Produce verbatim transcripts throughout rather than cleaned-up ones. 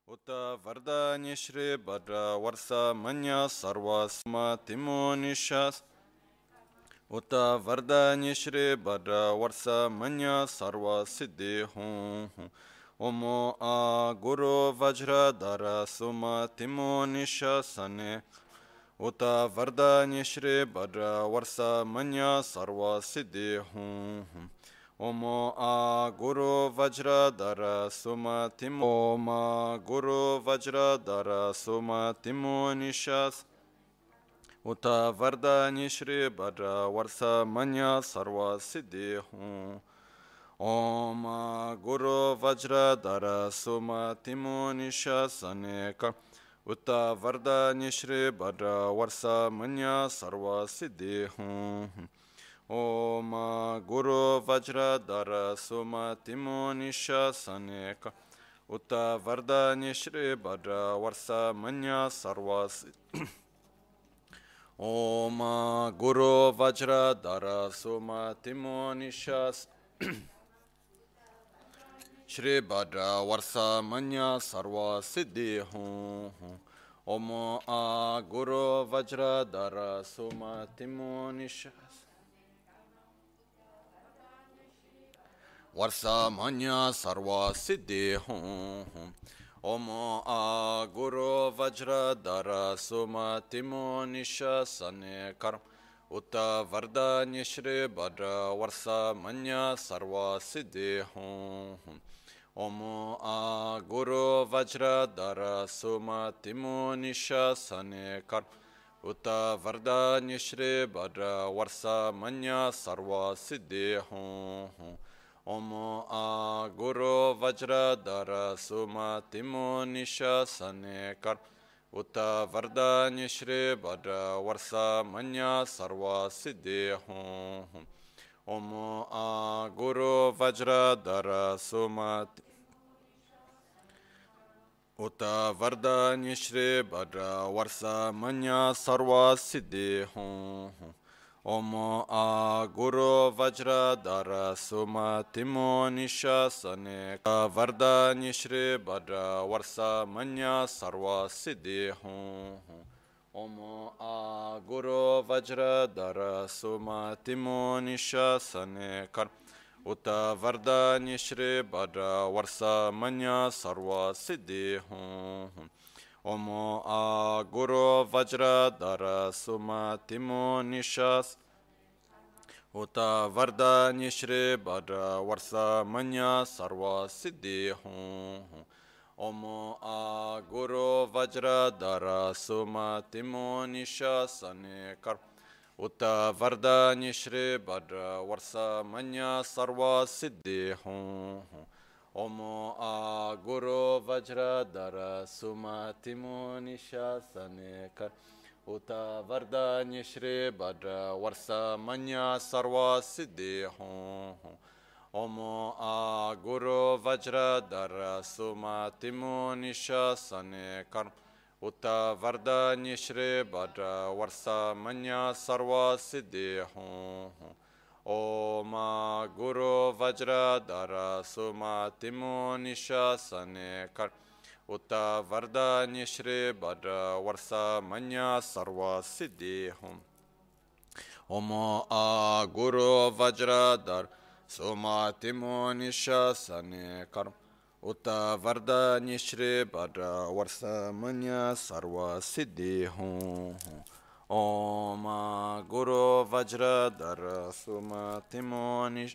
Uta Vardanya Shri Bhadra Varsa Manya Sarva Sma Timonishas Uta Vardanya Shri Bhadra Varsa Manya Sarva Siddhi Hum Omo A Guru Vajra Dara Suma Timonishasane Uta Vardanya Shri Bhadra Varsa Manya Sarva Siddhi Hum Omo A Guru Vajra Dara Suma Timo Oma Guru Vajra Dara Suma Timo Nishas Uta Vardanya Shri Bhadra Varsa Manya Sarva Siddhi Hum Om Guru Vajra Dara Suma Timo Nishas Aneka Uta Vardanya Shri Bhadra Varsa Manya Sarva Siddhi Hum Om Guru Vajra Dara Suma Timo Nishasane Uta Vardanya Shri Bhadra Varsa Manya Sarva Om Guru Vajra Dara Suma Timo Nishas Shri Bhadra Varsa Manya Sarva Siddhi Hum Om A Guru Vajra Dara Suma Timo Nishas Varsa Manya Sarva Siddhi Hum Om A Guru Vajra Dara Suma Timo Nishasane Karam Uta Vardanya Shri Bhadra Varsa Manya Sarva Siddhi Hum Om A Guru Vajra Dara Suma Timo Nishasane Karam Uta Vardanya Shri Bhadra Varsa Manya Sarva Siddhi Hum Om A Guru Vajra Dara Suma Timo Nishasane Kar Uta Vardanya Shri Bhadra Varsa Manya Sarva Siddhi Hum Om A Guru Vajra Dara Suma Uta Vardanya Shri Bhadra Varsa Manya Sarva Siddhi Hum Om A Guru Vajra Dara Suma Timo Nishasane Vardanya Shri Bhadra Varsa Manya Sarva Siddhi Hum Om A Guru Vajra Dara Suma Timo Nishasane Uta Vardanya Shri Bhadra Varsa Manya Sarva Siddhi Hum Om A Guru Vajra Dara Suma Timo Nishas Uta Vardanya Shri Bhadra Varsa Manya Sarva Siddhi Hum Om A Guru Vajra Dara Suma Timo Nishasane Kar Uta Vardanya Shri Bhadra Varsa Manya Sarva Siddhi Hum Om A Guru Vajra Dara Suma Timo Nishasane Kar Uta Vardanya Shri Bhadra Varsa Manya Sarva Siddhi Hum Om A Guru Vajra Dara Suma Timo Nishasane Kar Uta Vardanya Shri Bhadra Varsa Manya Sarva Siddhi Hum Om Guru Vajra Dara Suma Timo Nishasane Kar Uta Vardanya Shri Bhadra Varsa Manya Sarva Siddhi Hum Om A Guru Vajra Dara Suma Timo Nishasane Kar Uta Vardanya Shri Bhadra Varsa Manya Sarva Siddhi Hum Om Guru Vajra Dara Suma Timo Nish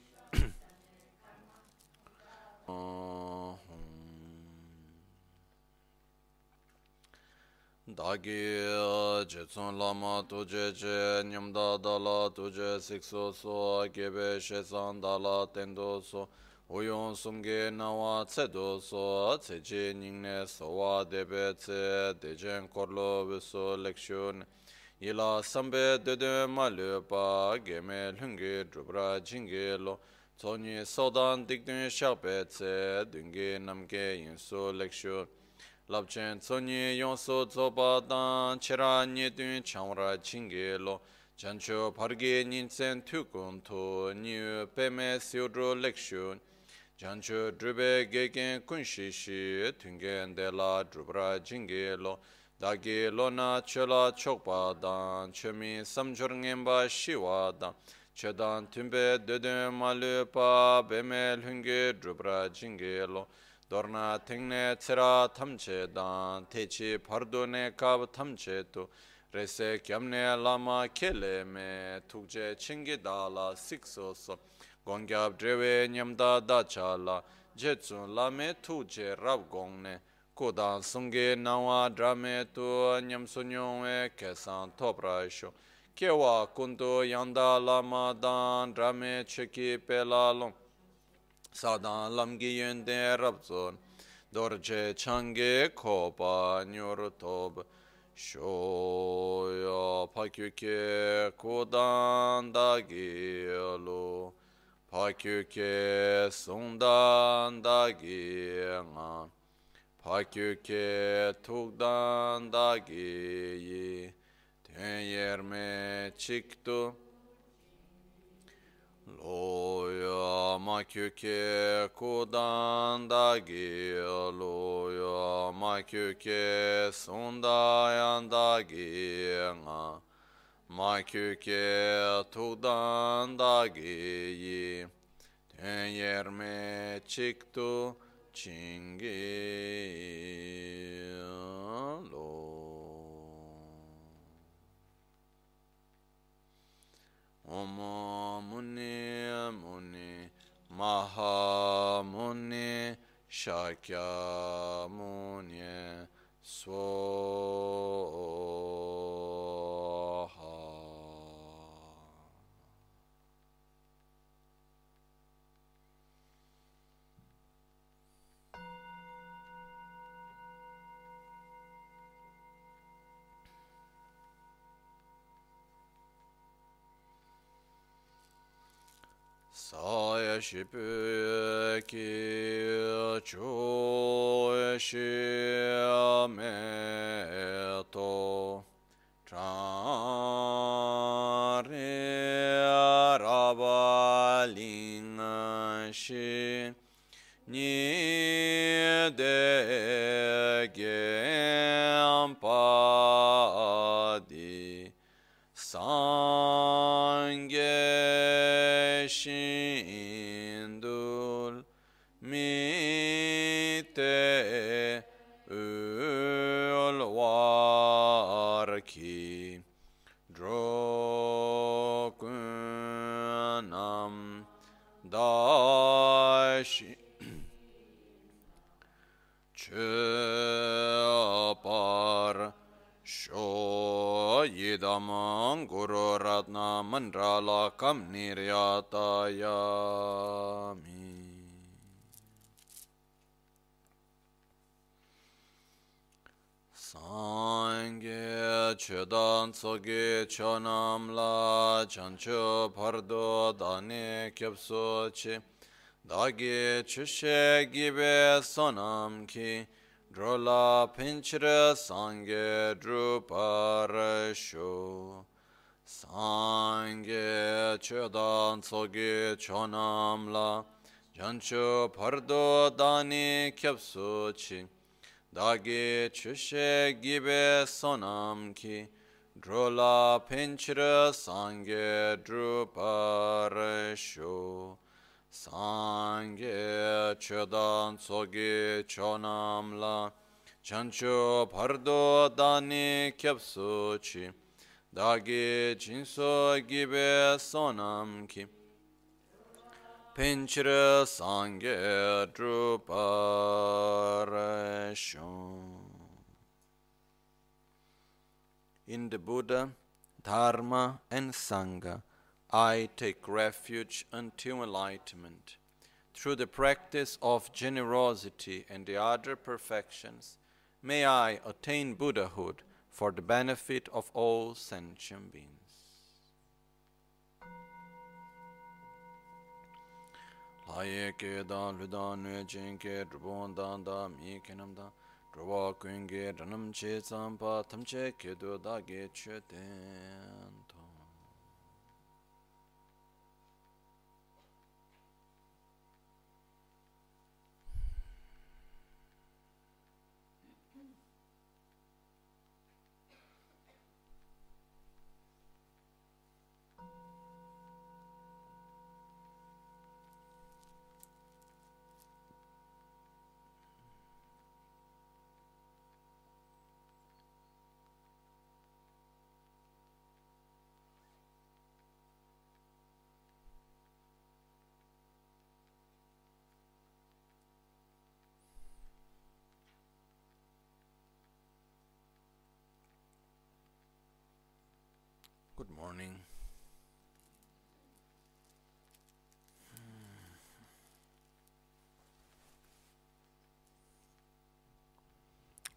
Dagi Jetsun Lama Tuje Je Nyamda Dala Tuje Sikso So Gebe Shesan Dala Tendo So Uyon Sumge Nawa Tsedo So Tseje Ningne Sowa Debe Tse Dejen Korlo Viso Lekshun Ila Sambe Dede Malupa Geme Lungi Drubra Jingelo Tony Sodan Digdun Shakpe Tse Dungi Namge Yinso Lekshun Labchen Tony Yonso Zoba Dan Chera Nyedun Chamra Jingelo Chancho Parge Ninsen Tukun To New Peme Siudro Lekshun janchu drube gegen kunshishi tungen de la drubra jingelo dagi lona chola chokpa dan chemi samjur ngemba shiwa dan chedan tumbe dede malu pa bemel hunge drubra jingelo dorna tengne tsera tamche dan techi pardone kab tamche tu rese kyamne lama kele me tukje chingi dala siksoso Gongyab drewe nyamda dachala, jetsun lame tuje rab gongne, kodan sunge nawa drame tu nyamsunyongwe kesan toprasho, kewa kundu yanda lama dan drame cheki pelalong, sadan lamgi yende rabzon, dorje change kopa nyurutob, shoya pakyuke kodan dagilo. Pakyuke sundan dagi nga Pakyuke tukdan dagi yi Ten yerme çıktı Loya makyuke kudan dagi Loya makyuke sundayan dagi nga Makyuke tukdan dagi ten yerme çıktı çingi lo Om muni muni maha muni shakya muni swaha Saya shipu ki chu shi me to trari rabaling shi ni de gempadi Sange shindul mite ulwarki drokunam dashi chapar Sho yidamang guru ratna mandrala kam niryatayami. Sangye chedan tsoge chonam la chancho pardo dane kyapso che dage chushe gibe sonam ki Drola pinchra sangye druparasho Sangye chedan tsoge chonam la Jancho pardo dani kyapso chi Dage chushe gibe sonam ki Drola pinchra sangye druparasho Sangye chedan tsoge chonam la chancho pardo dani kyapso chi dage jinso gibe sonam ki pinchira sangye druparasho. In the Buddha, Dharma and Sangha I take refuge until enlightenment. Through the practice of generosity and the other perfections, may I attain Buddhahood for the benefit of all sentient beings. Laye ke da luda nue jinke drubon dan da mi kenam da druwa kuinge ranam che zampa tamche ke do da ge che den to.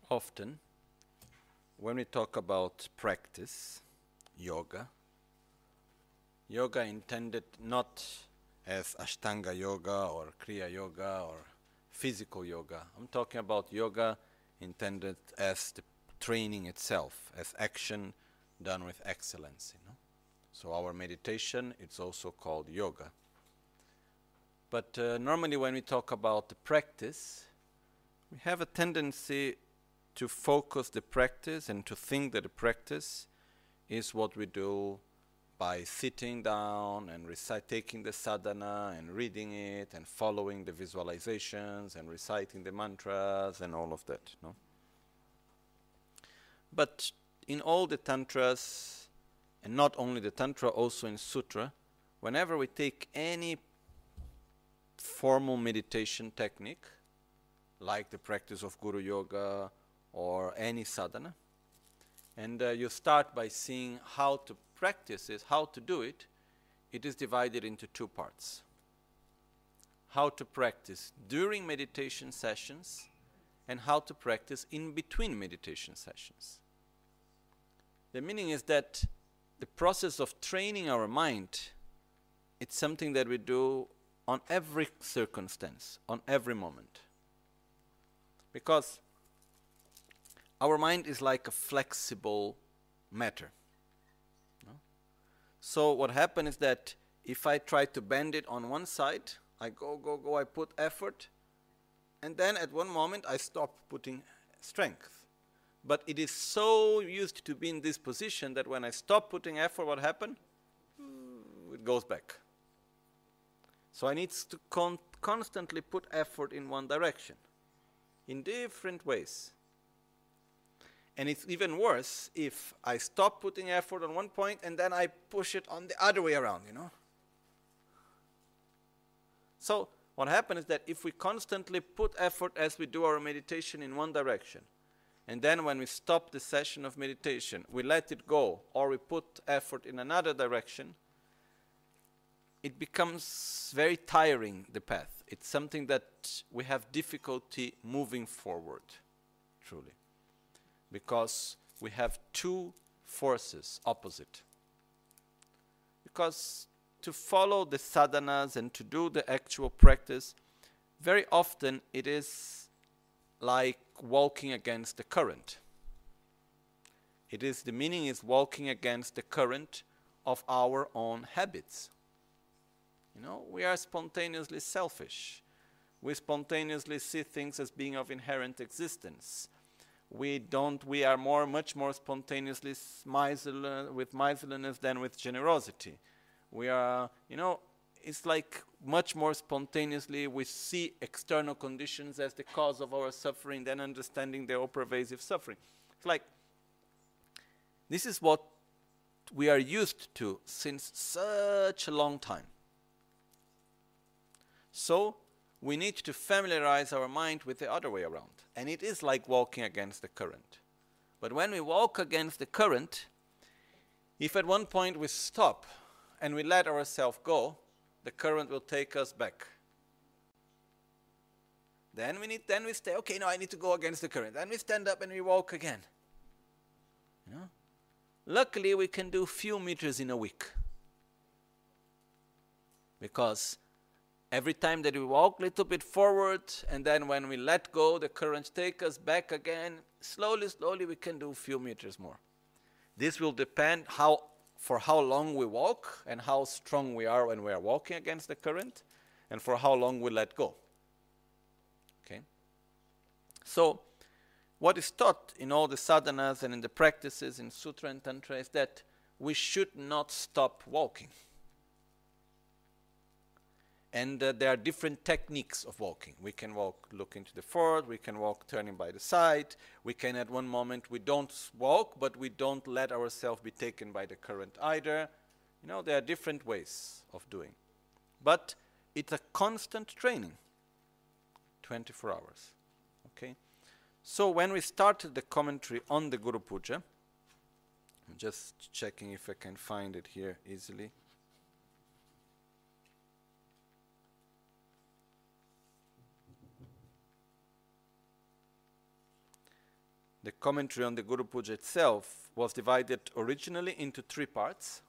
often, when we talk about practice, yoga, yoga intended not as Ashtanga yoga or Kriya yoga or physical yoga. I'm talking about yoga intended as the training itself, as action done with excellence. You know? So our meditation, it's also called yoga. But uh, normally when we talk about the practice, we have a tendency to focus the practice and to think that the practice is what we do by sitting down and recite, taking the sadhana and reading it and following the visualizations and reciting the mantras and all of that. No? But in all the tantras, and not only the tantra, also in sutra, whenever we take any formal meditation technique, like the practice of Guru Yoga or any sadhana, and uh, you start by seeing how to practice it, how to do it, it is divided into two parts. How to practice during meditation sessions and how to practice in between meditation sessions. The meaning is that the process of training our mind, it's something that we do on every circumstance, on every moment. Because our mind is like a flexible matter. No? So what happens is that if I try to bend it on one side, I go, go, go, I put effort, and then at one moment I stop putting strength. But it is so used to be in this position that when I stop putting effort, what happens? It goes back. So I need to con- constantly put effort in one direction, in different ways. And it's even worse if I stop putting effort on one point and then I push it on the other way around, you know. So what happens is that if we constantly put effort as we do our meditation in one direction, and then when we stop the session of meditation, we let it go, or we put effort in another direction, it becomes very tiring, the path. It's something that we have difficulty moving forward, truly. Because we have two forces opposite. Because to follow the sadhanas and to do the actual practice, very often it is like walking against the current. It is, the meaning is walking against the current of our own habits. You know, we are spontaneously selfish. We spontaneously see things as being of inherent existence. We don't, we are more, much more spontaneously miserly, with miserliness than with generosity. We are, you know, it's like much more spontaneously we see external conditions as the cause of our suffering than understanding their all-pervasive suffering. It's like, this is what we are used to since such a long time. So, we need to familiarize our mind with the other way around. And it is like walking against the current. But when we walk against the current, if at one point we stop and we let ourselves go, the current will take us back. Then we need, then we stay, okay, no, I need to go against the current. Then we stand up and we walk again. You know? Luckily, we can do few meters in a week. Because every time that we walk a little bit forward, and then when we let go, the current takes us back again. Slowly, slowly, we can do a few meters more. This will depend how, for how long we walk, and how strong we are when we are walking against the current, and for how long we let go. Okay? So, what is taught in all the sadhanas and in the practices in Sutra and Tantra is that we should not stop walking. And uh, there are different techniques of walking. We can walk looking to the forward, we can walk turning by the side, we can at one moment, we don't walk, but we don't let ourselves be taken by the current either. You know, there are different ways of doing. But it's a constant training, twenty-four hours. Okay? So when we started the commentary on the Guru Puja, I'm just checking if I can find it here easily. the commentary on the Guru Puja itself was divided originally into three parts.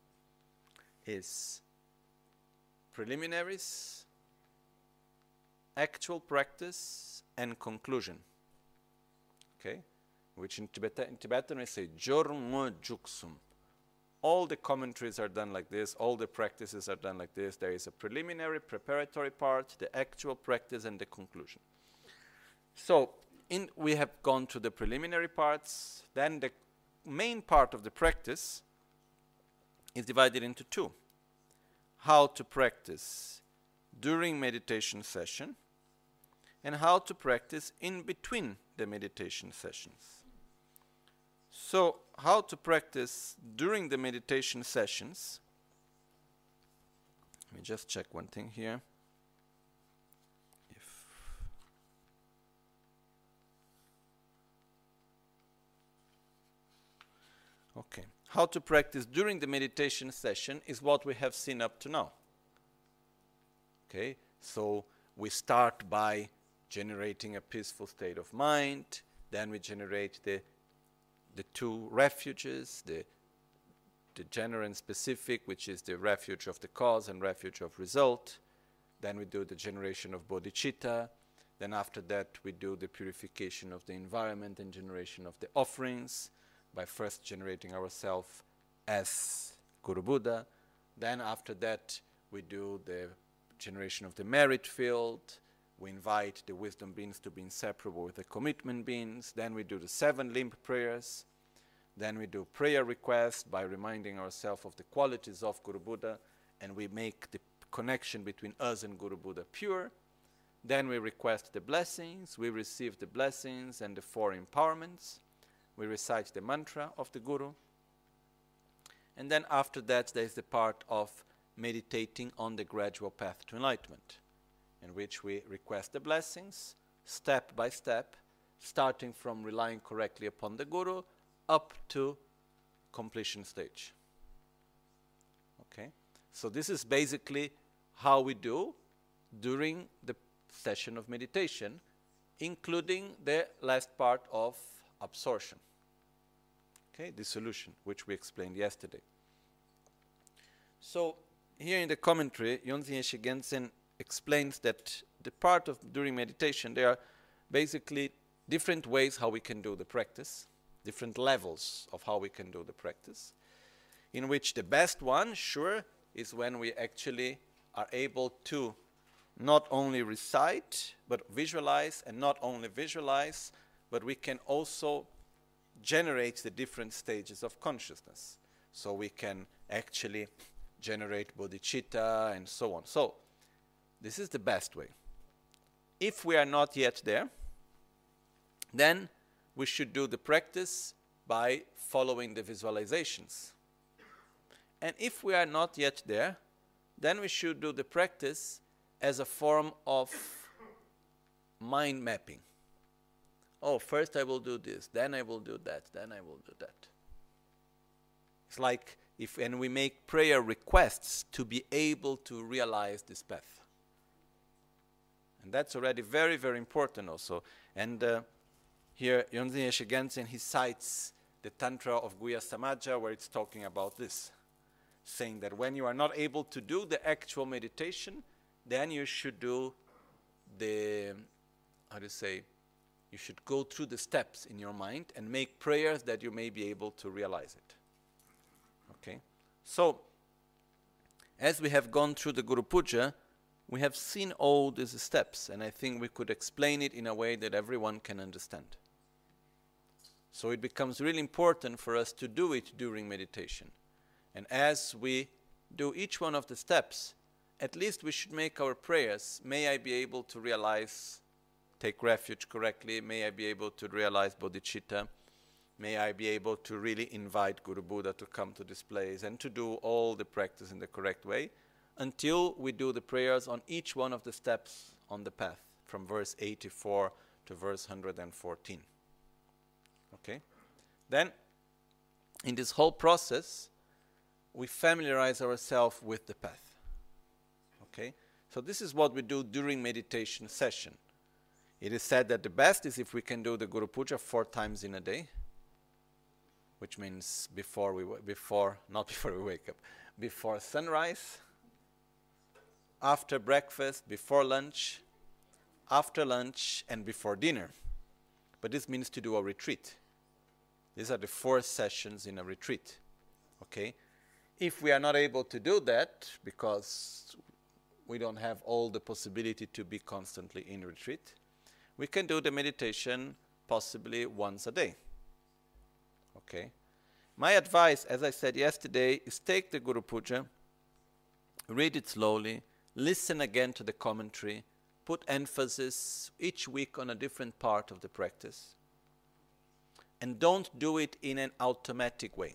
Is preliminaries, actual practice, and conclusion. Okay? Which in Tibetan, in Tibetan we say Jormo Juksum. All the commentaries are done like this, all the practices are done like this. There is a preliminary, preparatory part, the actual practice, and the conclusion. So, in, we have gone to the preliminary parts, then the main part of the practice is divided into two. How to practice during meditation session and how to practice in between the meditation sessions. So, how to practice during the meditation sessions. Let me just check one thing here. If okay. How to practice during the meditation session is what we have seen up to now. Okay, so we start by generating a peaceful state of mind, then we generate the the two refuges, the the general and specific, which is the refuge of the cause and refuge of result. Then we do the generation of bodhicitta. Then after that we do the purification of the environment and generation of the offerings, by first generating ourselves as Guru Buddha. Then after that we do the generation of the merit field. We invite the wisdom beings to be inseparable with the commitment beings. Then we do the seven limb prayers. Then we do prayer requests by reminding ourselves of the qualities of Guru Buddha, and we make the connection between us and Guru Buddha pure. Then we request the blessings. We receive the blessings and the four empowerments. We recite the mantra of the Guru. And then after that there is the part of meditating on the gradual path to enlightenment, in which we request the blessings, step by step, starting from relying correctly upon the Guru, up to completion stage. Okay? So this is basically how we do during the session of meditation, including the last part of absorption. Okay? Dissolution, which we explained yesterday. So, here in the commentary, Yonzin Yeshe Gensen explains that the part of during meditation, there are basically different ways how we can do the practice, different levels of how we can do the practice, in which the best one, sure, is when we actually are able to not only recite, but visualize, and not only visualize, but we can also generate the different stages of consciousness. So we can actually generate bodhicitta and so on. So, this is the best way. If we are not yet there, then we should do the practice by following the visualizations. And if we are not yet there, then we should do the practice as a form of mind mapping. Oh, first I will do this, then I will do that, then I will do that. It's like if and we make prayer requests to be able to realize this path. And that's already very, very important also. And uh, here, Yonzin Yeshe Gensen, he cites the Tantra of Guhya Samaja, where it's talking about this, saying that when you are not able to do the actual meditation, then you should do the, how do you say, you should go through the steps in your mind and make prayers that you may be able to realize it. Okay? So, as we have gone through the Guru Puja, we have seen all these steps, and I think we could explain it in a way that everyone can understand. So it becomes really important for us to do it during meditation. And as we do each one of the steps, at least we should make our prayers, may I be able to realize, take refuge correctly, may I be able to realize bodhicitta, may I be able to really invite Guru Buddha to come to this place and to do all the practice in the correct way, until we do the prayers on each one of the steps on the path, from verse eighty-four to verse one hundred fourteen. Okay? Then, in this whole process, we familiarize ourselves with the path. Okay? So this is what we do during meditation session. It is said that the best is if we can do the Guru Puja four times in a day, which means before we, before, not before we wake up, before sunrise, after breakfast, before lunch, after lunch, and before dinner. But this means to do a retreat. These are the four sessions in a retreat, okay? If we are not able to do that, because we don't have all the possibility to be constantly in retreat, we can do the meditation possibly once a day, okay? My advice, as I said yesterday, is take the Guru Puja, read it slowly, listen again to the commentary, put emphasis each week on a different part of the practice, and don't do it in an automatic way.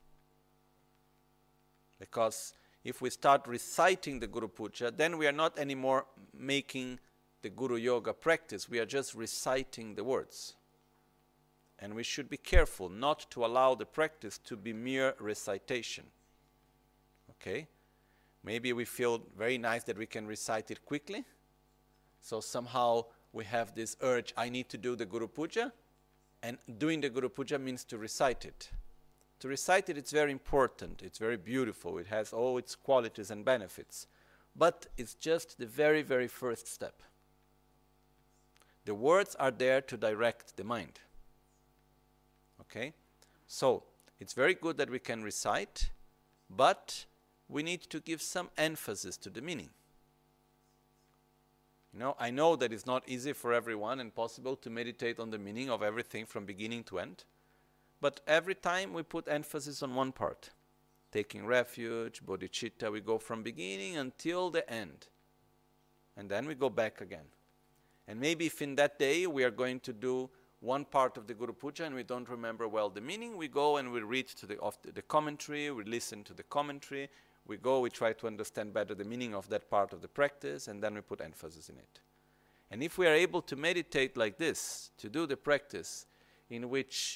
Because if we start reciting the Guru Puja, then we are not anymore making the Guru Yoga practice, we are just reciting the words. And we should be careful not to allow the practice to be mere recitation. Okay? Maybe we feel very nice that we can recite it quickly. So somehow we have this urge, I need to do the Guru Puja. And doing the Guru Puja means to recite it. To recite it, it's very important. It's very beautiful. It has all its qualities and benefits. But it's just the very, very first step. The words are there to direct the mind. Okay? So, it's very good that we can recite, but we need to give some emphasis to the meaning. You know, I know that it's not easy for everyone and possible to meditate on the meaning of everything from beginning to end, but every time we put emphasis on one part. Taking refuge, bodhicitta, we go from beginning until the end. And then we go back again. And maybe if in that day we are going to do one part of the Guru Puja and we don't remember well the meaning, we go and we read to the, of the, the commentary, we listen to the commentary, we go, we try to understand better the meaning of that part of the practice, and then we put emphasis in it. And if we are able to meditate like this, to do the practice in which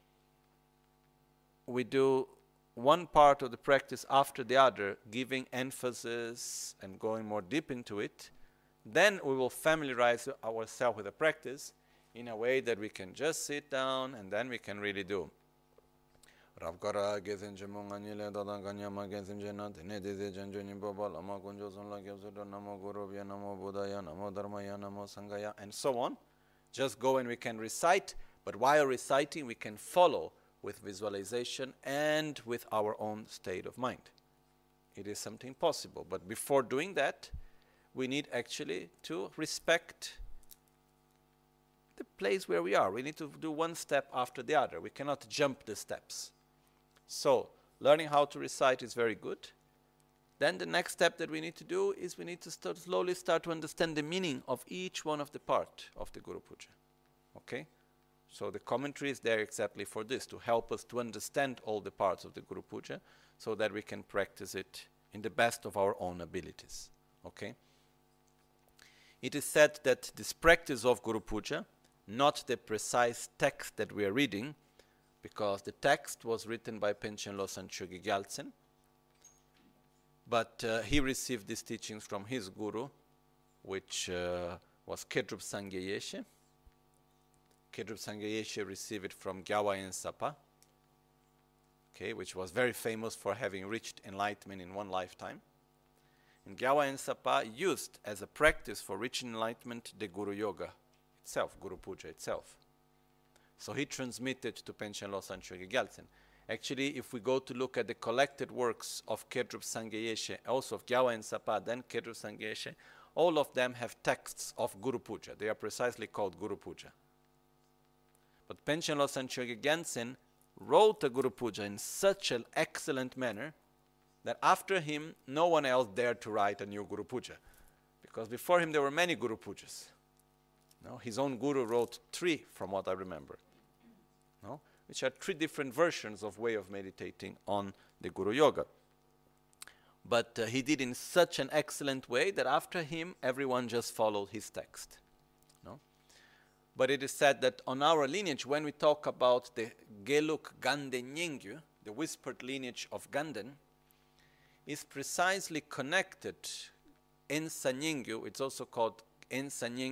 we do one part of the practice after the other, giving emphasis and going more deep into it, then we will familiarize ourselves with the practice in a way that we can just sit down and then we can really do. Ravkara gezinje munganyile dadanganyama gezinjena denedize janjoni bobal ama gunjozon la gyozdo namo gurubya namo buddhaya namo dharmaya namo sanghaya and so on. Just go and we can recite, but while reciting we can follow with visualization and with our own state of mind. It is something possible, but before doing that, we need actually to respect the place where we are. We need to do one step after the other. We cannot jump the steps. So, learning how to recite is very good. Then the next step that we need to do is we need to start slowly start to understand the meaning of each one of the part of the Guru Puja. Okay? So the commentary is there exactly for this, to help us to understand all the parts of the Guru Puja so that we can practice it in the best of our own abilities. Okay? It is said that this practice of Guru Puja, not the precise text that we are reading, because the text was written by Panchen Losang Chogi Gyaltsen, but uh, he received these teachings from his guru, which uh, was Kedrup Sangye Yeshe. Kedrup Sangye Yeshe received it from Gyawayen Sapa, okay, which was very famous for having reached enlightenment in one lifetime. And Gyawayen Sapa used as a practice for reaching enlightenment the Guru Yoga itself, Guru Puja itself. So he transmitted to Panchen Losang Chogi Gyaltsen. Actually, if we go to look at the collected works of Kedrup Sangye Yeshe, also of Gyawayen Sapa, then Kedrup Sangye Yeshe, all of them have texts of Guru Puja. They are precisely called Guru Puja. But Panchen Losang Chogi Gyaltsen wrote a Guru Puja in such an excellent manner that after him, no one else dared to write a new Guru Puja. Because before him, there were many Guru Pujas. No? His own Guru wrote three, from what I remember. No? Which are three different versions of way of meditating on the Guru Yoga. But uh, he did in such an excellent way that after him, everyone just followed his text. No? But it is said that on our lineage, when we talk about the Geluk Ganden Nyingyu, the whispered lineage of Ganden, is precisely connected Ensa Nyingyu, it's also called Ensa Nyingyu,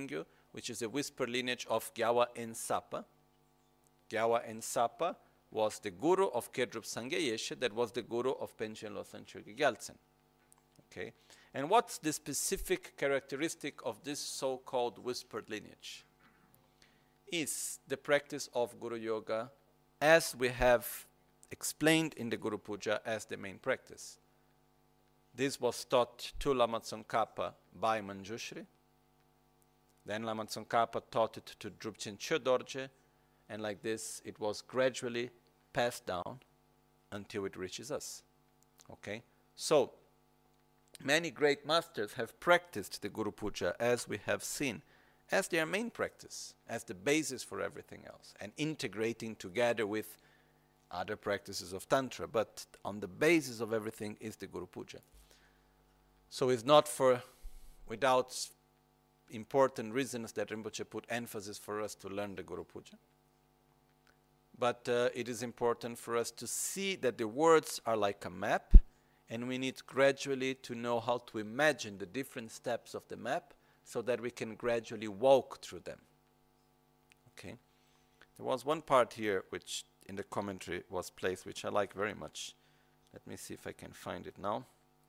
which is a whisper lineage of Gyawa Ensapa. Gyawa Ensapa was the guru of Kedrup Sangye Yeshe, that was the guru of Penchen Losang Chögyal Gyaltsen. Okay, and what's the specific characteristic of this so-called whispered lineage? Is the practice of Guru Yoga, as we have explained in the Guru Puja, as the main practice. This was taught to Lama Tsongkhapa by Manjushri. Then Lama Tsongkhapa taught it to Drupchen Chodorje, and like this it was gradually passed down until it reaches us. Okay, so many great masters have practiced the Guru Puja, as we have seen, as their main practice, as the basis for everything else, and integrating together with other practices of Tantra, but on the basis of everything is the Guru Puja. So it's not for without important reasons that Rinpoche put emphasis for us to learn the Guru Puja. But uh, it is important for us to see that the words are like a map, and we need gradually to know how to imagine the different steps of the map so that we can gradually walk through them. Okay? There was one part here which in the commentary was placed, which I like very much. Let me see if I can find it now.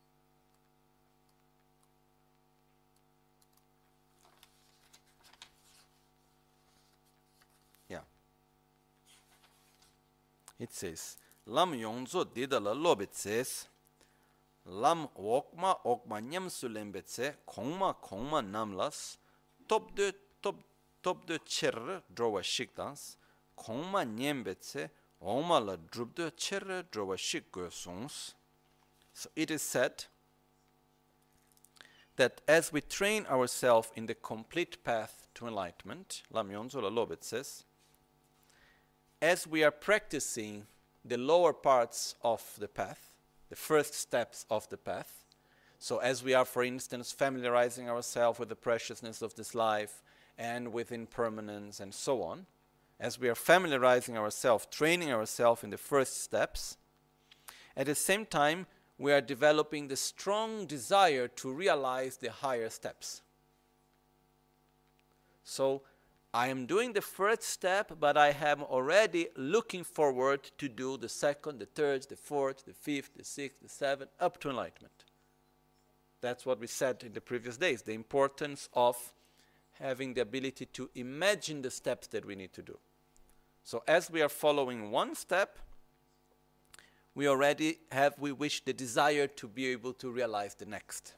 Yeah. It says, Lam yongzo didala lobetses, Lam okma okma nyamsulembetse, kongma kongma namlas, top de top top de cherre drowa shikdans, kongma nyembetse, oma la drubde cherre drowa shikgosons. So it is said that as we train ourselves in the complete path to enlightenment, Lam Yonzo la Lobet says, as we are practicing the lower parts of the path, the first steps of the path, so as we are, for instance, familiarizing ourselves with the preciousness of this life and with impermanence and so on, as we are familiarizing ourselves, training ourselves in the first steps, at the same time, we are developing the strong desire to realize the higher steps. So, I am doing the first step, but I am already looking forward to do the second, the third, the fourth, the fifth, the sixth, the seventh, up to enlightenment. That's what we said in the previous days, the importance of having the ability to imagine the steps that we need to do. So as we are following one step, we already have, we wish the desire to be able to realize the next.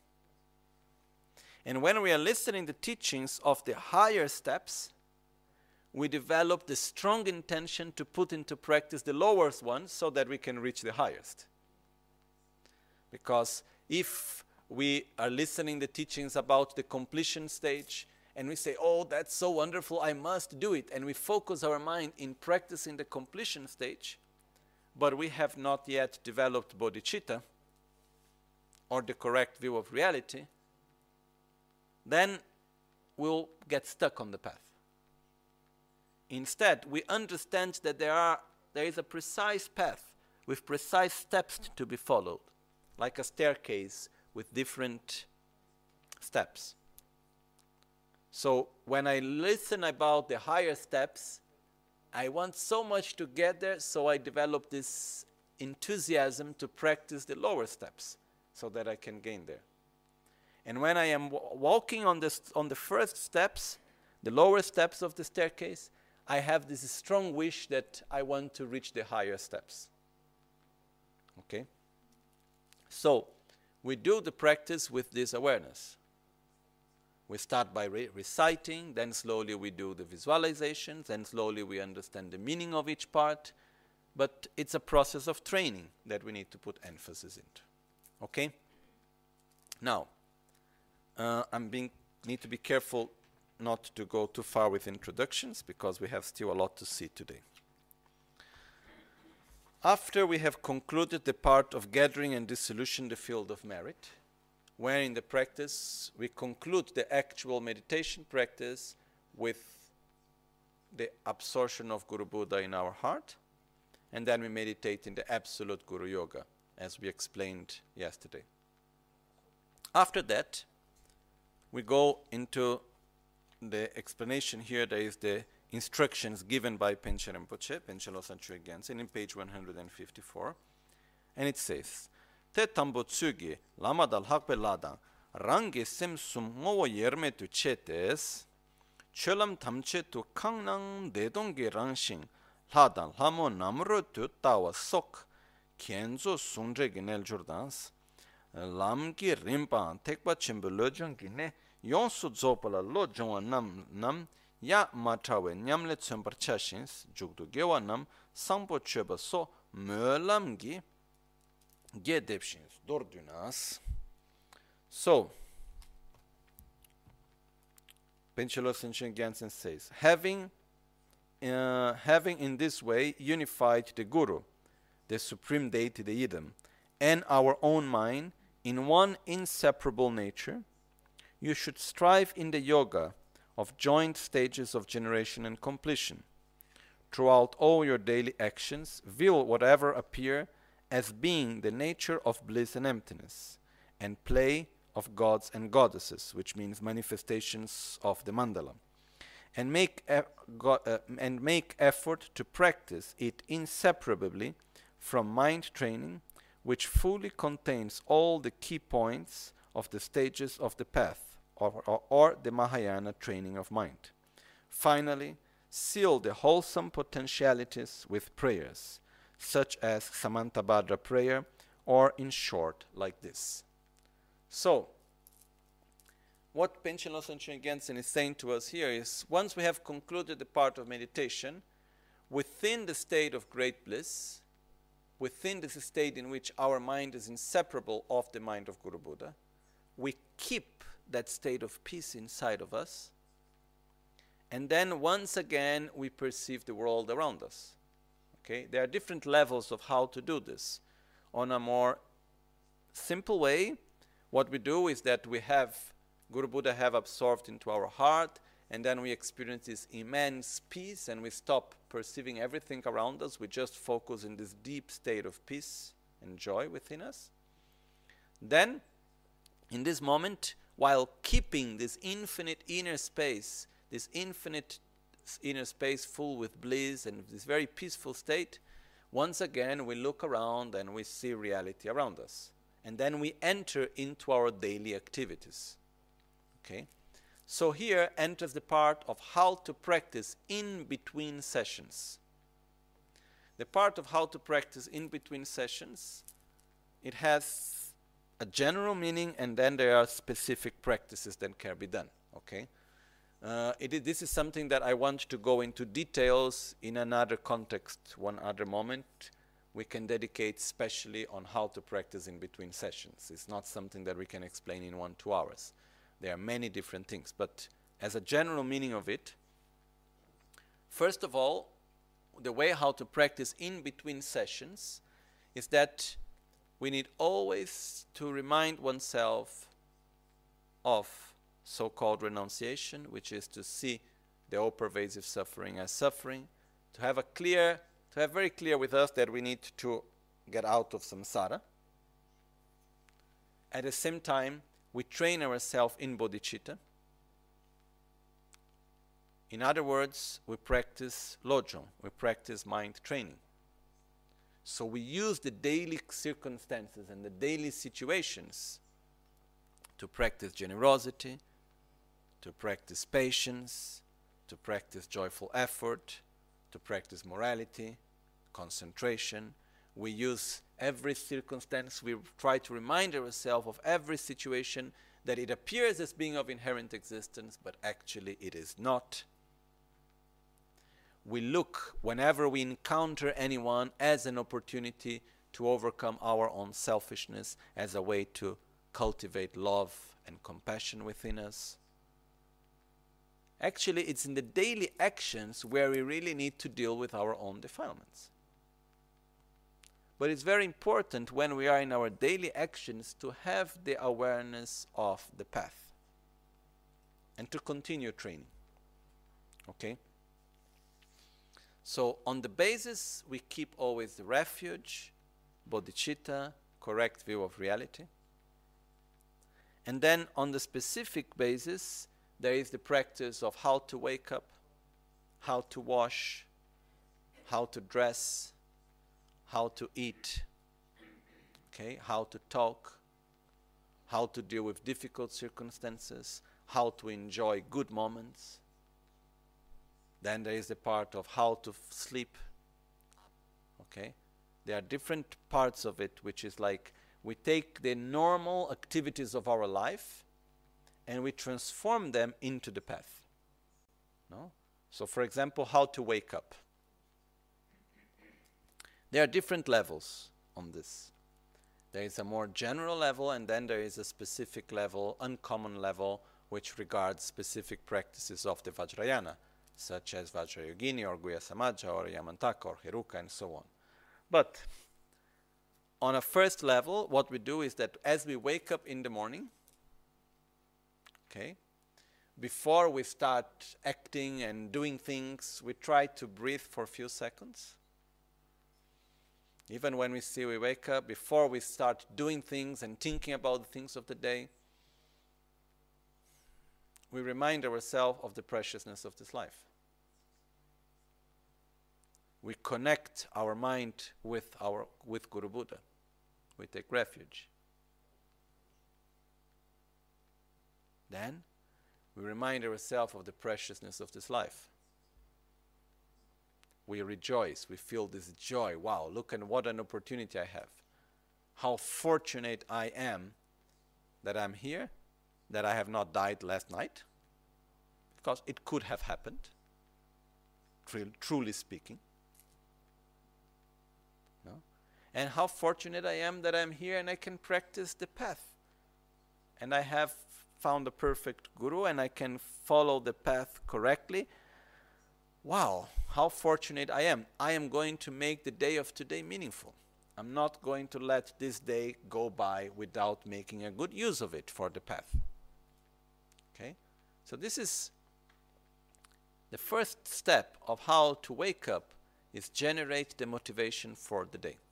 And when we are listening to the teachings of the higher steps, we develop the strong intention to put into practice the lower ones so that we can reach the highest. Because if we are listening to the teachings about the completion stage, and we say, oh, that's so wonderful, I must do it, and we focus our mind in practicing the completion stage, but we have not yet developed bodhicitta, or the correct view of reality, then we'll get stuck on the path. Instead, we understand that there are there is a precise path with precise steps to be followed, like a staircase with different steps. So when I listen about the higher steps, I want so much to get there, so I develop this enthusiasm to practice the lower steps so that I can gain there. And when I am w walking on, this, on the first steps, the lower steps of the staircase, I have this strong wish that I want to reach the higher steps. Okay? So, we do the practice with this awareness. We start by re reciting, then slowly we do the visualizations, then slowly we understand the meaning of each part, but it's a process of training that we need to put emphasis into. Okay? Now, uh, I'm being need to be careful not to go too far with introductions, because we have still a lot to see today. After we have concluded the part of gathering and dissolution the field of merit, where in the practice we conclude the actual meditation practice with the absorption of Guru Buddha in our heart, and then we meditate in the absolute Guru Yoga, as we explained yesterday. After that, we go into the explanation here, there is the instructions given by Penche Rinpoche, Penche Losang Chöe Gyaltsen, in page one hundred fifty-four. And it says, Te tambo tsugi lama dal hakpe ladang rangi sem sum ngowo yerme tu chetes cholam tamche tu kangnang dedongi rangsing ladang lamo namro tu tawa sok kienzo sungre ginel jordans lamki rimpa tekpa chimbo lojong gine yonsu zopala lo jongwa nam nam ya matawe nyamle tsumbar chashins jugdu gewa nam sangpo chöba so mölamgi gedepshins dordunas. So Penche Losang Chöe Gyaltsen says, having uh, having in this way unified the Guru, the supreme deity, the Idam, and our own mind in one inseparable nature, you should strive in the yoga of joint stages of generation and completion. Throughout all your daily actions, will whatever appear as being the nature of bliss and emptiness, and play of gods and goddesses, which means manifestations of the mandala, and make e go uh, and make effort to practice it inseparably from mind training, which fully contains all the key points of the stages of the path, or, or, or the Mahayana training of mind. Finally, seal the wholesome potentialities with prayers, such as Samantabhadra prayer, or in short, like this. So, what Penche Losang Chöe Gyaltsen is saying to us here is, once we have concluded the part of meditation, within the state of great bliss, within this state in which our mind is inseparable of the mind of Guru Buddha, we keep that state of peace inside of us, and then once again we perceive the world around us. Okay? There are different levels of how to do this. On a more simple way, what we do is that we have Guru Buddha have absorbed into our heart, and then we experience this immense peace, and we stop perceiving everything around us. We just focus in this deep state of peace and joy within us. Then, in this moment, while keeping this infinite inner space, this infinite inner space full with bliss and this very peaceful state, once again we look around and we see reality around us. And then we enter into our daily activities. Okay? So here enters the part of how to practice in between sessions. The part of how to practice in between sessions, it has a general meaning, and then there are specific practices that can be done. Okay? Uh, it is, this is something that I want to go into details in another context, one other moment. We can dedicate specially on how to practice in between sessions. It's not something that we can explain in one, two hours. There are many different things, but as a general meaning of it, first of all, the way how to practice in between sessions is that we need always to remind oneself of so-called renunciation, which is to see the all-pervasive suffering as suffering, to have a clear, to have very clear with us that we need to get out of samsara. At the same time, we train ourselves in bodhicitta. In other words, we practice lojong, we practice mind training. So we use the daily circumstances and the daily situations to practice generosity, to practice patience, to practice joyful effort, to practice morality, concentration. We use every circumstance, we try to remind ourselves of every situation that it appears as being of inherent existence, but actually it is not. We look, whenever we encounter anyone, as an opportunity to overcome our own selfishness, as a way to cultivate love and compassion within us. Actually, it's in the daily actions where we really need to deal with our own defilements. But it's very important when we are in our daily actions to have the awareness of the path and to continue training. Okay? So on the basis, we keep always the refuge, bodhicitta, correct view of reality. And then on the specific basis, there is the practice of how to wake up, how to wash, how to dress, how to eat, okay, how to talk, how to deal with difficult circumstances, how to enjoy good moments. Then there is the part of how to f- sleep, okay. There are different parts of it, which is like we take the normal activities of our life and we transform them into the path. No? So for example, how to wake up. There are different levels on this. There is a more general level, and then there is a specific level, uncommon level, which regards specific practices of the Vajrayana, such as Vajrayogini or Guhya Samaja or Yamantaka or Heruka and so on. But on a first level, what we do is that as we wake up in the morning, okay, before we start acting and doing things, we try to breathe for a few seconds. Even when we see we wake up, before we start doing things and thinking about the things of the day, we remind ourselves of the preciousness of this life. We connect our mind with our with Guru Buddha. We take refuge. Then we remind ourselves of the preciousness of this life. We rejoice, we feel this joy. Wow, look at what an opportunity I have. How fortunate I am that I'm here, that I have not died last night, because it could have happened, tr- truly speaking. No? And how fortunate I am that I'm here and I can practice the path. And I have found the perfect guru and I can follow the path correctly. Wow, how fortunate I am. I am going to make the day of today meaningful. I'm not going to let this day go by without making a good use of it for the path. Okay? So this is the first step of how to wake up, is generate the motivation for the day.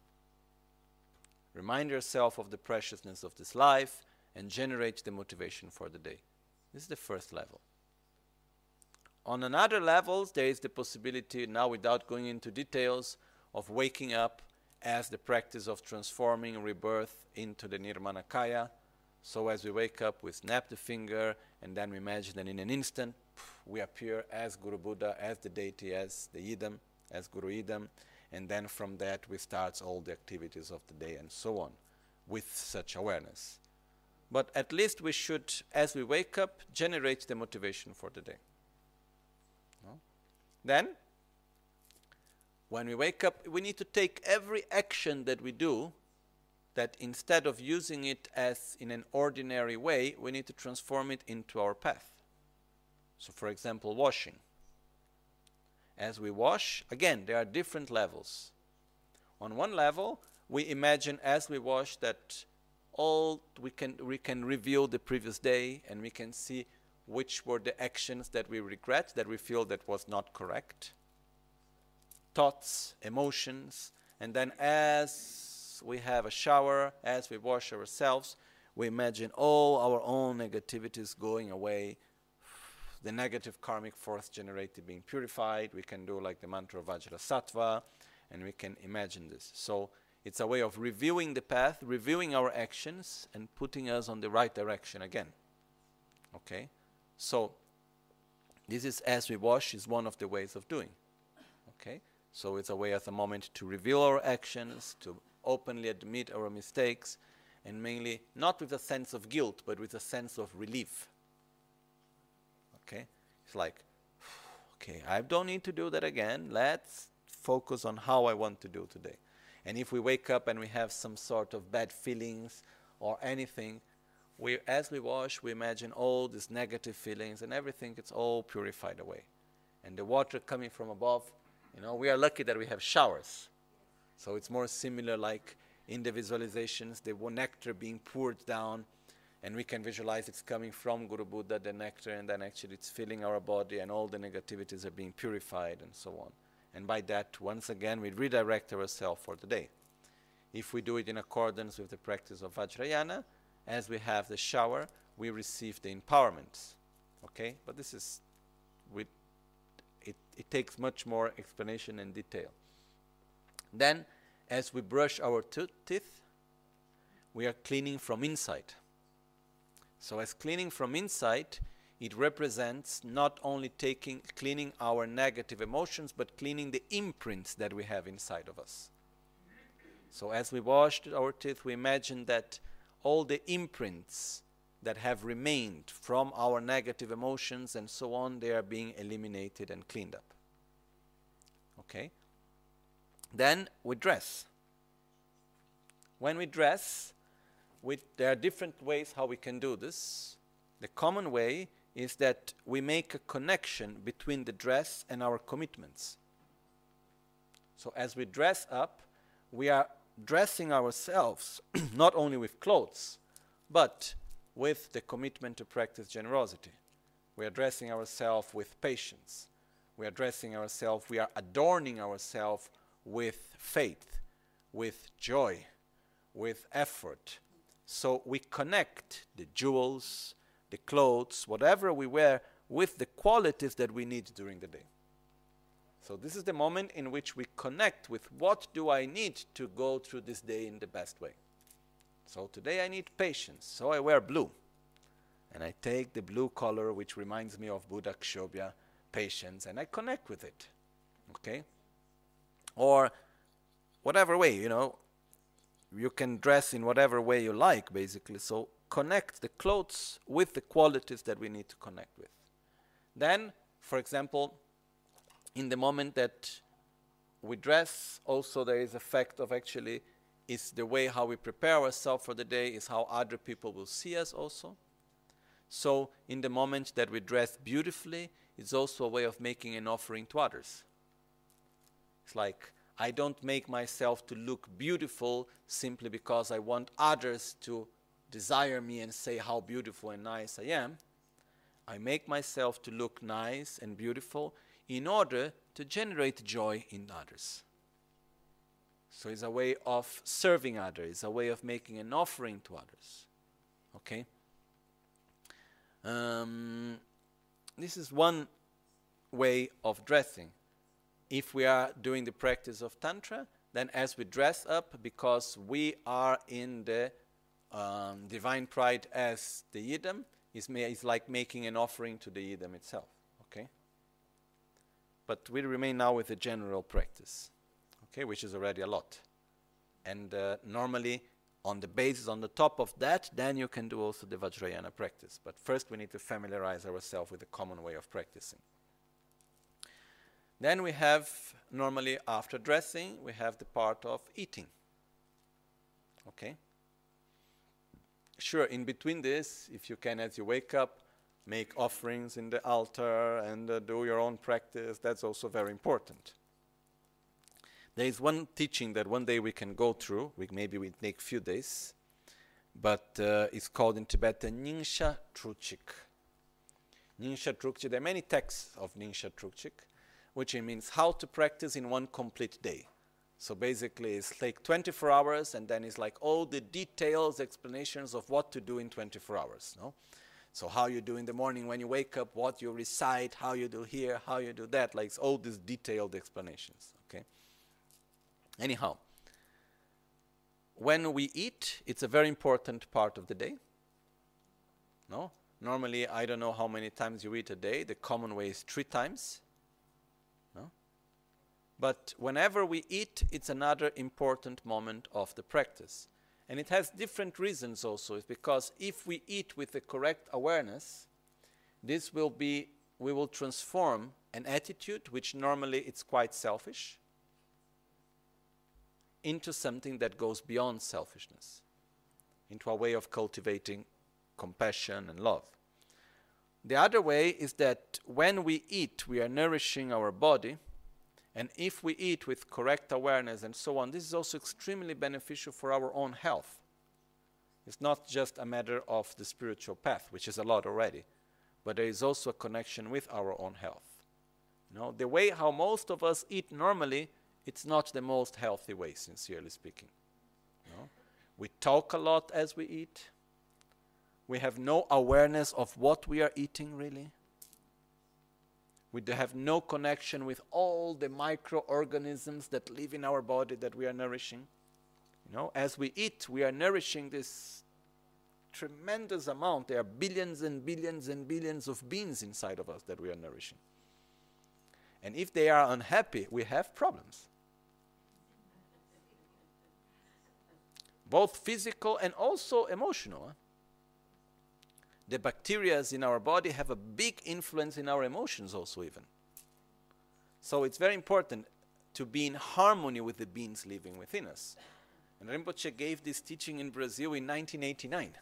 Remind yourself of the preciousness of this life and generate the motivation for the day. This is the first level. On another levels, there is the possibility, now without going into details, of waking up as the practice of transforming rebirth into the Nirmanakaya. So as we wake up, we snap the finger, and then we imagine that in an instant, we appear as Guru Buddha, as the deity, as the Idam, as Guru Idam, and then from that we start all the activities of the day and so on, with such awareness. But at least we should, as we wake up, generate the motivation for the day. No? Then, when we wake up, we need to take every action that we do, that instead of using it as in an ordinary way, we need to transform it into our path. So for example, washing. As we wash, again, there are different levels. On one level, we imagine as we wash that all we can we can review the previous day and we can see which were the actions that we regret, that we feel that was not correct. Thoughts, emotions, and then as we have a shower, as we wash ourselves, we imagine all our own negativities going away, the negative karmic force generated being purified. We can do like the mantra of Vajrasattva, and we can imagine this. So it's a way of reviewing the path, reviewing our actions, and putting us on the right direction again. Okay? So this is as we wash is one of the ways of doing. Okay? So it's a way at the moment to review our actions, to openly admit our mistakes, and mainly not with a sense of guilt, but with a sense of relief. Okay? It's like, okay, I don't need to do that again. Let's focus on how I want to do today. And if we wake up and we have some sort of bad feelings or anything, we, as we wash, we imagine all these negative feelings and everything, it's all purified away. And the water coming from above, you know, we are lucky that we have showers. So it's more similar like in the visualizations, the nectar being poured down, and we can visualize it's coming from Guru Buddha, the nectar, and then actually it's filling our body and all the negativities are being purified and so on. And by that, once again, we redirect ourselves for the day. If we do it in accordance with the practice of Vajrayana, as we have the shower, we receive the empowerment. Okay, but this is with it, it takes much more explanation and detail. Then, as we brush our teeth, we are cleaning from inside. So as cleaning from inside, it represents not only taking, cleaning our negative emotions, but cleaning the imprints that we have inside of us. So as we washed our teeth, we imagine that all the imprints that have remained from our negative emotions and so on, they are being eliminated and cleaned up. Okay? Then we dress. When we dress, we, there are different ways how we can do this. The common way is that we make a connection between the dress and our commitments. So as we dress up, we are dressing ourselves not only with clothes, but with the commitment to practice generosity. We are dressing ourselves with patience. We are dressing ourselves, we are adorning ourselves with faith, with joy, with effort. So we connect the jewels, the clothes, whatever we wear, with the qualities that we need during the day. So this is the moment in which we connect with what do I need to go through this day in the best way. So today I need patience, so I wear blue. And I take the blue color, which reminds me of Buddha Kshobhya, patience, and I connect with it. Okay? Or whatever way, you know, you can dress in whatever way you like, basically. So connect the clothes with the qualities that we need to connect with. Then, for example, in the moment that we dress, also there is a fact of actually, is the way how we prepare ourselves for the day, is how other people will see us also. So in the moment that we dress beautifully, it's also a way of making an offering to others. It's like, I don't make myself to look beautiful simply because I want others to desire me and say how beautiful and nice I am. I make myself to look nice and beautiful in order to generate joy in others. So it's a way of serving others, it's a way of making an offering to others. Okay? Um, this is one way of dressing. If we are doing the practice of Tantra, then as we dress up, because we are in the um, divine pride as the Yidam, is ma- is like making an offering to the Yidam itself. Okay? But we remain now with the general practice, okay, which is already a lot. And uh, normally, on the basis, on the top of that, then you can do also the Vajrayana practice. But first we need to familiarize ourselves with the common way of practicing. Then we have, normally after dressing, we have the part of eating. Okay? Sure, in between this, if you can, as you wake up, make offerings in the altar and uh, do your own practice, that's also very important. There is one teaching that one day we can go through, we, maybe we take a few days, but uh, it's called in Tibetan Nyingsa Trukchik. Nyingsa Trukchik, there are many texts of Nyingsa Trukchik, which means how to practice in one complete day. So basically it's like twenty-four hours, and then it's like all the details, explanations of what to do in twenty-four hours. No? So how you do in the morning when you wake up, what you recite, how you do here, how you do that, like all these detailed explanations. Okay. Anyhow, when we eat, it's a very important part of the day. No? Normally, I don't know how many times you eat a day. The common way is three times. No? But whenever we eat, it's another important moment of the practice. And it has different reasons also. It's because if we eat with the correct awareness, this will be, we will transform an attitude, which normally it's quite selfish, into something that goes beyond selfishness, into a way of cultivating compassion and love. The other way is that when we eat, we are nourishing our body, and if we eat with correct awareness and so on, this is also extremely beneficial for our own health. It's not just a matter of the spiritual path, which is a lot already, but there is also a connection with our own health. You know, the way how most of us eat normally, it's not the most healthy way, sincerely speaking. No? We talk a lot as we eat. We have no awareness of what we are eating, really. We do have no connection with all the microorganisms that live in our body that we are nourishing. You know, as we eat, we are nourishing this tremendous amount. There are billions and billions and billions of beings inside of us that we are nourishing. And if they are unhappy, we have problems. Both physical and also emotional. Huh? The bacteria in our body have a big influence in our emotions also even. So it's very important to be in harmony with the beings living within us. And Rinpoche gave this teaching in Brazil in nineteen eighty-nine.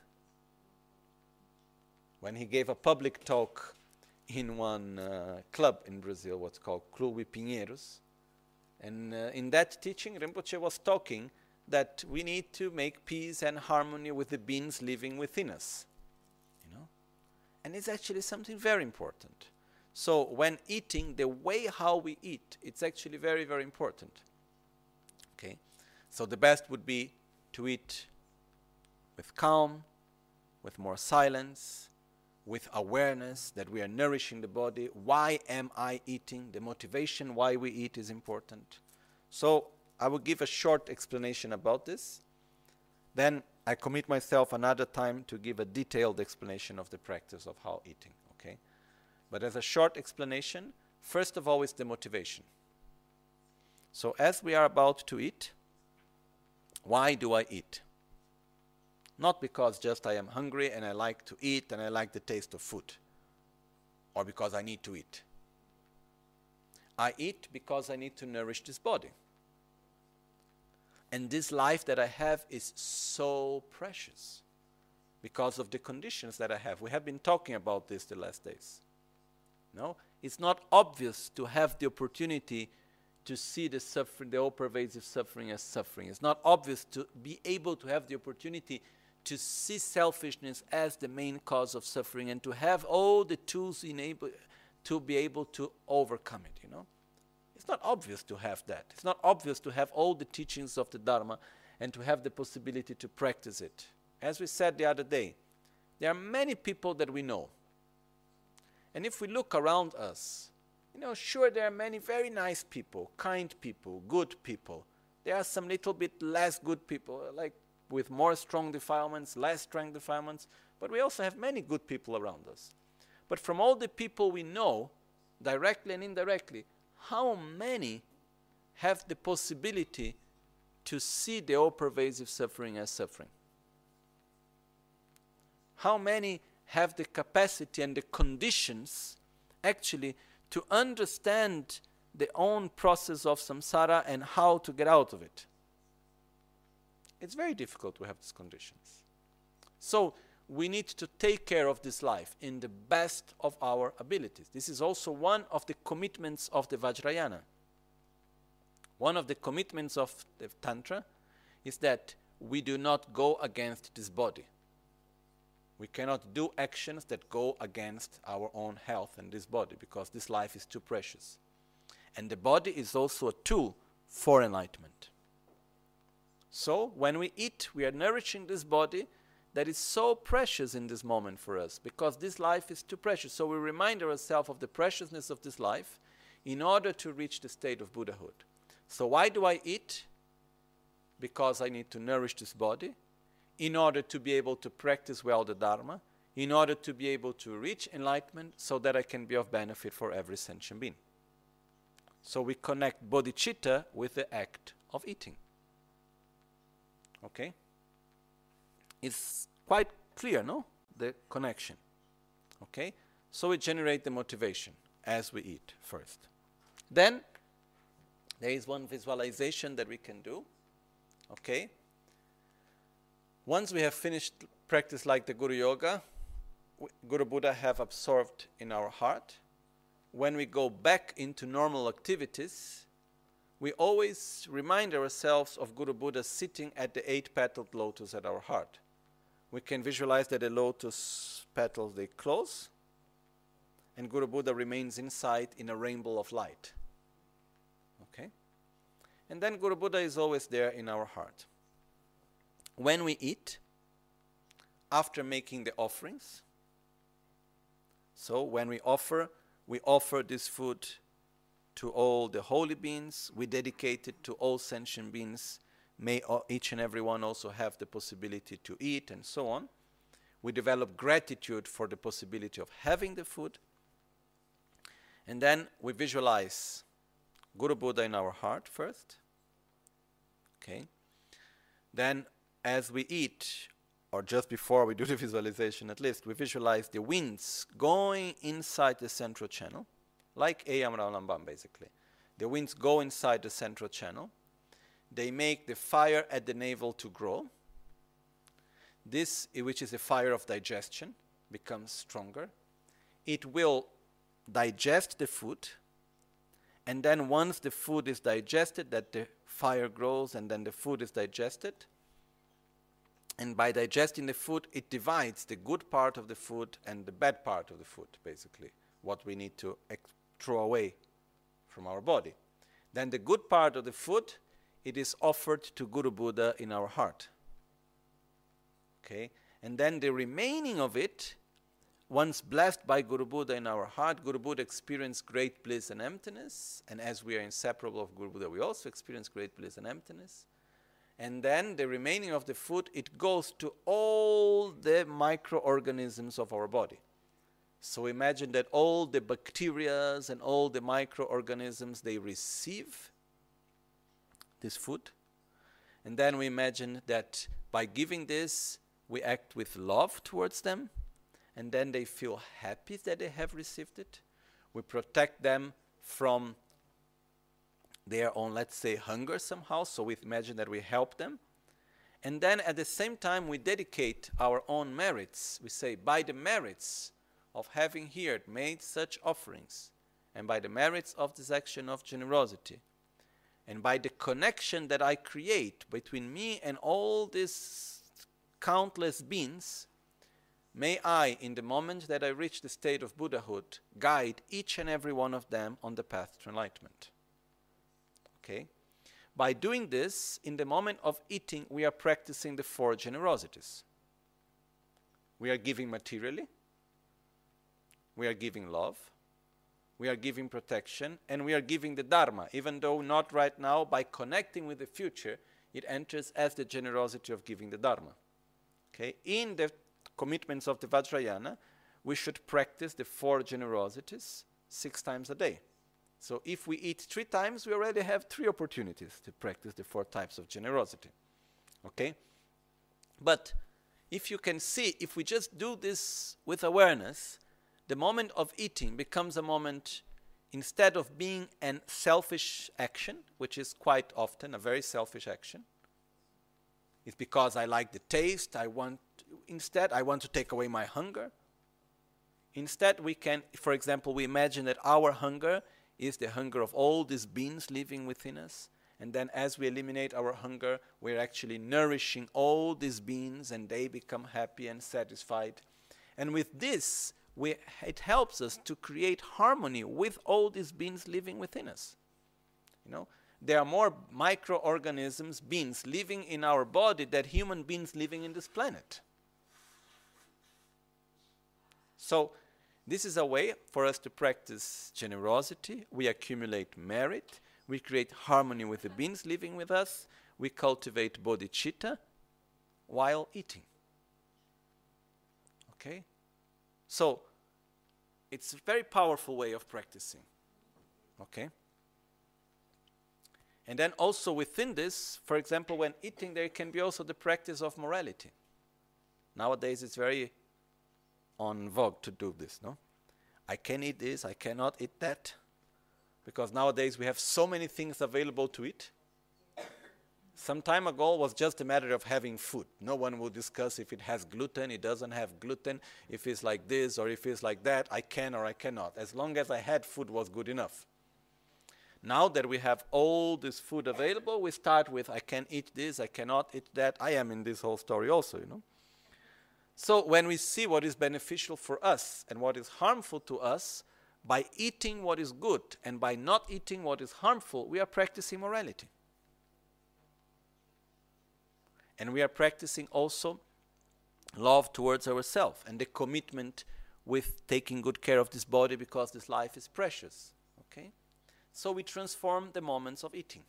When he gave a public talk in one uh, club in Brazil, what's called Clube Pinheiros. And uh, in that teaching, Rinpoche was talking that we need to make peace and harmony with the beings living within us. You know? And it's actually something very important. So when eating, the way how we eat, it's actually very, very important. Okay? So the best would be to eat with calm, with more silence, with awareness that we are nourishing the body. Why am I eating? The motivation why we eat is important. So I will give a short explanation about this. Then I commit myself another time to give a detailed explanation of the practice of how eating. Okay? But as a short explanation, first of all is the motivation. So as we are about to eat, why do I eat? Not because just I am hungry and I like to eat and I like the taste of food, or because I need to eat. I eat because I need to nourish this body. And this life that I have is so precious because of the conditions that I have. We have been talking about this the last days. No? It's not obvious to have the opportunity to see the suffering, the all-pervasive suffering as suffering. It's not obvious to be able to have the opportunity to see selfishness as the main cause of suffering and to have all the tools enable to be able to overcome it, you know. It's not obvious to have that. It's not obvious to have all the teachings of the Dharma and to have the possibility to practice it. As we said the other day, there are many people that we know. And if we look around us, you know, sure, there are many very nice people, kind people, good people. There are some little bit less good people, like with more strong defilements, less strong defilements, but we also have many good people around us. But from all the people we know, directly and indirectly, how many have the possibility to see the all-pervasive suffering as suffering? How many have the capacity and the conditions actually to understand their own process of samsara and how to get out of it? It's very difficult to have these conditions. So we need to take care of this life in the best of our abilities. This is also one of the commitments of the Vajrayana. One of the commitments of the Tantra is that we do not go against this body. We cannot do actions that go against our own health and this body because this life is too precious. And the body is also a tool for enlightenment. So when we eat, we are nourishing this body that is so precious in this moment for us because this life is too precious. So we remind ourselves of the preciousness of this life in order to reach the state of Buddhahood. So why do I eat? Because I need to nourish this body in order to be able to practice well the Dharma, in order to be able to reach enlightenment so that I can be of benefit for every sentient being. So we connect bodhicitta with the act of eating. Okay? It's quite clear, no? The connection. Okay? So we generate the motivation as we eat first. Then, there is one visualization that we can do. Okay? Once we have finished practice like the Guru Yoga, Guru Buddha have absorbed in our heart. When we go back into normal activities, we always remind ourselves of Guru Buddha sitting at the eight-petaled lotus at our heart. We can visualize that the lotus petals, they close, and Guru Buddha remains inside in a rainbow of light. Okay? And then Guru Buddha is always there in our heart. When we eat, after making the offerings. So when we offer, we offer this food to all the holy beings. We dedicate it to all sentient beings. May each and every one also have the possibility to eat, and so on. We develop gratitude for the possibility of having the food. And then we visualize Guru Buddha in our heart first. Okay. Then as we eat, or just before we do the visualization at least, we visualize the winds going inside the central channel, like Ayam Raulamban basically. The winds go inside the central channel. They make the fire at the navel to grow. This, which is a fire of digestion, becomes stronger. It will digest the food, and then once the food is digested, that the fire grows, and then the food is digested. And by digesting the food, it divides the good part of the food and the bad part of the food, basically, what we need to throw away from our body. Then the good part of the food, it is offered to Guru Buddha in our heart. Okay? And then the remaining of it, once blessed by Guru Buddha in our heart, Guru Buddha experienced great bliss and emptiness. And as we are inseparable of Guru Buddha, we also experience great bliss and emptiness. And then the remaining of the food, it goes to all the microorganisms of our body. So imagine that all the bacteria and all the microorganisms, they receive this food. And then we imagine that by giving this, we act with love towards them. And then they feel happy that they have received it. We protect them from their own, let's say, hunger somehow. So we imagine that we help them. And then at the same time, we dedicate our own merits. We say, by the merits of having here made such offerings, and by the merits of this action of generosity, and by the connection that I create between me and all these countless beings, may I, in the moment that I reach the state of Buddhahood, guide each and every one of them on the path to enlightenment. Okay? By doing this, in the moment of eating, we are practicing the four generosities. We are giving materially, we are giving love, we are giving protection, and we are giving the Dharma, even though not right now. By connecting with the future, it enters as the generosity of giving the Dharma. Okay? In the commitments of the Vajrayana, we should practice the four generosities six times a day. So if we eat three times, we already have three opportunities to practice the four types of generosity. Okay? But if you can see, if we just do this with awareness, the moment of eating becomes a moment, instead of being a selfish action, which is quite often a very selfish action. It's because I like the taste, I want, instead I want to take away my hunger. Instead we can, for example, we imagine that our hunger is the hunger of all these beings living within us. And then as we eliminate our hunger, we're actually nourishing all these beings, and they become happy and satisfied. And with this, we, it helps us to create harmony with all these beings living within us. You know, there are more microorganisms, beings living in our body than human beings living in this planet. So this is a way for us to practice generosity. We accumulate merit. We create harmony with the beings living with us. We cultivate bodhicitta while eating. Okay? So, it's a very powerful way of practicing. Okay? And then also within this, for example, when eating, there can be also the practice of morality. Nowadays, it's very on vogue to do this, no? I can eat this, I cannot eat that. Because nowadays we have so many things available to eat. Some time ago it was just a matter of having food. No one will discuss if it has gluten, it doesn't have gluten, if it's like this or if it's like that, I can or I cannot. As long as I had food was good enough. Now that we have all this food available, we start with I can eat this, I cannot eat that. I am in this whole story also, you know. So when we see what is beneficial for us and what is harmful to us, by eating what is good and by not eating what is harmful, we are practicing morality. And we are practicing also love towards ourselves and the commitment with taking good care of this body because this life is precious. Okay? So we transform the moments of eating.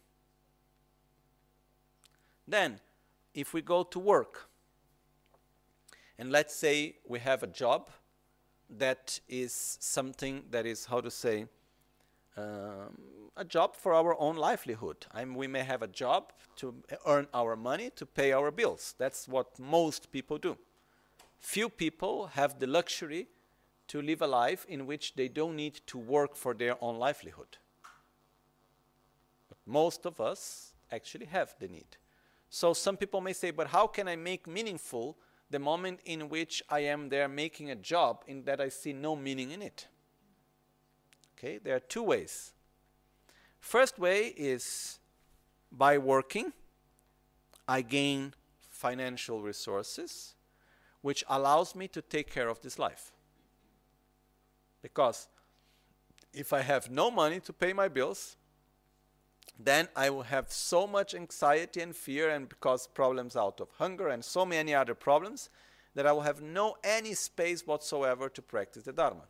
Then, if we go to work, and let's say we have a job that is something that is, how to say, um, a job for our own livelihood. I mean, we may have a job to earn our money, to pay our bills. That's what most people do. Few people have the luxury to live a life in which they don't need to work for their own livelihood. But most of us actually have the need. So some people may say, but how can I make meaningful the moment in which I am there making a job in that I see no meaning in it? Okay, there are two ways. First way is by working, I gain financial resources, which allows me to take care of this life. Because if I have no money to pay my bills, then I will have so much anxiety and fear, and because problems out of hunger and so many other problems, that I will have no any space whatsoever to practice the Dharma.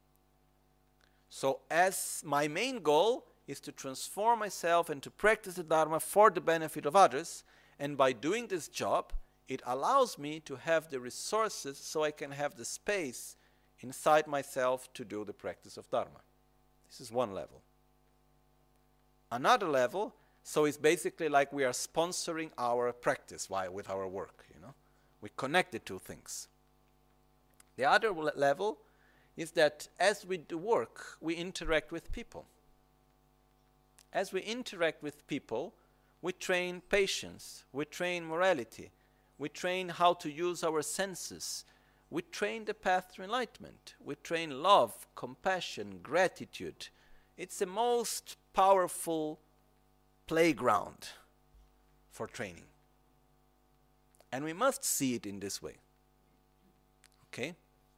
So as my main goal is to transform myself and to practice the Dharma for the benefit of others, and by doing this job, it allows me to have the resources so I can have the space inside myself to do the practice of Dharma. This is one level. Another level, so it's basically like we are sponsoring our practice while with our work, you know. We connect the two things. The other level is that as we do work, we interact with people. As we interact with people, we train patience, we train morality, we train how to use our senses, we train the path to enlightenment, we train love, compassion, gratitude. It's the most powerful playground for training. And we must see it in this way. Okay?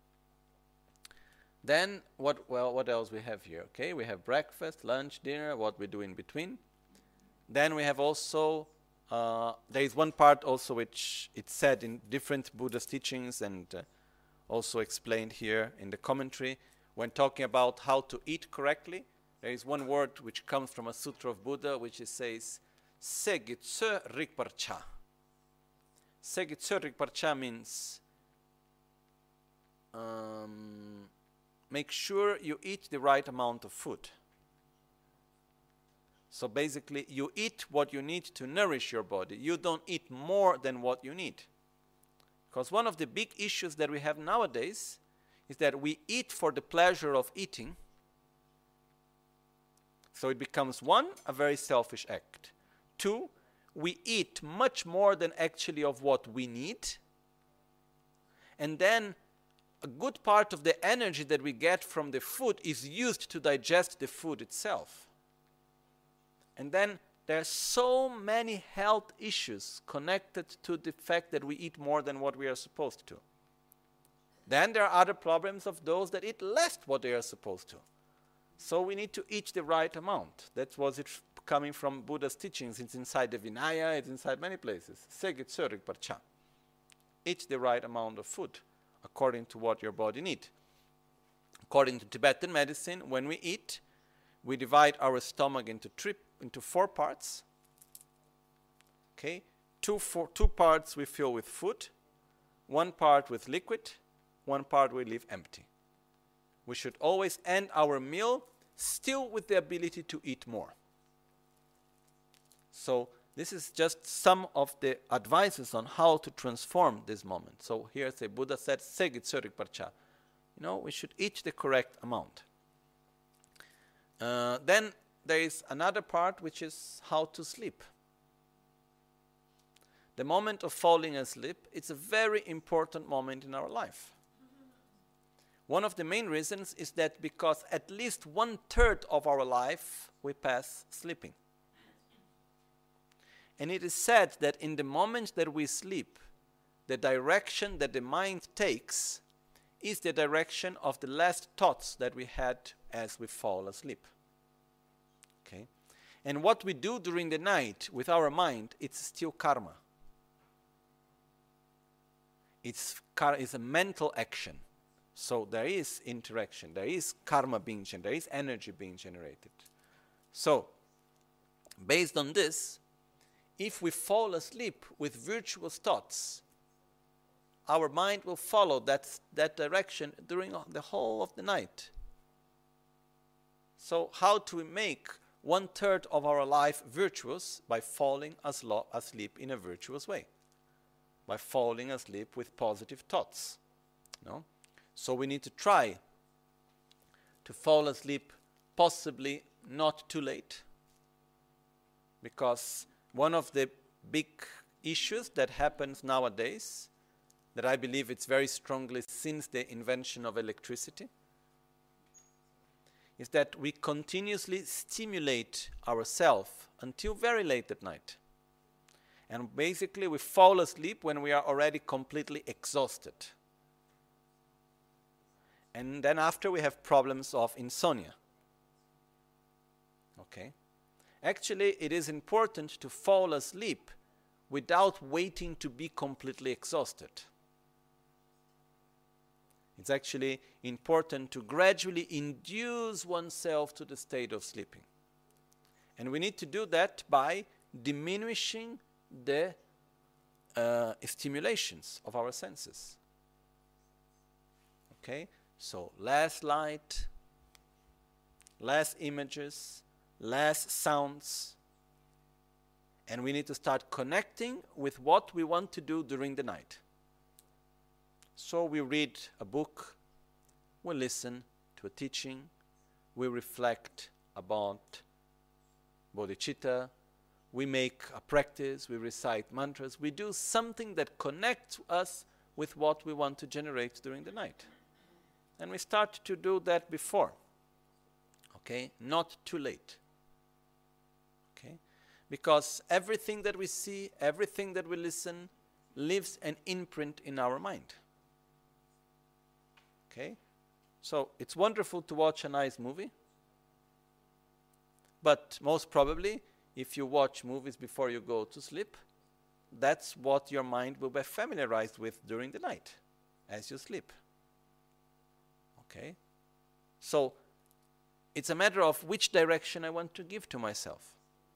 Then, what, well, what else we have here? Okay, we have breakfast, lunch, dinner, what we do in between. Then we have also, uh, there is one part also which it's said in different Buddhist teachings and uh, also explained here in the commentary. When talking about how to eat correctly, there is one word which comes from a sutra of Buddha which it says, Segitsu Rikparcha. Segitsu Rikparcha means um, make sure you eat the right amount of food. So basically, you eat what you need to nourish your body. You don't eat more than what you need. Because one of the big issues that we have nowadays is that we eat for the pleasure of eating. So it becomes, one, a very selfish act. Two, we eat much more than actually of what we need. And then a good part of the energy that we get from the food is used to digest the food itself. And then there are so many health issues connected to the fact that we eat more than what we are supposed to. Then there are other problems of those that eat less what they are supposed to. So we need to eat the right amount. That was it coming from Buddha's teachings. It's inside the Vinaya, it's inside many places. Segitsu Rikparcha. Eat the right amount of food according to what your body needs. According to Tibetan medicine, when we eat, we divide our stomach into three, into four parts. Okay, two, four, two parts we fill with food, one part with liquid, one part we leave empty. We should always end our meal still with the ability to eat more. So this is just some of the advices on how to transform this moment. So here the Buddha said, Segitsu Rikparcha. You know, we should eat the correct amount. Uh, then there is another part which is how to sleep. The moment of falling asleep, it's a very important moment in our life. One of the main reasons is that because at least one third of our life we pass sleeping. And it is said that in the moment that we sleep, the direction that the mind takes is the direction of the last thoughts that we had as we fall asleep. Okay? And what we do during the night with our mind, it's still karma. it's, kar- it's a mental action. So there is interaction, there is karma being generated, there is energy being generated. So, based on this, if we fall asleep with virtuous thoughts, our mind will follow that, that direction during the whole of the night. So how do we make one third of our life virtuous? By falling aslo- asleep in a virtuous way. By falling asleep with positive thoughts. No? So we need to try to fall asleep possibly not too late. Because one of the big issues that happens nowadays, that I believe it's very strongly since the invention of electricity, is that we continuously stimulate ourselves until very late at night. And basically we fall asleep when we are already completely exhausted. And then after we have problems of insomnia. Okay? Actually, it is important to fall asleep without waiting to be completely exhausted. It's actually important to gradually induce oneself to the state of sleeping. And we need to do that by diminishing the uh, stimulations of our senses. Okay? So less light, less images, less sounds, and we need to start connecting with what we want to do during the night. So we read a book, we listen to a teaching, we reflect about bodhicitta, we make a practice, we recite mantras, we do something that connects us with what we want to generate during the night. And we start to do that before, okay? Not too late, okay? Because everything that we see, everything that we listen, leaves an imprint in our mind, okay? So it's wonderful to watch a nice movie, but most probably, if you watch movies before you go to sleep, that's what your mind will be familiarized with during the night, as you sleep. Okay? So, it's a matter of which direction I want to give to myself.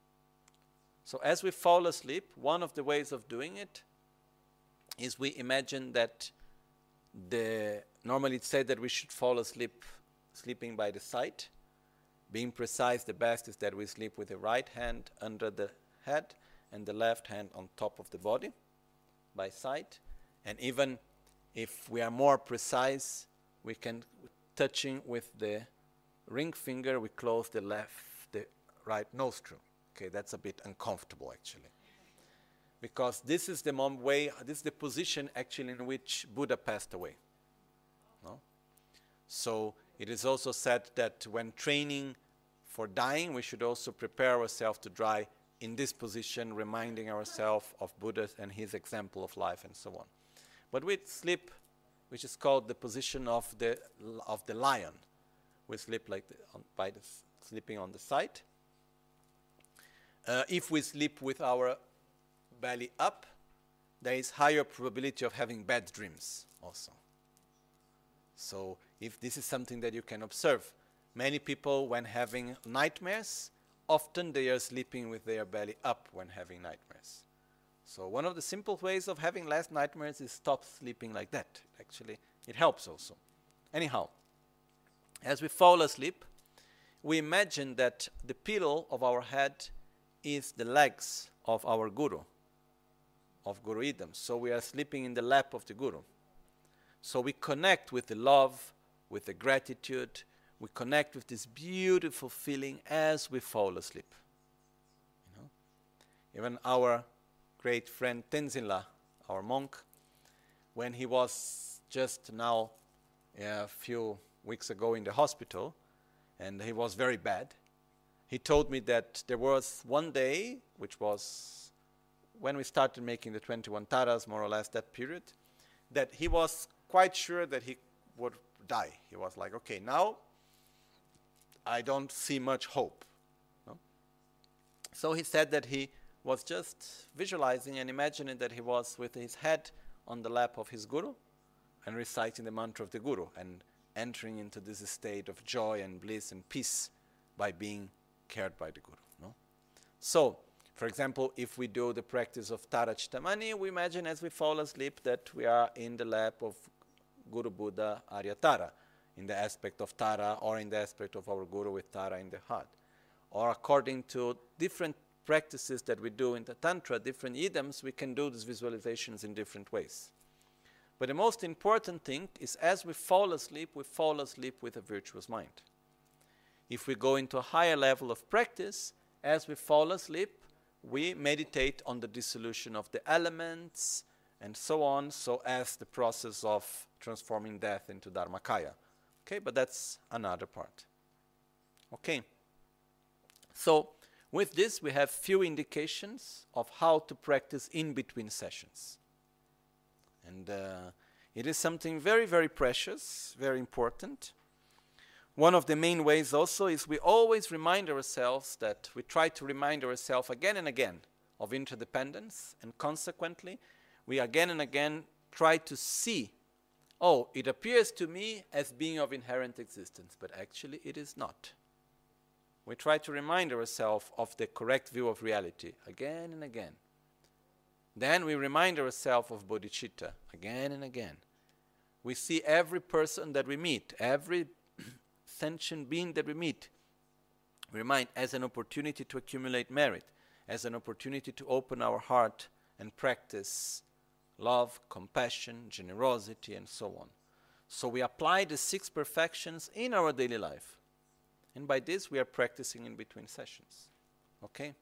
So as we fall asleep, one of the ways of doing it is we imagine that the, normally it's said that we should fall asleep sleeping by the side. Being precise, the best is that we sleep with the right hand under the head and the left hand on top of the body by side. And even if we are more precise, we can, touching with the ring finger, we close the left, the right nostril. Okay, that's a bit uncomfortable actually. Because this is the mom way, this is the position actually in which Buddha passed away. No? So it is also said that when training for dying, we should also prepare ourselves to die in this position, reminding ourselves of Buddha and his example of life and so on. But with sleep, which is called the position of the of the lion, we sleep like the, on, by the, sleeping on the side. Uh, if we sleep with our belly up, there is higher probability of having bad dreams also. So if this is something that you can observe, many people when having nightmares, often they are sleeping with their belly up when having nightmares. So one of the simple ways of having less nightmares is stop sleeping like that. Actually, it helps also. Anyhow, as we fall asleep, we imagine that the pillow of our head is the legs of our Guru, of Guru Idam. So we are sleeping in the lap of the Guru. So we connect with the love, with the gratitude, we connect with this beautiful feeling as we fall asleep. You know? Even our great friend Tenzin, our monk, when he was just now a few weeks ago in the hospital, and he was very bad, he told me that there was one day, which was when we started making the twenty-one taras, more or less that period, that he was quite sure that he would die. He was like, okay, now I don't see much hope. No? So he said that he was just visualizing and imagining that he was with his head on the lap of his guru and reciting the mantra of the guru and entering into this state of joy and bliss and peace by being cared by the guru. No? So, for example, if we do the practice of Tara Chittamani, we imagine as we fall asleep that we are in the lap of Guru Buddha Arya Tara, in the aspect of Tara or in the aspect of our guru with Tara in the heart. Or according to different practices that we do in the Tantra, different idioms, we can do these visualizations in different ways. But the most important thing is as we fall asleep, we fall asleep with a virtuous mind. If we go into a higher level of practice, as we fall asleep, we meditate on the dissolution of the elements and so on, so as the process of transforming death into Dharmakaya. Okay, but that's another part. Okay. So, with this, we have few indications of how to practice in between sessions. And uh, it is something very, very precious, very important. One of the main ways also is we always remind ourselves that we try to remind ourselves again and again of interdependence, and consequently, we again and again try to see, oh, it appears to me as being of inherent existence, but actually it is not. We try to remind ourselves of the correct view of reality again and again. Then we remind ourselves of bodhicitta again and again. We see every person that we meet, every sentient being that we meet, we remind as an opportunity to accumulate merit, as an opportunity to open our heart and practice love, compassion, generosity, and so on. So we apply the six perfections in our daily life. And by this, we are practicing in between sessions. Okay?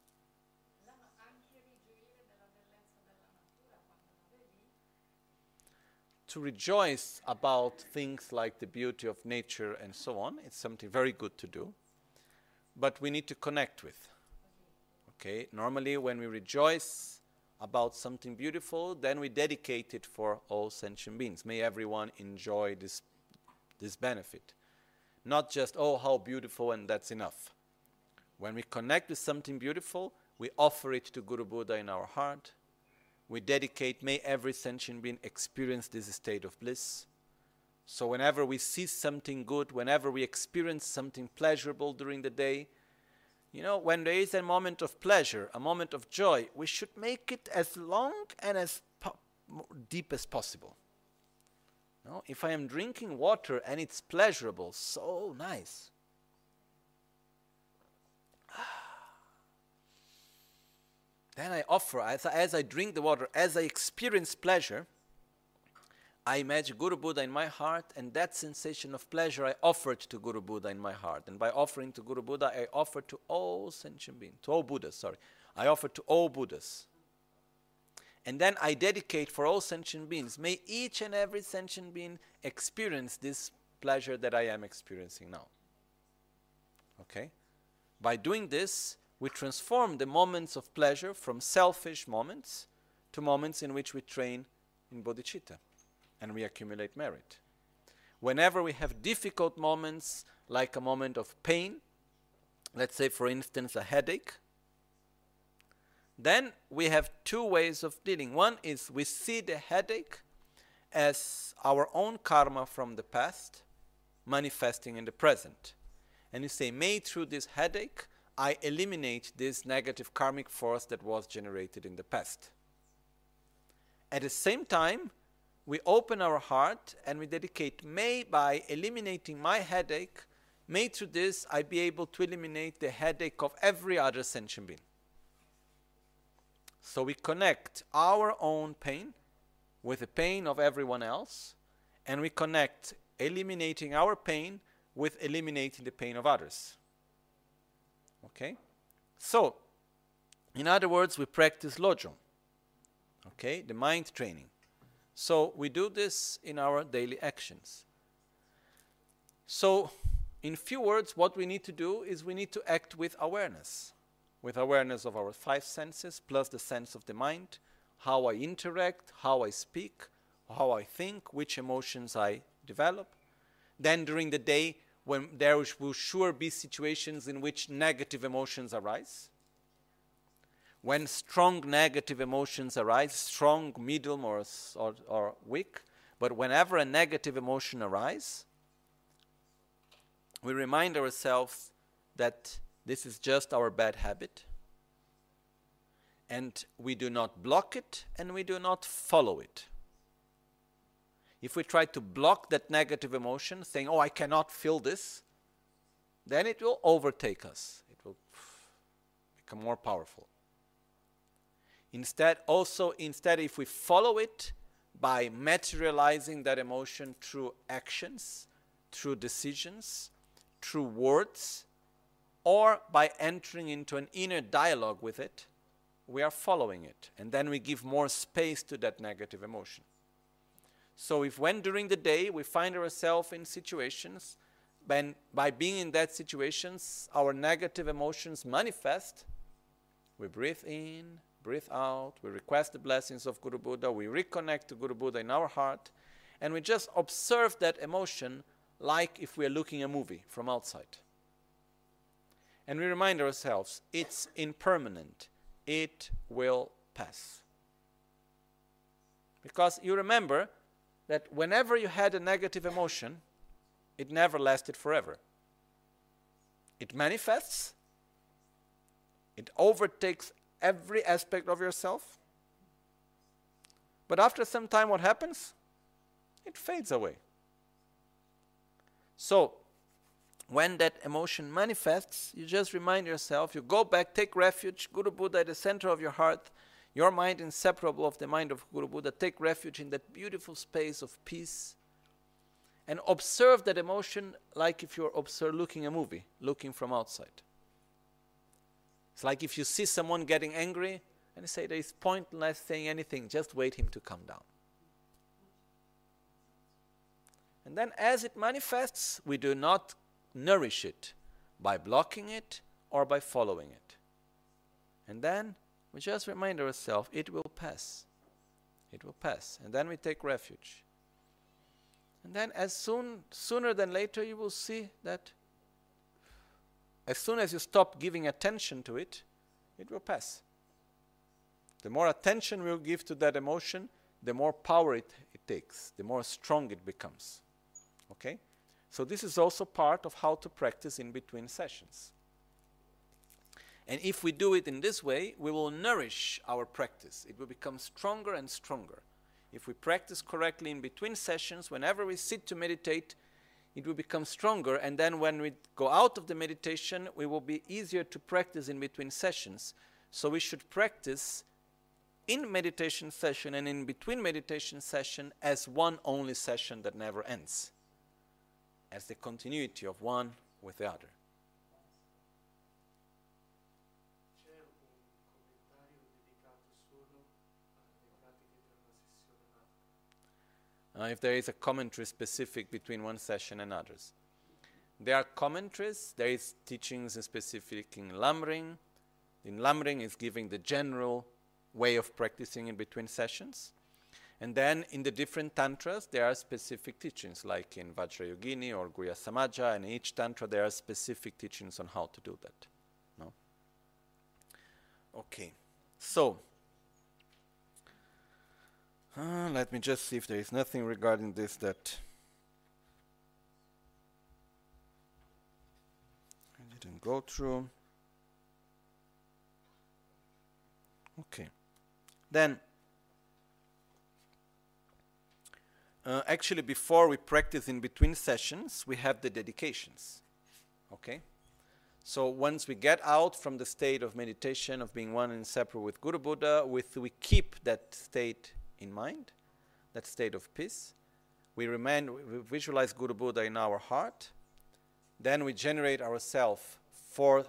To rejoice about things like the beauty of nature and so on, it's something very good to do. But we need to connect with. Okay? Normally, when we rejoice about something beautiful, then we dedicate it for all sentient beings. May everyone enjoy this, this benefit. Not just, oh, how beautiful, and that's enough. When we connect with something beautiful, we offer it to Guru Buddha in our heart. We dedicate, may every sentient being experience this state of bliss. So whenever we see something good, whenever we experience something pleasurable during the day, you know, when there is a moment of pleasure, a moment of joy, we should make it as long and as po- deep as possible. No? If I am drinking water and it's pleasurable, so nice. Then I offer, as I, as I drink the water, as I experience pleasure, I imagine Guru Buddha in my heart, and that sensation of pleasure I offered to Guru Buddha in my heart. And by offering to Guru Buddha, I offer to all sentient beings, to all Buddhas, sorry. I offer to all Buddhas. And then I dedicate for all sentient beings. May each and every sentient being experience this pleasure that I am experiencing now. Okay? By doing this, we transform the moments of pleasure from selfish moments to moments in which we train in bodhicitta and we accumulate merit. Whenever we have difficult moments, like a moment of pain, let's say for instance a headache, then we have two ways of dealing. One is we see the headache as our own karma from the past manifesting in the present. And you say, may through this headache I eliminate this negative karmic force that was generated in the past. At the same time, we open our heart and we dedicate, may by eliminating my headache, may through this I be able to eliminate the headache of every other sentient being. So we connect our own pain with the pain of everyone else, and we connect eliminating our pain with eliminating the pain of others. Okay? So, in other words, we practice Lojong. Okay? The mind training. So, we do this in our daily actions. So, in few words, what we need to do is we need to act with awareness. With awareness of our five senses, plus the sense of the mind, how I interact, how I speak, how I think, which emotions I develop. Then during the day, when there will sure be situations in which negative emotions arise. when strong negative emotions arise, strong, medium, or, or, or weak, but whenever a negative emotion arises, we remind ourselves that this is just our bad habit, and we do not block it, and we do not follow it. If we try to block that negative emotion, saying, oh, I cannot feel this, then it will overtake us. It will become more powerful. Instead, also, instead, if we follow it by materializing that emotion through actions, through decisions, through words, or by entering into an inner dialogue with it, we are following it. And then we give more space to that negative emotion. So if when during the day we find ourselves in situations, when by being in that situations, our negative emotions manifest, we breathe in, breathe out, we request the blessings of Guru Buddha, we reconnect to Guru Buddha in our heart, and we just observe that emotion like if we are looking a movie from outside. And we remind ourselves, it's impermanent, it will pass. Because you remember that whenever you had a negative emotion, it never lasted forever. It manifests, it overtakes every aspect of yourself, but after some time what happens? It fades away. So, when that emotion manifests, you just remind yourself, you go back, take refuge, Guru Buddha at the center of your heart, your mind inseparable of the mind of Guru Buddha, take refuge in that beautiful space of peace, and observe that emotion like if you're observe, looking a movie, looking from outside. It's like if you see someone getting angry, and you say there is pointless saying anything, just wait him to come down. And then as it manifests, we do not nourish it by blocking it or by following it. And then we just remind ourselves, it will pass. It will pass. And then we take refuge. And then as soon, sooner than later, you will see that as soon as you stop giving attention to it, it will pass. The more attention we'll give to that emotion, the more power it, it takes, the more strong it becomes. Okay? So this is also part of how to practice in between sessions. And if we do it in this way, we will nourish our practice. It will become stronger and stronger. If we practice correctly in between sessions, whenever we sit to meditate, it will become stronger, and then when we go out of the meditation, we will be easier to practice in between sessions. So we should practice in meditation session and in between meditation session as one only session that never ends, as the continuity of one with the other. Uh, if there is a commentary specific between one session and others. There are commentaries, there is teachings specific in Lamrim. In Lamrim is giving the general way of practicing in between sessions. And then in the different tantras, there are specific teachings, like in Vajrayogini or Guhya Samaja, and in each tantra there are specific teachings on how to do that. No? Okay, so Uh, let me just see if there is nothing regarding this that I didn't go through. Okay. Then, uh, actually before we practice in between sessions, we have the dedications. Okay? So once we get out from the state of meditation, of being one and inseparable with Guru Buddha, with, we keep that state in mind, that state of peace. We remain, we visualize Guru Buddha in our heart. Then we generate ourselves for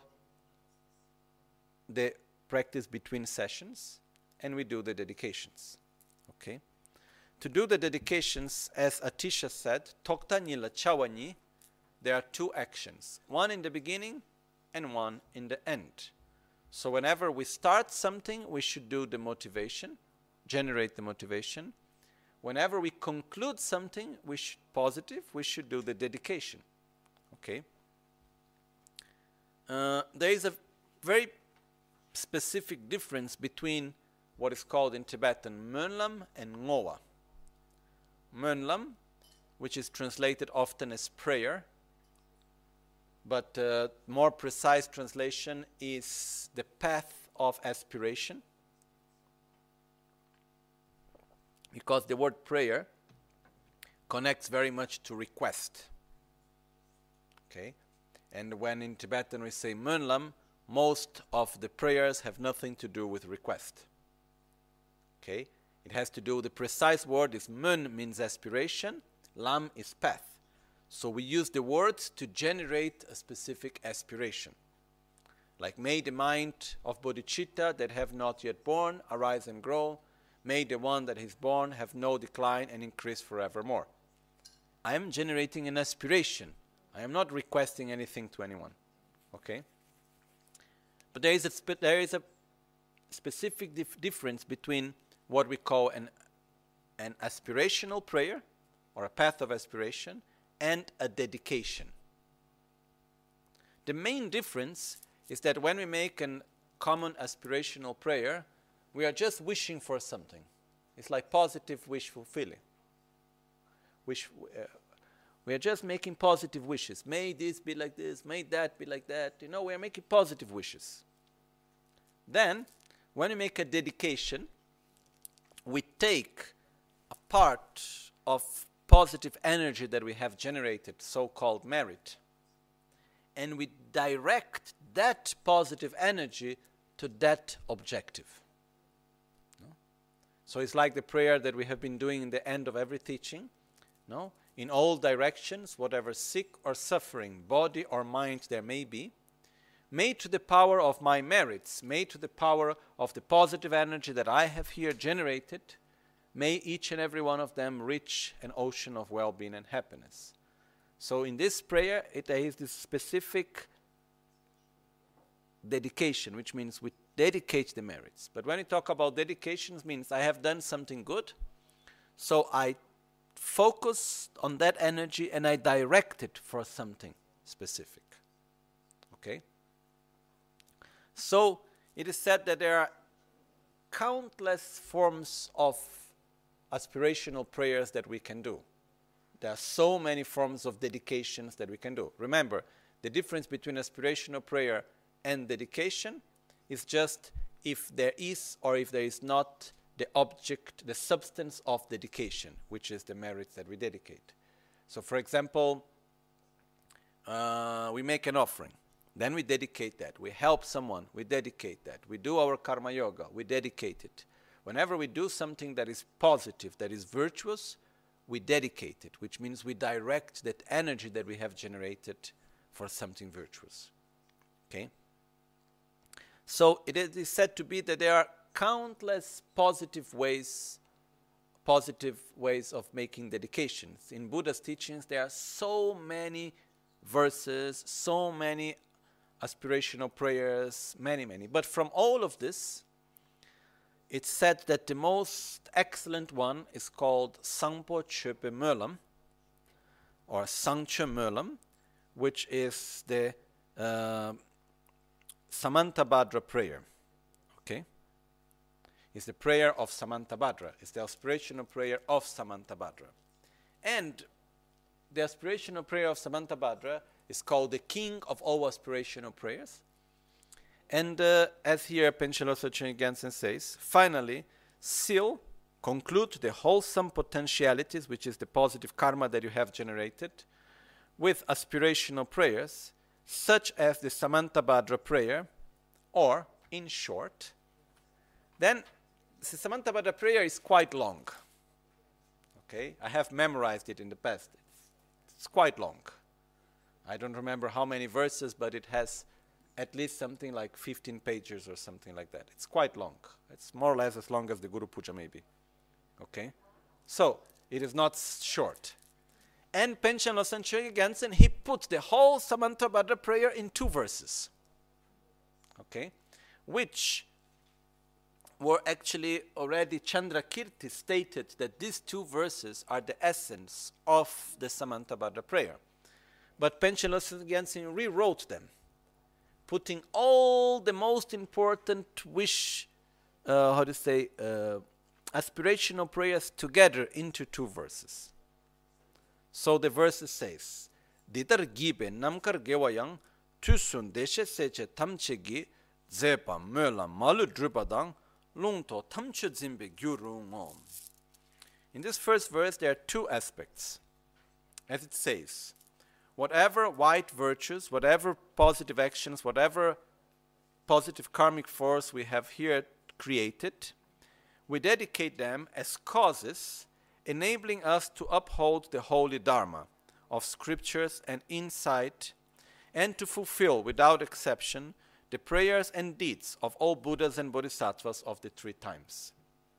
the practice between sessions, and we do the dedications. Okay? To do the dedications, as Atisha said, Tokta Nila Chawani, there are two actions, one in the beginning and one in the end. So whenever we start something, we should do the motivation, generate the motivation. Whenever we conclude something, we should, positive, we should do the dedication. Okay? Uh, there is a very specific difference between what is called in Tibetan Mönlam and Ngowa. Mönlam, which is translated often as prayer, but uh, more precise translation is the path of aspiration, because the word prayer connects very much to request. Okay? And when in Tibetan we say Mönlam, most of the prayers have nothing to do with request. Okay? It has to do, the precise word is Mön means aspiration, Lam is path. So we use the words to generate a specific aspiration. Like, may the mind of bodhicitta that have not yet born arise and grow. May the one that is born have no decline and increase forevermore. I am generating an aspiration. I am not requesting anything to anyone. Okay? But there is a, spe there is a specific dif difference between what we call an, an aspirational prayer, or a path of aspiration, and a dedication. The main difference is that when we make a common aspirational prayer, we are just wishing for something. It's like positive wish fulfilling. Wish, uh, we are just making positive wishes. May this be like this, may that be like that. You know, we are making positive wishes. Then, when we make a dedication, we take a part of positive energy that we have generated, so-called merit, and we direct that positive energy to that objective. No? So it's like the prayer that we have been doing in the end of every teaching. No? In all directions, whatever sick or suffering, body or mind there may be, may to the power of my merits, may to the power of the positive energy that I have here generated, may each and every one of them reach an ocean of well-being and happiness. So in this prayer, it is this specific dedication, which means we dedicate the merits. But when we talk about dedications, means I have done something good, so I focus on that energy and I direct it for something specific. Okay? So it is said that there are countless forms of aspirational prayers that we can do. There are so many forms of dedications that we can do. Remember, the difference between aspirational prayer and dedication is just if there is or if there is not the object, the substance of dedication, which is the merits that we dedicate. So, for example, uh, we make an offering. Then we dedicate that. We help someone. We dedicate that. We do our karma yoga. We dedicate it. Whenever we do something that is positive, that is virtuous, we dedicate it, which means we direct that energy that we have generated for something virtuous. Okay? So it is said to be that there are countless positive ways, positive ways of making dedications. In Buddha's teachings, there are so many verses, so many aspirational prayers, many, many. But from all of this, it's said that the most excellent one is called Sangpo Chöpe Mönlam, or Sangche Mönlam, which is the uh, Samantabhadra prayer. Okay? It's the prayer of Samantabhadra. It's the aspirational prayer of Samantabhadra. And the aspirational prayer of Samantabhadra is called the king of all aspirational prayers. And uh, as here Panchen Losang Chögyam Gyaltsen says, finally, seal, conclude the wholesome potentialities, which is the positive karma that you have generated, with aspirational prayers, such as the Samantabhadra prayer, or, in short, then the Samantabhadra prayer is quite long. Okay, I have memorized it in the past. It's, it's quite long. I don't remember how many verses, but it has at least something like fifteen pages or something like that. It's quite long. It's more or less as long as the Guru Puja maybe. Okay? So, it is not short. And Panchen Losang Chögyam Gyaltsen, he put the whole Samantabhadra prayer in two verses. Okay? Which were actually already Chandrakirti stated that these two verses are the essence of the Samantabhadra prayer. But Panchen Losang Gyaltsen rewrote them, putting all the most important wish, uh, how to say, uh, aspirational prayers together into two verses. So the verse says, Didar gibe namkar gewayang tusun deshe seche tamchegi zepa möla malu drupadang lungto tamche zimbe gyurungom. In this first verse there are two aspects. As it says, whatever white virtues, whatever positive actions, whatever positive karmic force we have here created, we dedicate them as causes enabling us to uphold the holy Dharma of scriptures and insight, and to fulfill without exception the prayers and deeds of all Buddhas and Bodhisattvas of the three times.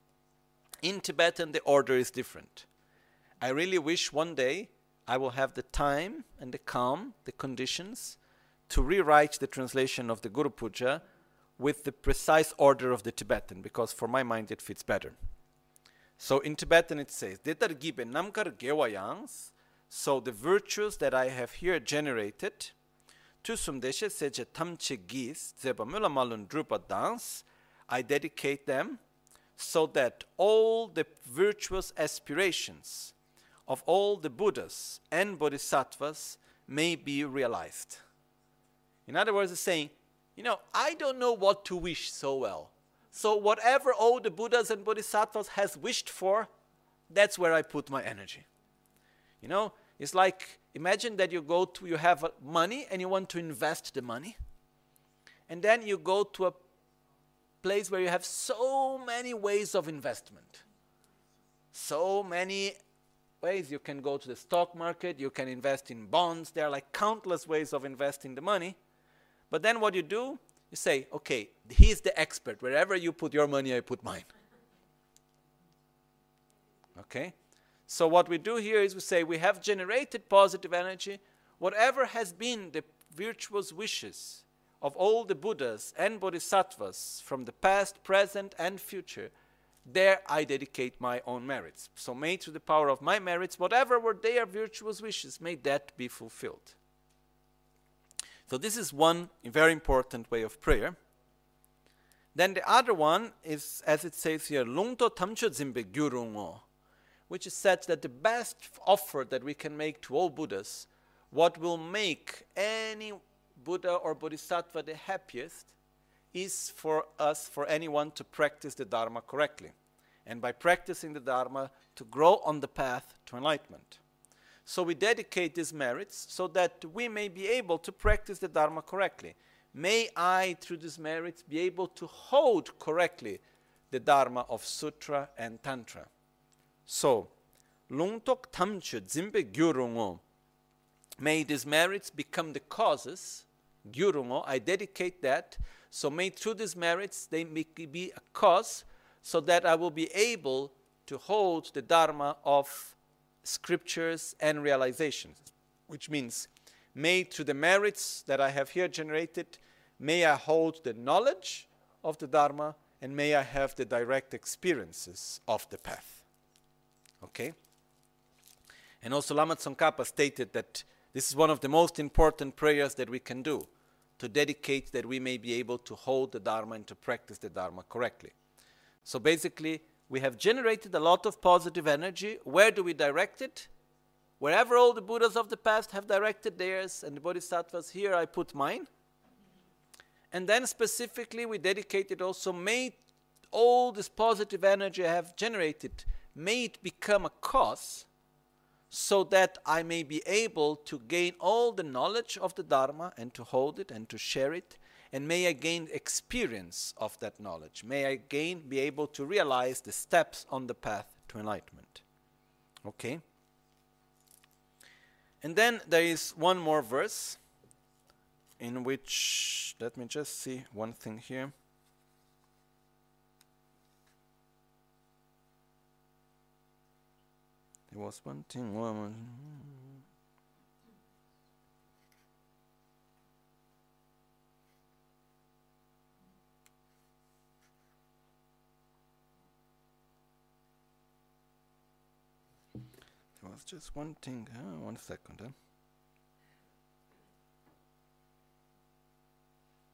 In Tibetan the order is different. I really wish one day I will have the time and the calm, the conditions, to rewrite the translation of the Guru Puja with the precise order of the Tibetan, because for my mind it fits better. So in Tibetan it says, Detar gibe namkar gewayangs, so the virtues that I have here generated, tusum deshe seje tamche gis, zeba mula malun drupa dans, I dedicate them so that all the virtuous aspirations of all the Buddhas and Bodhisattvas may be realized. In other words, it's saying, you know, I don't know what to wish so well. So whatever all the Buddhas and Bodhisattvas has wished for, that's where I put my energy. You know, it's like, imagine that you go to, you have money and you want to invest the money. And then you go to a place where you have so many ways of investment. So many ways. You can go to the stock market, you can invest in bonds. There are like countless ways of investing the money. But then what you do, you say, okay, he's the expert. Wherever you put your money, I put mine. Okay? So what we do here is we say we have generated positive energy. Whatever has been the virtuous wishes of all the Buddhas and Bodhisattvas from the past, present, and future, there I dedicate my own merits. So may through the power of my merits, whatever were their virtuous wishes, may that be fulfilled. So this is one very important way of prayer. Then the other one is, as it says here, Lungto tamcho zimbe gyurungo, which is said that the best offer that we can make to all Buddhas, what will make any Buddha or Bodhisattva the happiest, is for us, for anyone to practice the Dharma correctly. And by practicing the Dharma, to grow on the path to enlightenment. So we dedicate these merits so that we may be able to practice the Dharma correctly. May I, through these merits, be able to hold correctly the Dharma of Sutra and Tantra. So, Lungtok Tamche Zimbe Gyurungo, may these merits become the causes, Gyurungo, I dedicate that, so may through these merits they may be a cause so that I will be able to hold the Dharma of scriptures and realizations, which means may through the merits that I have here generated, may I hold the knowledge of the Dharma and may I have the direct experiences of the path. Okay? And also Lama Tsongkhapa stated that this is one of the most important prayers that we can do, to dedicate that we may be able to hold the Dharma and to practice the Dharma correctly. So basically, we have generated a lot of positive energy. Where do we direct it? Wherever all the Buddhas of the past have directed theirs and the Bodhisattvas, here I put mine. And then specifically we dedicate it also, may all this positive energy I have generated, may it become a cause so that I may be able to gain all the knowledge of the Dharma and to hold it and to share it. And may I gain experience of that knowledge. May I gain, be able to realize the steps on the path to enlightenment. Okay? And then there is one more verse in which, let me just see one thing here. There was one thing, one. There was just one thing, uh, one second. Huh?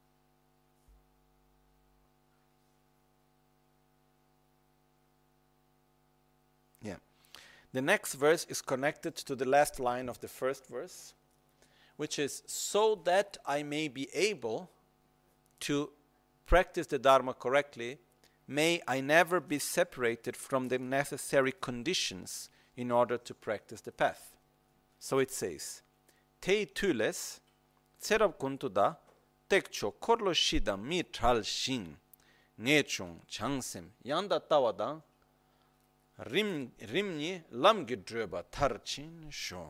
Yeah. The next verse is connected to the last line of the first verse, which is, so that I may be able to practice the Dharma correctly, may I never be separated from the necessary conditions in order to practice the path. So it says, Tei tules, tserab kuntuda, tekcho korlo shida mi tral shin, ngechung changsem, yanda tawada, rim rimni lamgi dröba tarchin shon.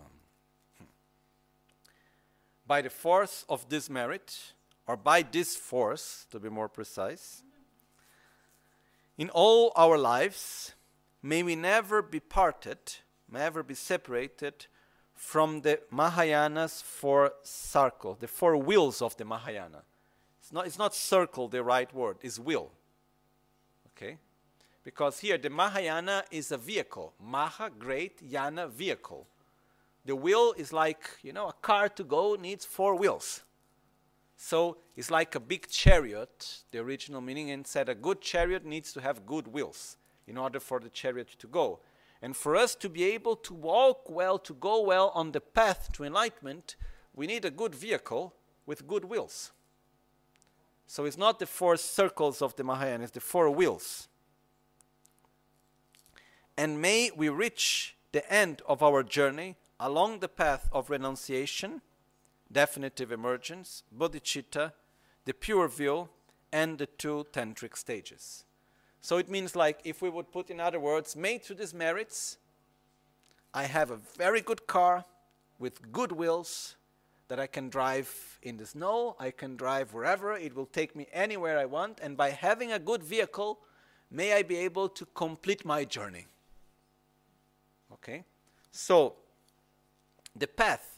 By the force of this merit, or by this force, to be more precise, in all our lives, may we never be parted, may never be separated from the Mahayana's four circles, the four wheels of the Mahayana. It's not, it's not circle the right word, it's wheel. Okay? Because here the Mahayana is a vehicle. Maha, great, Yana, vehicle. The wheel is like, you know, a car to go needs four wheels. So it's like a big chariot, the original meaning, and said a good chariot needs to have good wheels in order for the chariot to go. And for us to be able to walk well, to go well on the path to enlightenment, we need a good vehicle with good wheels. So it's not the four circles of the Mahayana, it's the four wheels. And may we reach the end of our journey along the path of renunciation, definitive emergence, bodhicitta, the pure view, and the two tantric stages. So it means, like, if we would put in other words, made to these merits, I have a very good car with good wheels that I can drive in the snow, I can drive wherever, it will take me anywhere I want, and by having a good vehicle, may I be able to complete my journey. Okay? So, the path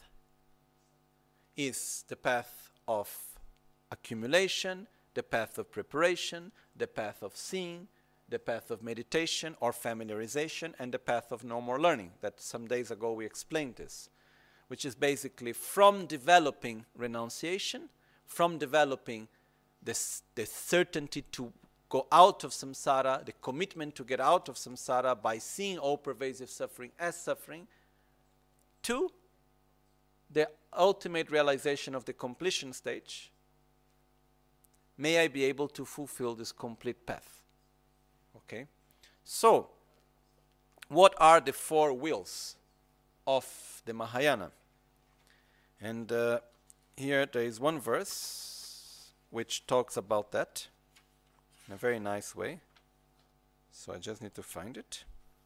is the path of accumulation, the path of preparation, the path of seeing, the path of meditation or familiarization, and the path of no more learning. That some days ago we explained this, which is basically from developing renunciation, from developing this, the certainty to go out of samsara, the commitment to get out of samsara by seeing all pervasive suffering as suffering, to the ultimate realization of the completion stage. May I be able to fulfill this complete path. Okay? So, what are the four wheels of the Mahayana? And uh, here there is one verse which talks about that in a very nice way. So I just need to find it.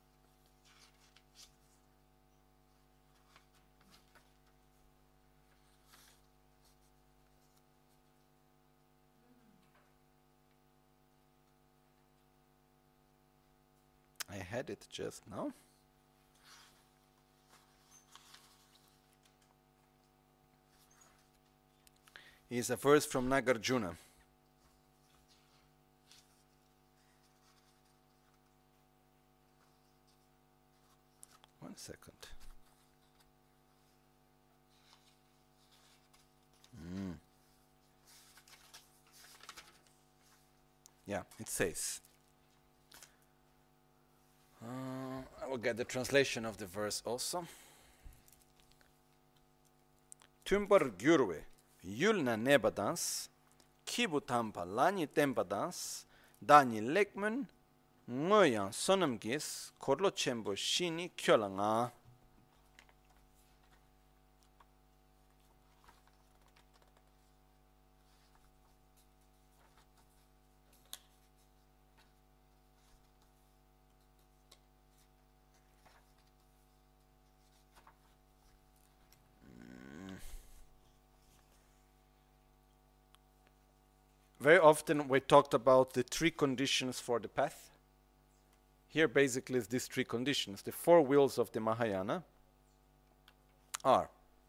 I had it just now. Is a verse from Nagarjuna. One second. Mm. Yeah, it says. Uh, I will get the translation of the verse also. Tumbar gyurwe yulna nebadans kibutampa lani tempadans dani lekmun ngoyan sonamgis korlo chembo shini kyolanga. Very often we talked about the three conditions for the path. Here basically is these three conditions. The four wheels of the Mahayana are,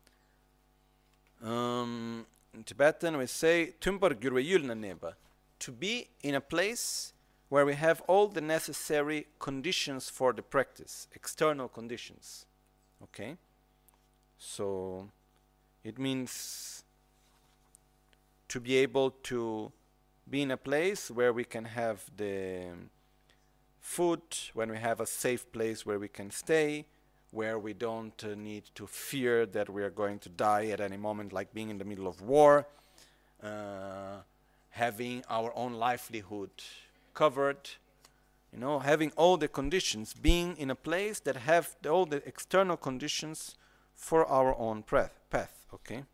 um, in Tibetan we say, Tumbar Gyurwe Yulna Neba, to be in a place where we have all the necessary conditions for the practice, external conditions. Okay? So it means to be able to be in a place where we can have the food, when we have a safe place where we can stay, where we don't uh, need to fear that we are going to die at any moment, like being in the middle of war, uh, having our own livelihood covered, you know, having all the conditions, being in a place that have the, all the external conditions for our own path, path, okay?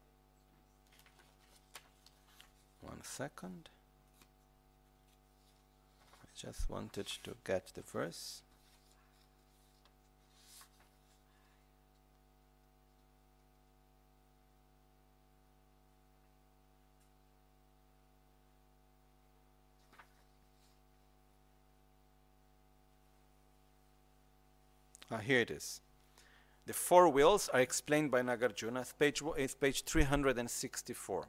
One second. I just wanted to get the verse. Ah, here it is. The four wills are explained by Nagarjuna. It's page, it's page three hundred sixty-four.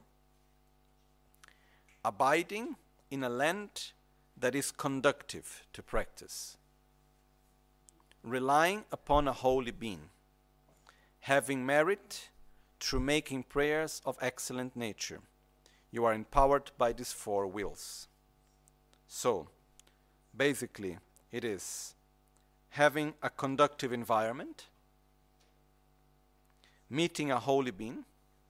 Abiding in a land that is conducive to practice, relying upon a holy being, having merit through making prayers of excellent nature. You are empowered by these four wills. So, basically, it is having a conducive environment, meeting a holy being,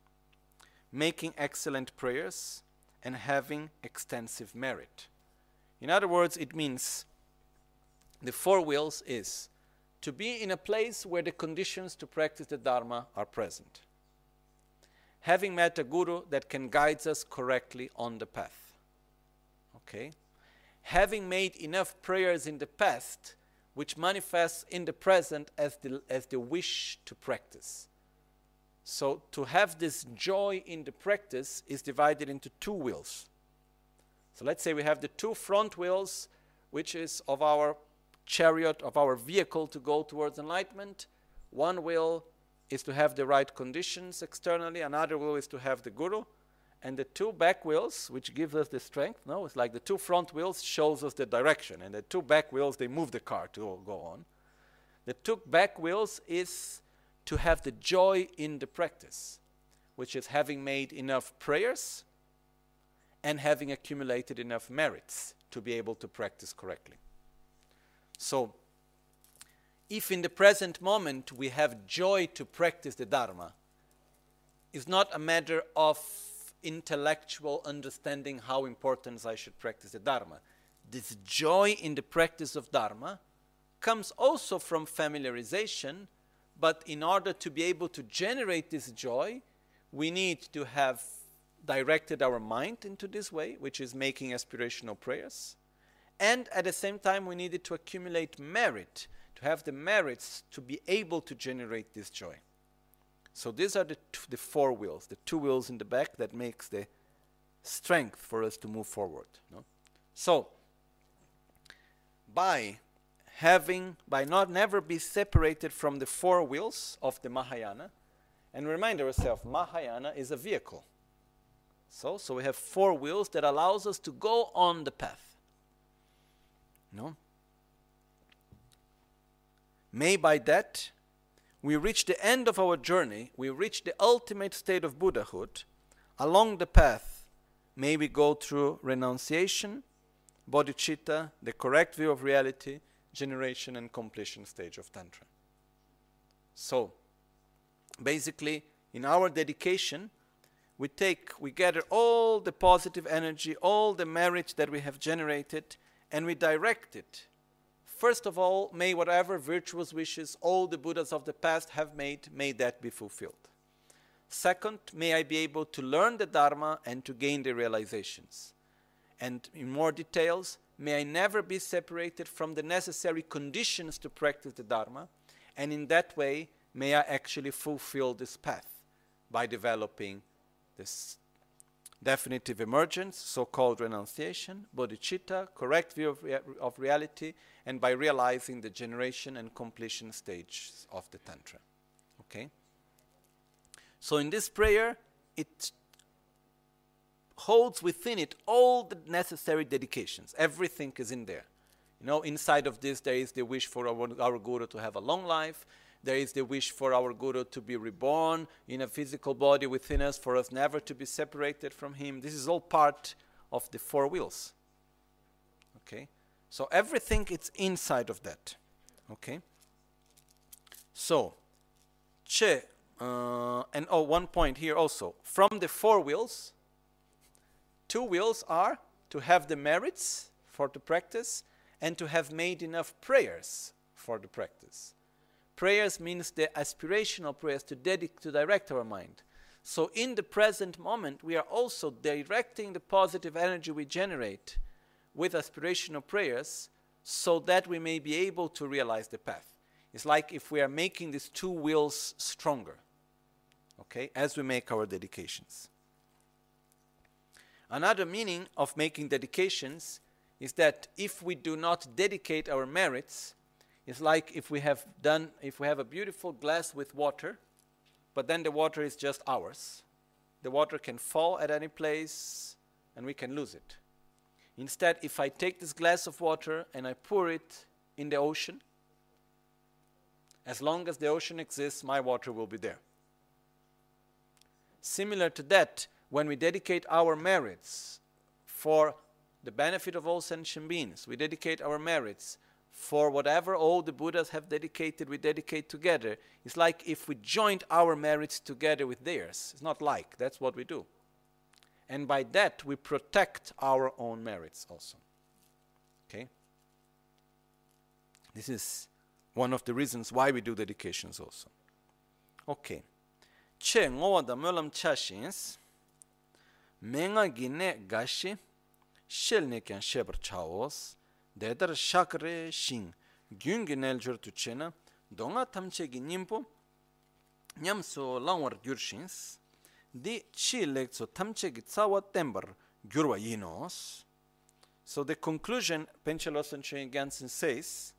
making excellent prayers, and having extensive merit. In other words, it means the four wills is to be in a place where the conditions to practice the Dharma are present. Having met a guru that can guide us correctly on the path. Okay? Having made enough prayers in the past which manifests in the present as the, as the wish to practice. So to have this joy in the practice is divided into two wills. So let's say we have the two front wheels, which is of our chariot, of our vehicle to go towards enlightenment. One will is to have the right conditions externally, another will is to have the guru. And the two back wheels, which gives us the strength, no, it's like the two front wheels shows us the direction, and the two back wheels, they move the car to go on. The two back wheels is to have the joy in the practice, which is having made enough prayers and having accumulated enough merits to be able to practice correctly. So, if in the present moment we have joy to practice the Dharma, it's not a matter of intellectual understanding how important I should practice the Dharma. This joy in the practice of Dharma comes also from familiarization, but in order to be able to generate this joy, we need to have directed our mind into this way, which is making aspirational prayers. And at the same time, we needed to accumulate merit, to have the merits to be able to generate this joy. So these are the, t the four wheels, the two wheels in the back that makes the strength for us to move forward. No? So, by having, by not never be separated from the four wheels of the Mahayana, and remind ourselves, Mahayana is a vehicle. So, so we have four wheels that allows us to go on the path. No? May by that we reach the end of our journey, we reach the ultimate state of Buddhahood. Along the path, may we go through renunciation, bodhicitta, the correct view of reality, generation and completion stage of Tantra. So, basically, in our dedication, we take, we gather all the positive energy, all the merit that we have generated, and we direct it. First of all, may whatever virtuous wishes all the Buddhas of the past have made, may that be fulfilled. Second, may I be able to learn the Dharma and to gain the realizations. And in more details, may I never be separated from the necessary conditions to practice the Dharma, and in that way, may I actually fulfill this path by developing this definitive emergence, so-called renunciation, bodhicitta, correct view of, rea of reality, and by realizing the generation and completion stages of the Tantra. Okay? So in this prayer, it holds within it all the necessary dedications. Everything is in there. You know, inside of this, there is the wish for our, our Guru to have a long life. There is the wish for our Guru to be reborn in a physical body within us, for us never to be separated from him. This is all part of the four wheels. Okay? So everything is inside of that. Okay? So, che, uh, and oh, one point here also. From the four wills, two wills are to have the merits for the practice and to have made enough prayers for the practice. Prayers means the aspirational prayers to, dedic- to direct our mind. So in the present moment, we are also directing the positive energy we generate with aspirational prayers so that we may be able to realize the path. It's like if we are making these two wills stronger, okay, as we make our dedications. Another meaning of making dedications is that if we do not dedicate our merits, it's like if we have done, if we have a beautiful glass with water, but then the water is just ours. The water can fall at any place and we can lose it. Instead, if I take this glass of water and I pour it in the ocean, as long as the ocean exists, my water will be there. Similar to that, when we dedicate our merits for the benefit of all sentient beings, we dedicate our merits for whatever all the Buddhas have dedicated, we dedicate together. It's like if we joined our merits together with theirs. It's not like, that's what we do. And by that, we protect our own merits also. Okay? This is one of the reasons why we do dedications also. Okay. Che ngowa da mölam chashins, menga gine gashi, shel ne kyan shebar chaos, dedar shakre shing, gyungi neljur tuchena, donga tamchegi nimpo, nyamso langwar gyurshins, di chi lekso tamchegi tsawa tembar gyurwa yinos. So the conclusion, Panchen Losang Chögyam Gyaltsen says,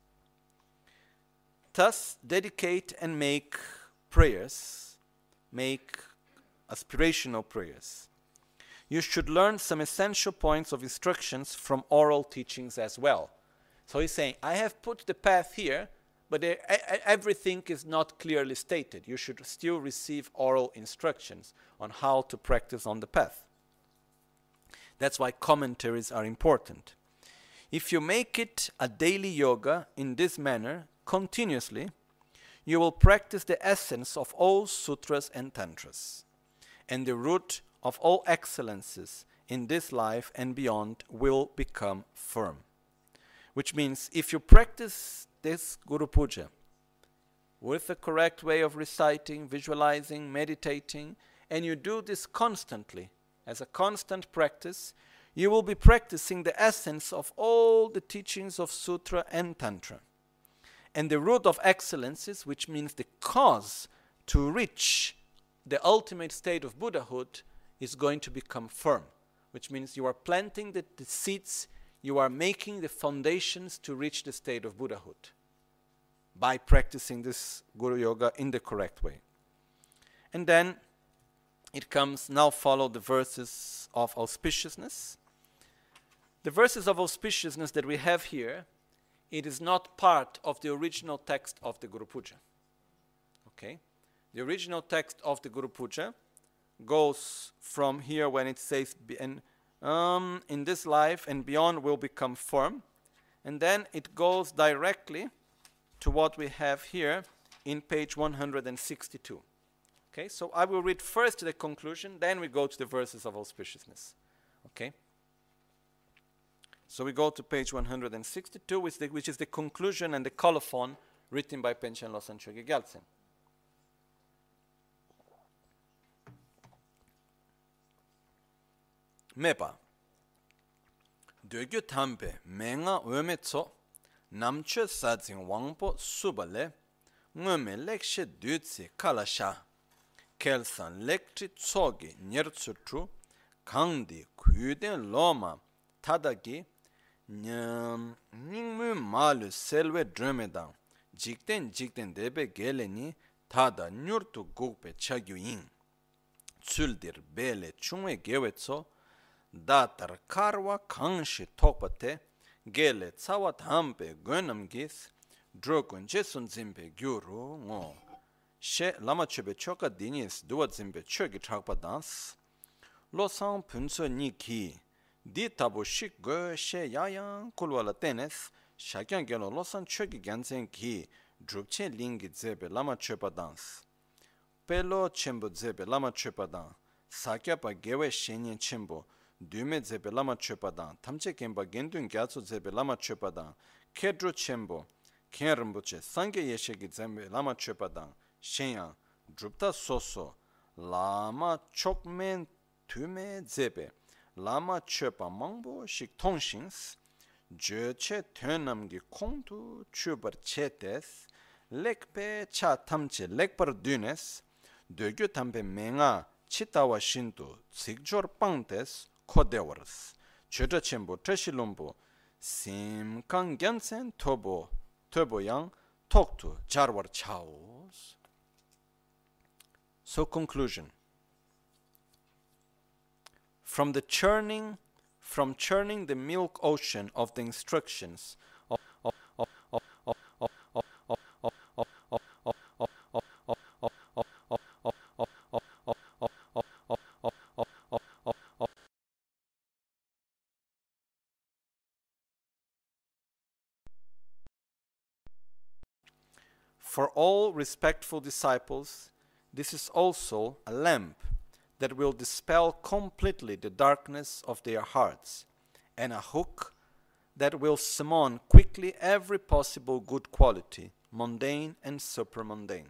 thus dedicate and make prayers, make aspirational prayers. You should learn some essential points of instructions from oral teachings as well. So he's saying, I have put the path here, but everything is not clearly stated. You should still receive oral instructions on how to practice on the path. That's why commentaries are important. If you make it a daily yoga in this manner, continuously, you will practice the essence of all sutras and tantras, and the root of all excellences in this life and beyond will become firm. Which means if you practice this Guru Puja with the correct way of reciting, visualizing, meditating, and you do this constantly, as a constant practice, you will be practicing the essence of all the teachings of Sutra and Tantra. And the root of excellences, which means the cause to reach the ultimate state of Buddhahood, is going to become firm, which means you are planting the, the seeds, you are making the foundations to reach the state of Buddhahood by practicing this Guru Yoga in the correct way. And then it comes, now follow the verses of auspiciousness. The verses of auspiciousness that we have here, it is not part of the original text of the Guru Puja. Okay? The original text of the Guru Puja goes from here when it says, and um, in this life and beyond will become firm. And then it goes directly to what we have here in page one hundred sixty-two. Okay, so I will read first the conclusion, then we go to the verses of auspiciousness. Okay? So we go to page one hundred sixty-two, which, the, which is the conclusion and the colophon written by Panchen Losang Chögyam Gyaltsen. Mepa Dögyu tampe menga öme tso namche sadzin wangpo subale ngöme lekshe dütsi kalasha kelsan lekchi tsogi nyertsutru kangdi kuyuden loma tadagi ningmu malu selwe drömedang jikten jikten debe geleni tada nyurtu gugpe chagyu yin tsuldir bele chungwe gewetso datar karwa kangshi tokpate gele tsawa thampe gönamgis drogun jesun zimpe gyuru ngo she lama chube choka dinis duwa zimpe choki chakpa dans lo sang punso ni ki Di tabu shik go she yayang kulwala tenes shakyan gelo losan choki gansen ki drupche lingi zebe lama chepa dans. Pelo chembo zebe lama chepa dan. Sakya pa gewe shenyen chembo dume zebe lama chepa dan. Tamche kemba gendun gyatso zebe lama chepa dan. Kedro chembo ken rinpoche sangye yeshegi zebe lama chepa dan. Shenyang drupta soso lama chokmen tume zebe lama chepa mangbo shik tongshings je che tenamgi kongtu chubar chetes lekpe cha tamche lekpar dunes dögyo tampe menga chitawa shintu tsikjor pangtes kodewars chöda chenbo treshilombo simkang gyansen tobo tobo yang toktu jarwar chaos. So conclusion. From the churning, from churning the milk ocean of the instructions of, of, of, of, of, of, of, of, of, of, of, of, of, of, of, of, of, of, of, for all respectful disciples, this is also a lamp that will dispel completely the darkness of their hearts, and a hook that will summon quickly every possible good quality, mundane and supramundane.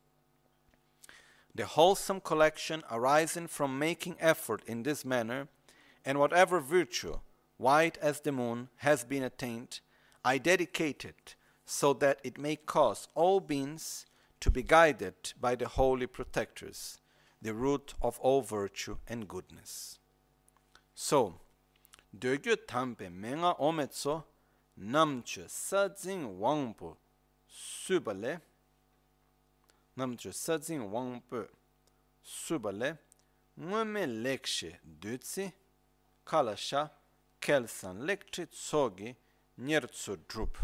The wholesome collection arising from making effort in this manner, and whatever virtue, white as the moon, has been attained, I dedicate it so that it may cause all beings to be guided by the holy protectors, the root of all virtue and goodness. So, dögyo tampe menga ometso namche sadzin wangpo subale namche sadzin wangpo subale ngome lekshe dutsi kalasha kelsan lekchi tsogi nyertsu drup.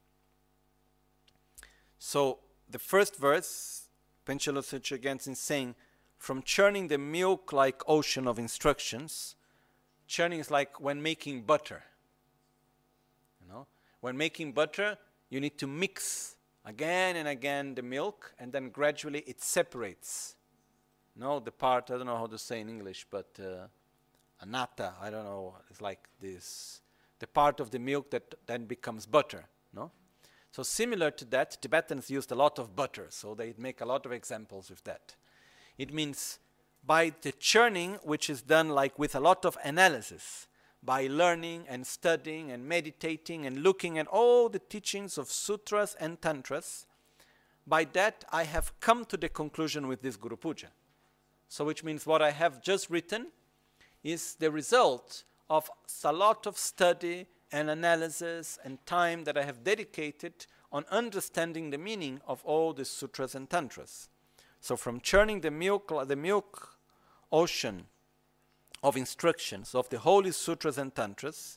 So, the first verse, Panchen Losang Gyatso is saying, from churning the milk like ocean of instructions, churning is like when making butter. You know, when making butter, you need to mix again and again the milk, and then gradually it separates. No, the part, I don't know how to say in English, but uh, anata, I don't know, it's like this, the part of the milk that then becomes butter, no? So similar to that, Tibetans used a lot of butter, so they make a lot of examples with that. It means by the churning, which is done like with a lot of analysis, by learning and studying and meditating and looking at all the teachings of sutras and tantras, by that I have come to the conclusion with this Guru Puja. So which means what I have just written is the result of a lot of study and analysis and time that I have dedicated on understanding the meaning of all the sutras and tantras. So from churning the milk, the milk ocean of instructions of the holy sutras and tantras,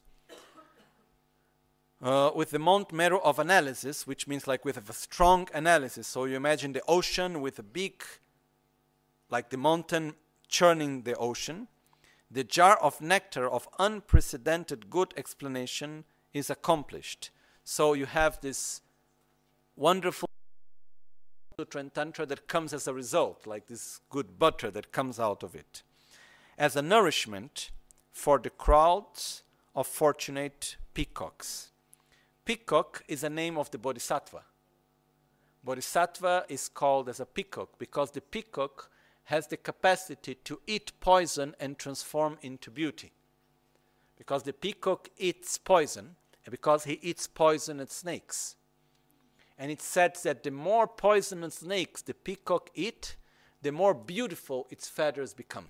uh, with the Mount Meru of analysis, which means like with a strong analysis. So you imagine the ocean with a big, like the mountain churning the ocean. The jar of nectar of unprecedented good explanation is accomplished. So you have this wonderful Sutra and Tantra that comes as a result, like this good butter that comes out of it, as a nourishment for the crowds of fortunate peacocks. Peacock is a name of the Bodhisattva. Bodhisattva is called as a peacock because the peacock has the capacity to eat poison and transform into beauty. Because the peacock eats poison, and because he eats poisonous snakes. And it said that the more poisonous snakes the peacock eat, the more beautiful its feathers become.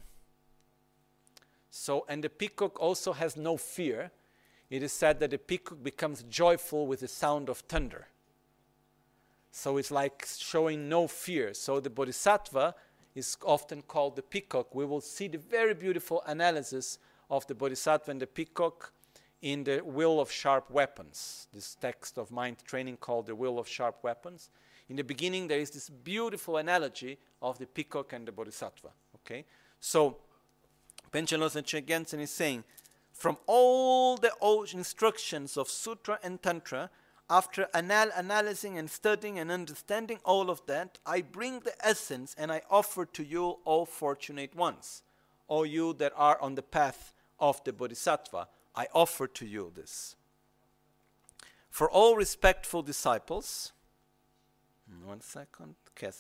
So, and the peacock also has no fear. It is said that the peacock becomes joyful with the sound of thunder. So it's like showing no fear. So the Bodhisattva is often called the peacock. We will see the very beautiful analysis of the Bodhisattva and the peacock in the Will of Sharp Weapons, this text of mind training called the Will of Sharp Weapons. In the beginning, there is this beautiful analogy of the peacock and the Bodhisattva. Okay, so Panchen Losang Gyatso is saying, from all the old instructions of Sutra and Tantra, after anal- analyzing and studying and understanding all of that, I bring the essence and I offer to you, all fortunate ones, all you that are on the path of the Bodhisattva, I offer to you this. For all respectful disciples, one second,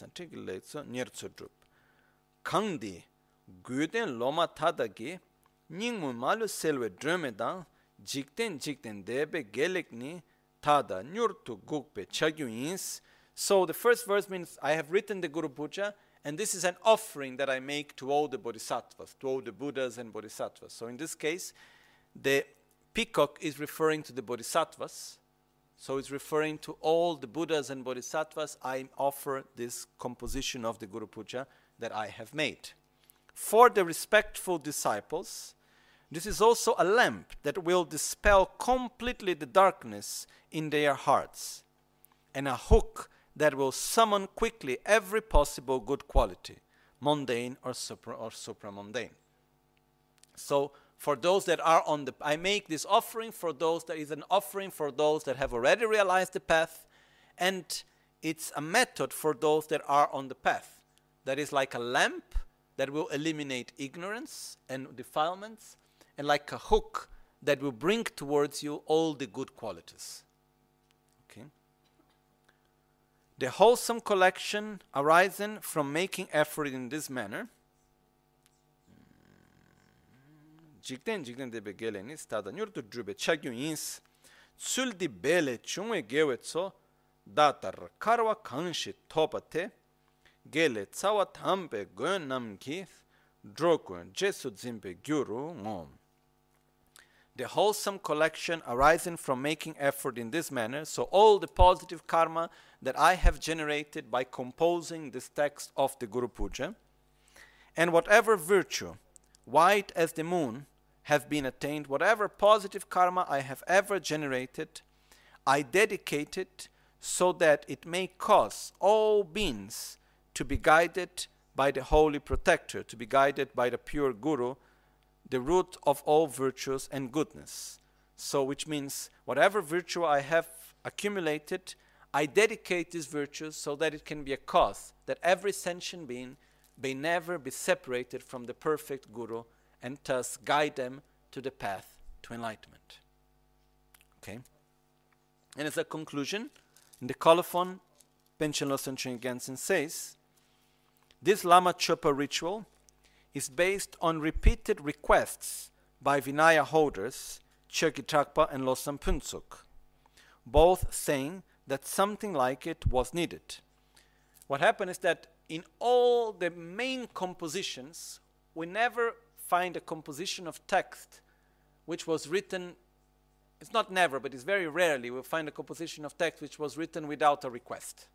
Kangdi, Guden Loma Tadagi, Ningmu Malu Selwe Drömedang, Jikten Jikten Debe Gelekni, Tada Nyurtu Gukpe Chagyuins. So the first verse means I have written the Guru Puja, and this is an offering that I make to all the Bodhisattvas, to all the Buddhas and Bodhisattvas. So in this case, the peacock is referring to the Bodhisattvas. So it's referring to all the Buddhas and Bodhisattvas. I offer this composition of the Guru Puja that I have made. For the respectful disciples, this is also a lamp that will dispel completely the darkness in their hearts, and a hook that will summon quickly every possible good quality, mundane or supra or supramundane. So for those that are on the, I make this offering for those, that is an offering for those that have already realized the path, and it's a method for those that are on the path. That is like a lamp that will eliminate ignorance and defilements, and like a hook that will bring towards you all the good qualities. Okay. The wholesome collection arising from making effort in this manner, Jikten Jikten debe geleni stada nyurtu drube chagyuins, tsuldi bele chungwe gewetso, datar karwa kanshi topate, gele tsawa tampe gön namki, drokun jesu zimpe gyuru ngom. The wholesome collection arising from making effort in this manner, so all the positive karma that I have generated by composing this text of the Guru Puja, and whatever virtue, white as the moon, have been attained, whatever positive karma I have ever generated, I dedicate it so that it may cause all beings to be guided by the Holy Protector, to be guided by the pure Guru, the root of all virtues and goodness. So which means whatever virtue I have accumulated, I dedicate these virtues so that it can be a cause that every sentient being may never be separated from the perfect Guru, and thus guide them to the path to enlightenment. Okay? And as a conclusion, in the colophon, Panchen Losang Chögyam Gyaltsen says, this Lama Chöpa ritual is based on repeated requests by Vinaya holders, Chökyi Tragpa and Losang Phuntsuk, both saying that something like it was needed. What happened is that in all the main compositions, we never find a composition of text which was written, it's not never, but it's very rarely we'll find a composition of text which was written without a request.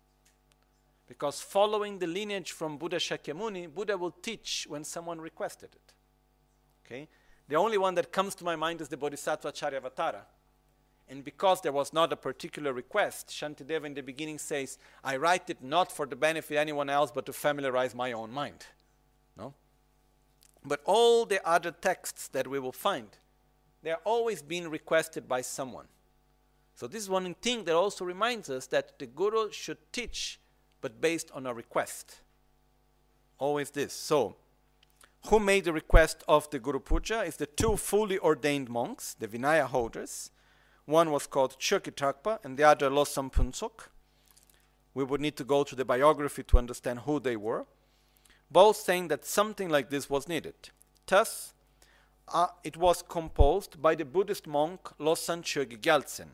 Because following the lineage from Buddha Shakyamuni, Buddha will teach when someone requested it. Okay? The only one that comes to my mind is the Bodhisattva Charyavatara. And because there was not a particular request, Shantideva in the beginning says, I write it not for the benefit of anyone else, but to familiarize my own mind. No? But all the other texts that we will find, they are always being requested by someone. So this is one thing that also reminds us that the Guru should teach, but based on a request. Always this. So, who made the request of the Guru Puja is the two fully ordained monks, the Vinaya holders. One was called Chökyi Tragpa and the other Losang Phuntsuk. We would need to go to the biography to understand who they were. Both saying that something like this was needed. Thus, uh, it was composed by the Buddhist monk Losang Chögyam Gyaltsen.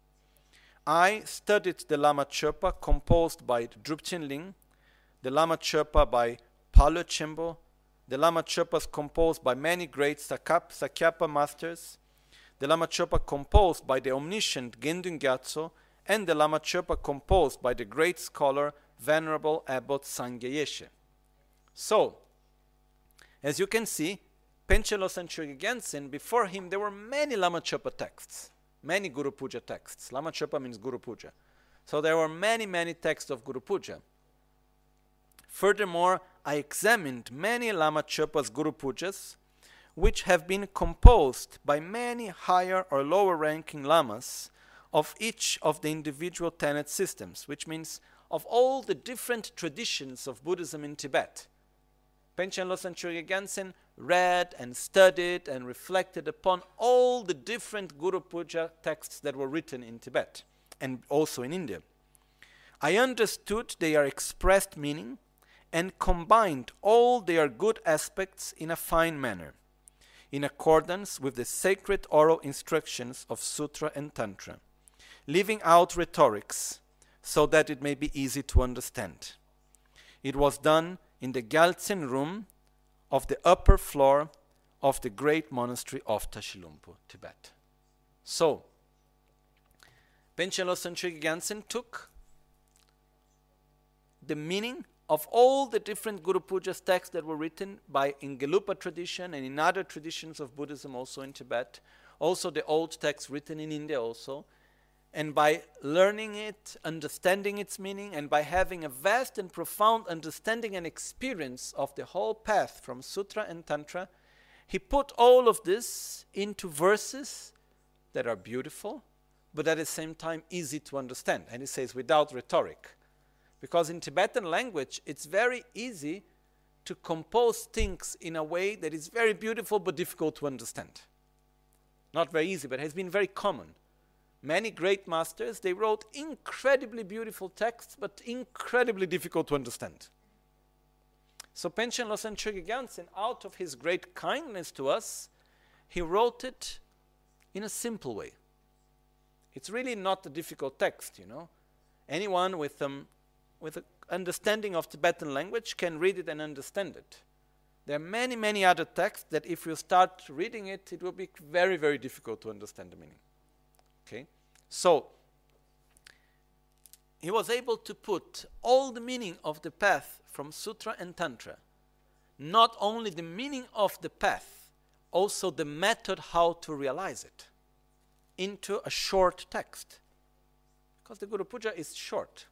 I studied the Lama Chöpa composed by Drupchen Ling, the Lama Chöpa by Palo Chimbo, the Lama Chöpas composed by many great Sakap, Sakyapa masters, the Lama Chöpa composed by the omniscient Gendun Gyatso, and the Lama Chöpa composed by the great scholar Venerable Abbot Sangye Yeshe. So, as you can see, Panchen Losang Chögyam Gyaltsen, before him there were many Lama Chöpa texts. Many Guru Puja texts. Lama Chöpa means Guru Puja. So there were many, many texts of Guru Puja. Furthermore, I examined many Lama Chöpa's Guru Pujas, which have been composed by many higher or lower ranking lamas of each of the individual tenet systems, which means of all the different traditions of Buddhism in Tibet. Panchen Losang Chögye Gyaltsen read and studied and reflected upon all the different Guru Puja texts that were written in Tibet and also in India. I understood their expressed meaning and combined all their good aspects in a fine manner, in accordance with the sacred oral instructions of Sutra and Tantra, leaving out rhetorics so that it may be easy to understand. It was done in the Gyaltsen room of the upper floor of the great monastery of Tashilhunpo, Tibet. So, Panchen Losang Chögye Gyaltsen took the meaning of all the different Guru Puja's texts that were written by in Gelugpa tradition and in other traditions of Buddhism also in Tibet, also the old texts written in India also, and by learning it, understanding its meaning, and by having a vast and profound understanding and experience of the whole path from Sutra and Tantra, he put all of this into verses that are beautiful, but at the same time easy to understand. And he says without rhetoric. Because in Tibetan language, it's very easy to compose things in a way that is very beautiful but difficult to understand. Not very easy, but it has been very common. Many great masters, they wrote incredibly beautiful texts, but incredibly difficult to understand. So Panchen Losang Chögye Gyaltsen, out of his great kindness to us, he wrote it in a simple way. It's really not a difficult text, you know. Anyone with um, with an understanding of Tibetan language can read it and understand it. There are many, many other texts that if you start reading it, it will be very, very difficult to understand the meaning. Okay? So, he was able to put all the meaning of the path from Sutra and Tantra, not only the meaning of the path, also the method how to realize it, into a short text. Because the Guru Puja is short.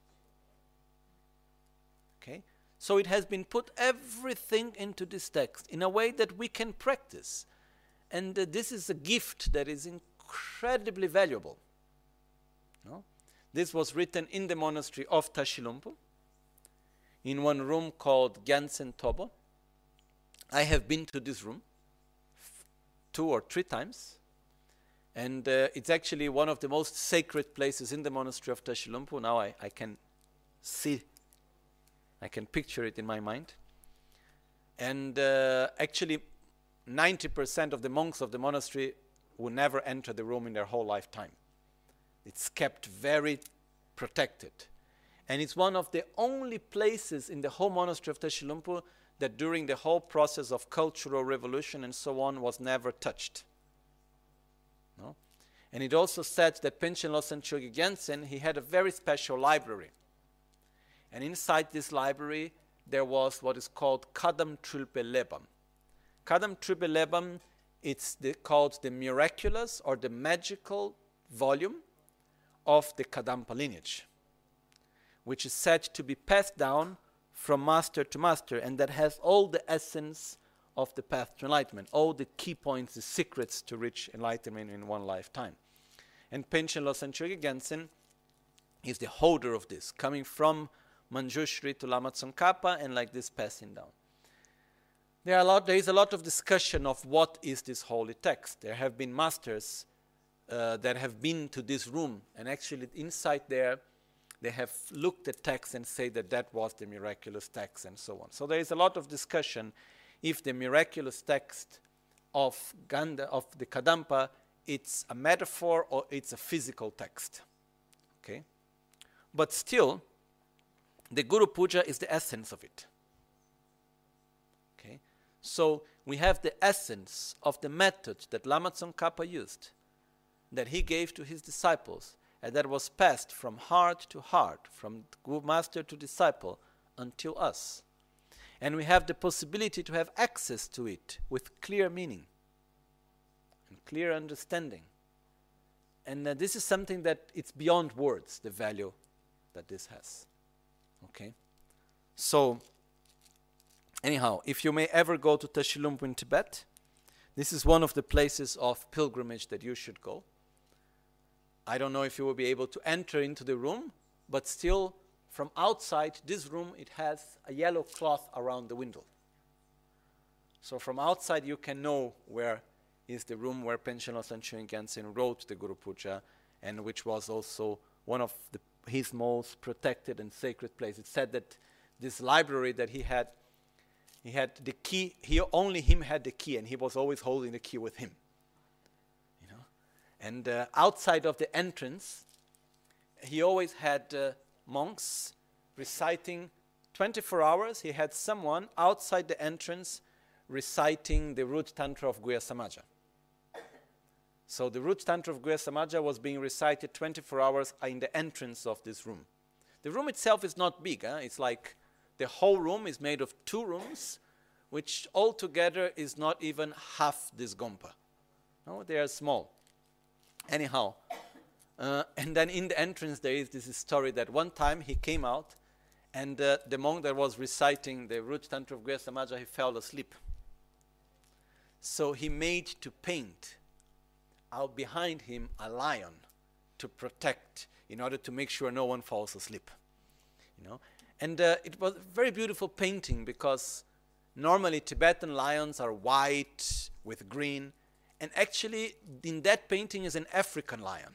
Okay? So it has been put everything into this text in a way that we can practice. And uh, this is a gift that is incredibly valuable. No? This was written in the monastery of Tashilhunpo, in one room called Gyaltsen Tobo. I have been to this room two or three times. And uh, it's actually one of the most sacred places in the monastery of Tashilhunpo. Now I, I can see, I can picture it in my mind. And uh, actually ninety percent of the monks of the monastery will never enter the room in their whole lifetime. It's kept very protected. And it's one of the only places in the whole monastery of Tashilhunpo that during the whole process of cultural revolution and so on was never touched. No? And it also said that Panchen Losang Chögye Gyaltsen, he had a very special library. And inside this library, there was what is called Kadam Trilpe Lebam. Kadam Trilpe Lebam, it's the, called the miraculous or the magical volume of the Kadampa lineage, which is said to be passed down from master to master, and that has all the essence of the path to enlightenment, all the key points, the secrets to reach enlightenment in one lifetime. And Panchen Losang Chögye Gyaltsen is the holder of this, coming from Manjushri to Lama Tsongkhapa and like this passing down. There, are a lot, there is a lot of discussion of what is this holy text. There have been masters uh, that have been to this room, and actually inside there they have looked at text and say that that was the miraculous text and so on. So there is a lot of discussion if the miraculous text of Ganda, of the Kadampa, it's a metaphor or it's a physical text. Okay? But still, the Guru Puja is the essence of it. Okay? So we have the essence of the method that Lama Tsongkhapa used, that he gave to his disciples, and that was passed from heart to heart, from master to disciple, until us. And we have the possibility to have access to it with clear meaning and clear understanding. And uh, this is something that it's beyond words, the value that this has. Okay? So, anyhow, if you may ever go to Tashilhunpo in Tibet, This is one of the places of pilgrimage that you should go. I don't know if you will be able to enter into the room, but still from outside this room it has a yellow cloth around the window. So from outside you can know where is the room where Panchen Losang Chögyam Gyaltsen wrote the Guru Puja, and which was also one of the, his most protected and sacred places. It said that this library that he had, he had the key, he only him had the key, and he was always holding the key with him. You know? And uh, outside of the entrance, he always had uh, monks reciting twenty-four hours. He had someone outside the entrance reciting the root tantra of Guhya Samaja. So the root tantra of Guhya Samaja was being recited twenty-four hours in the entrance of this room. The room itself is not big. Huh? It's like the whole room is made of two rooms, which altogether is not even half this gompa. No, they are small. Anyhow, uh, and then in the entrance there is this story that one time he came out, and uh, the monk that was reciting the root tantra of Guhya Samaja, he fell asleep. So he made to paint out behind him a lion to protect, in order to make sure no one falls asleep. You know, and uh, it was a very beautiful painting, because normally Tibetan lions are white with green, and actually in that painting is an African lion.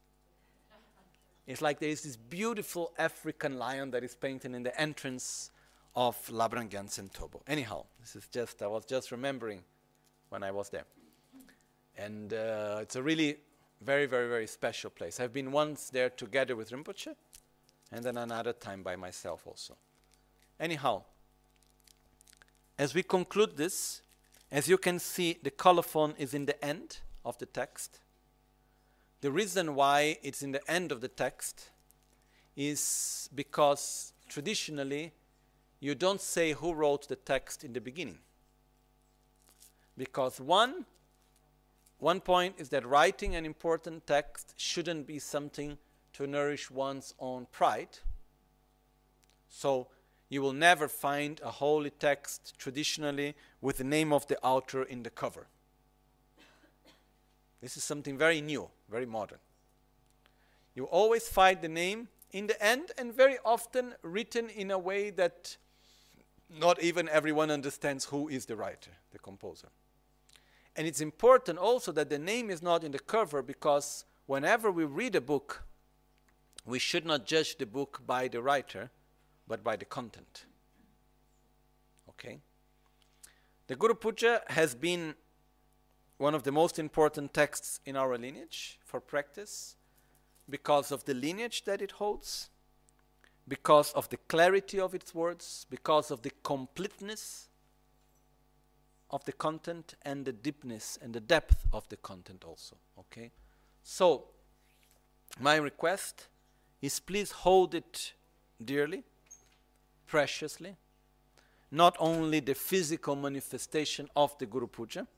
It's like there is this beautiful African lion that is painted in the entrance of Labrang Gyaltsen Tobo. Anyhow, this is just, I was just remembering when I was there. And uh, it's a really very, very, very special place. I've been once there together with Rinpoche, and then another time by myself also. Anyhow, as we conclude this, as you can see, the colophon is in the end of the text. The reason why it's in the end of the text is because traditionally you don't say who wrote the text in the beginning. Because one One point is that writing an important text shouldn't be something to nourish one's own pride. So you will never find a holy text traditionally with the name of the author in the cover. This is something very new, very modern. You always find the name in the end, and very often written in a way that not even everyone understands who is the writer, the composer. And it's important also that the name is not in the cover, because whenever we read a book, we should not judge the book by the writer, but by the content. Okay? The Guru Puja has been one of the most important texts in our lineage for practice, because of the lineage that it holds, because of the clarity of its words, because of the completeness of the content, and the deepness and the depth of the content also. Okay? So, my request is, please hold it dearly, preciously, not only the physical manifestation of the Guru Puja,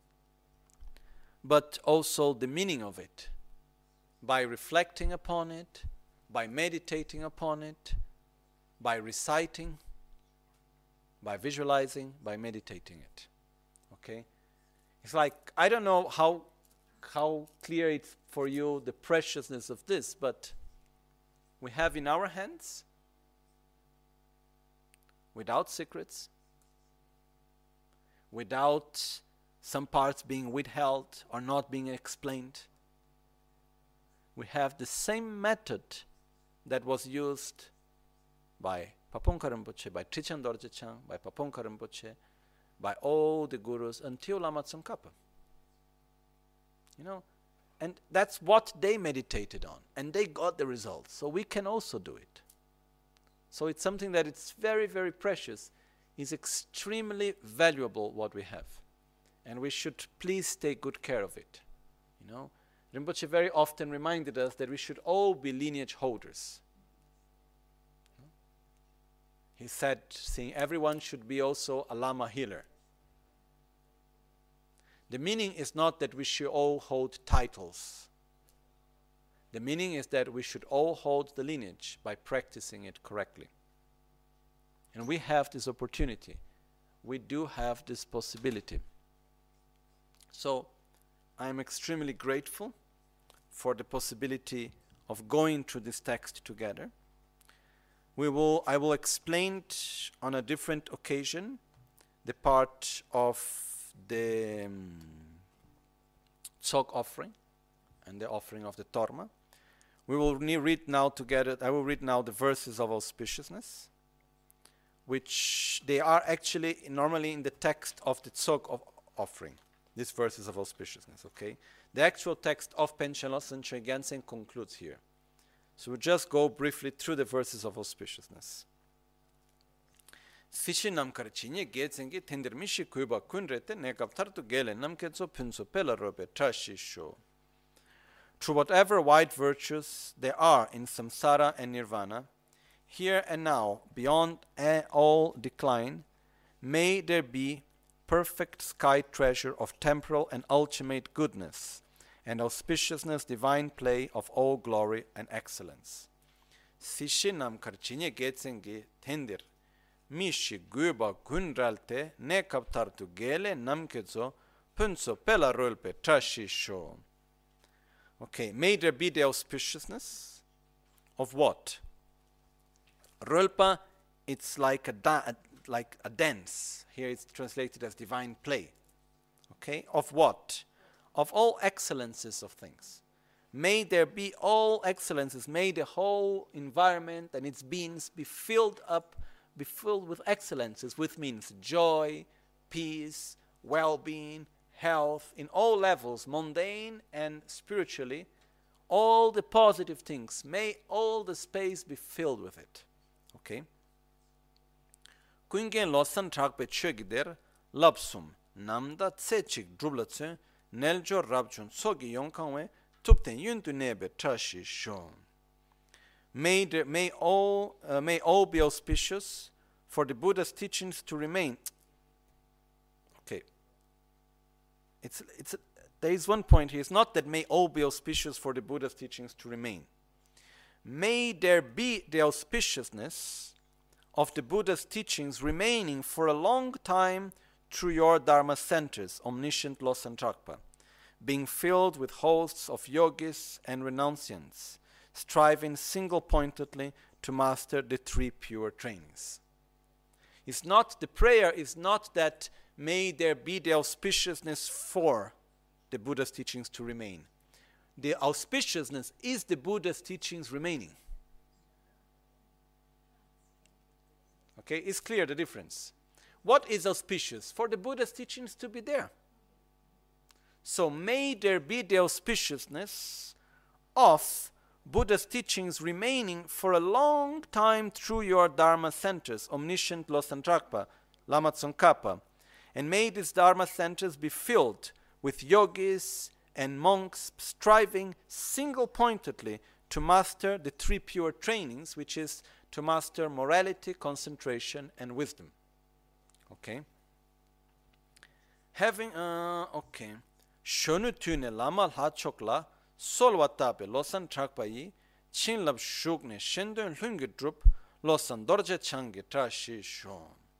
but also the meaning of it, by reflecting upon it, by meditating upon it, by reciting, by visualizing, by meditating it. Okay? It's like, I don't know how how clear it's for you, the preciousness of this, but we have in our hands, without secrets, without some parts being withheld or not being explained, we have the same method that was used by Pabongka Rinpoche, by Trichan Dorje Chang, by Pabongka Rinpoche, by all the gurus until Lama Tsongkhapa. You know, and that's what they meditated on, and they got the results. So we can also do it. So it's something that it's very, very precious. It's extremely valuable what we have, and we should please take good care of it. You know, Rinpoche very often reminded us that we should all be lineage holders. He said, saying everyone should be also a Lama healer. The meaning is not that we should all hold titles. The meaning is that we should all hold the lineage by practicing it correctly. And we have this opportunity. We do have this possibility. So I'm extremely grateful for the possibility of going through this text together. We will, I will explain t- on a different occasion the part of the um, Tsog offering and the offering of the Torma. We will ne- read now together, I will read now the verses of auspiciousness, which they are actually normally in the text of the Tsog of offering, these verses of auspiciousness, okay? The actual text of Panchen Losang Gyaltsen concludes here. So we'll just go briefly through the verses of auspiciousness. Sishi namkar chinye getsengi tendermishi kuiba kunrete negaptartu gele namkezo punso pelarobe trashisho. Through whatever wide virtues there are in samsara and nirvana, here and now, beyond all decline, may there be perfect sky treasure of temporal and ultimate goodness, and auspiciousness, divine play of all glory and excellence. Sishinam karchinye getsengi tendir, mishi guba gunralte ne kaptartu gele namkezo punso pela rulpe trashisho. Okay, may there be the auspiciousness of what? Rulpa, it's like a, da- like a dance. Here it's translated as divine play. Okay, of what? Of all excellences of things. May there be all excellences. May the whole environment and its beings be filled up, be filled with excellences, which means joy, peace, well-being, health, in all levels, mundane and spiritually, all the positive things. May all the space be filled with it. Okay? Kuingen losan trakpe chögider, lapsum, namda tsechik drublatse, neljo rabjun sogi yonkangwe, tupten yuntu nebe trashi shon. May, there, may, all, uh, may all be auspicious for the Buddha's teachings to remain. Okay. It's, it's a, there is one point here. It's not that may all be auspicious for the Buddha's teachings to remain. May there be the auspiciousness of the Buddha's teachings remaining for a long time through your Dharma centers, omniscient Losang Tragpa, being filled with hosts of yogis and renunciants, striving single-pointedly to master the three pure trainings. It's not, the prayer is not that may there be the auspiciousness for the Buddha's teachings to remain. The auspiciousness is the Buddha's teachings remaining. Okay, it's clear the difference. What is auspicious? For the Buddha's teachings to be there. So may there be the auspiciousness of Buddha's teachings remaining for a long time through your Dharma centers, omniscient Losang Tragpa, Lama Tsongkhapa, and may these Dharma centers be filled with yogis and monks striving single-pointedly to master the three pure trainings, which is to master morality, concentration, and wisdom. Okay? Having, uh, okay. Shonu tune lama la chokla solwatape Losang Tragpa yi chinlab shugne shendon lungi drup Losang dorje changi trashi shon.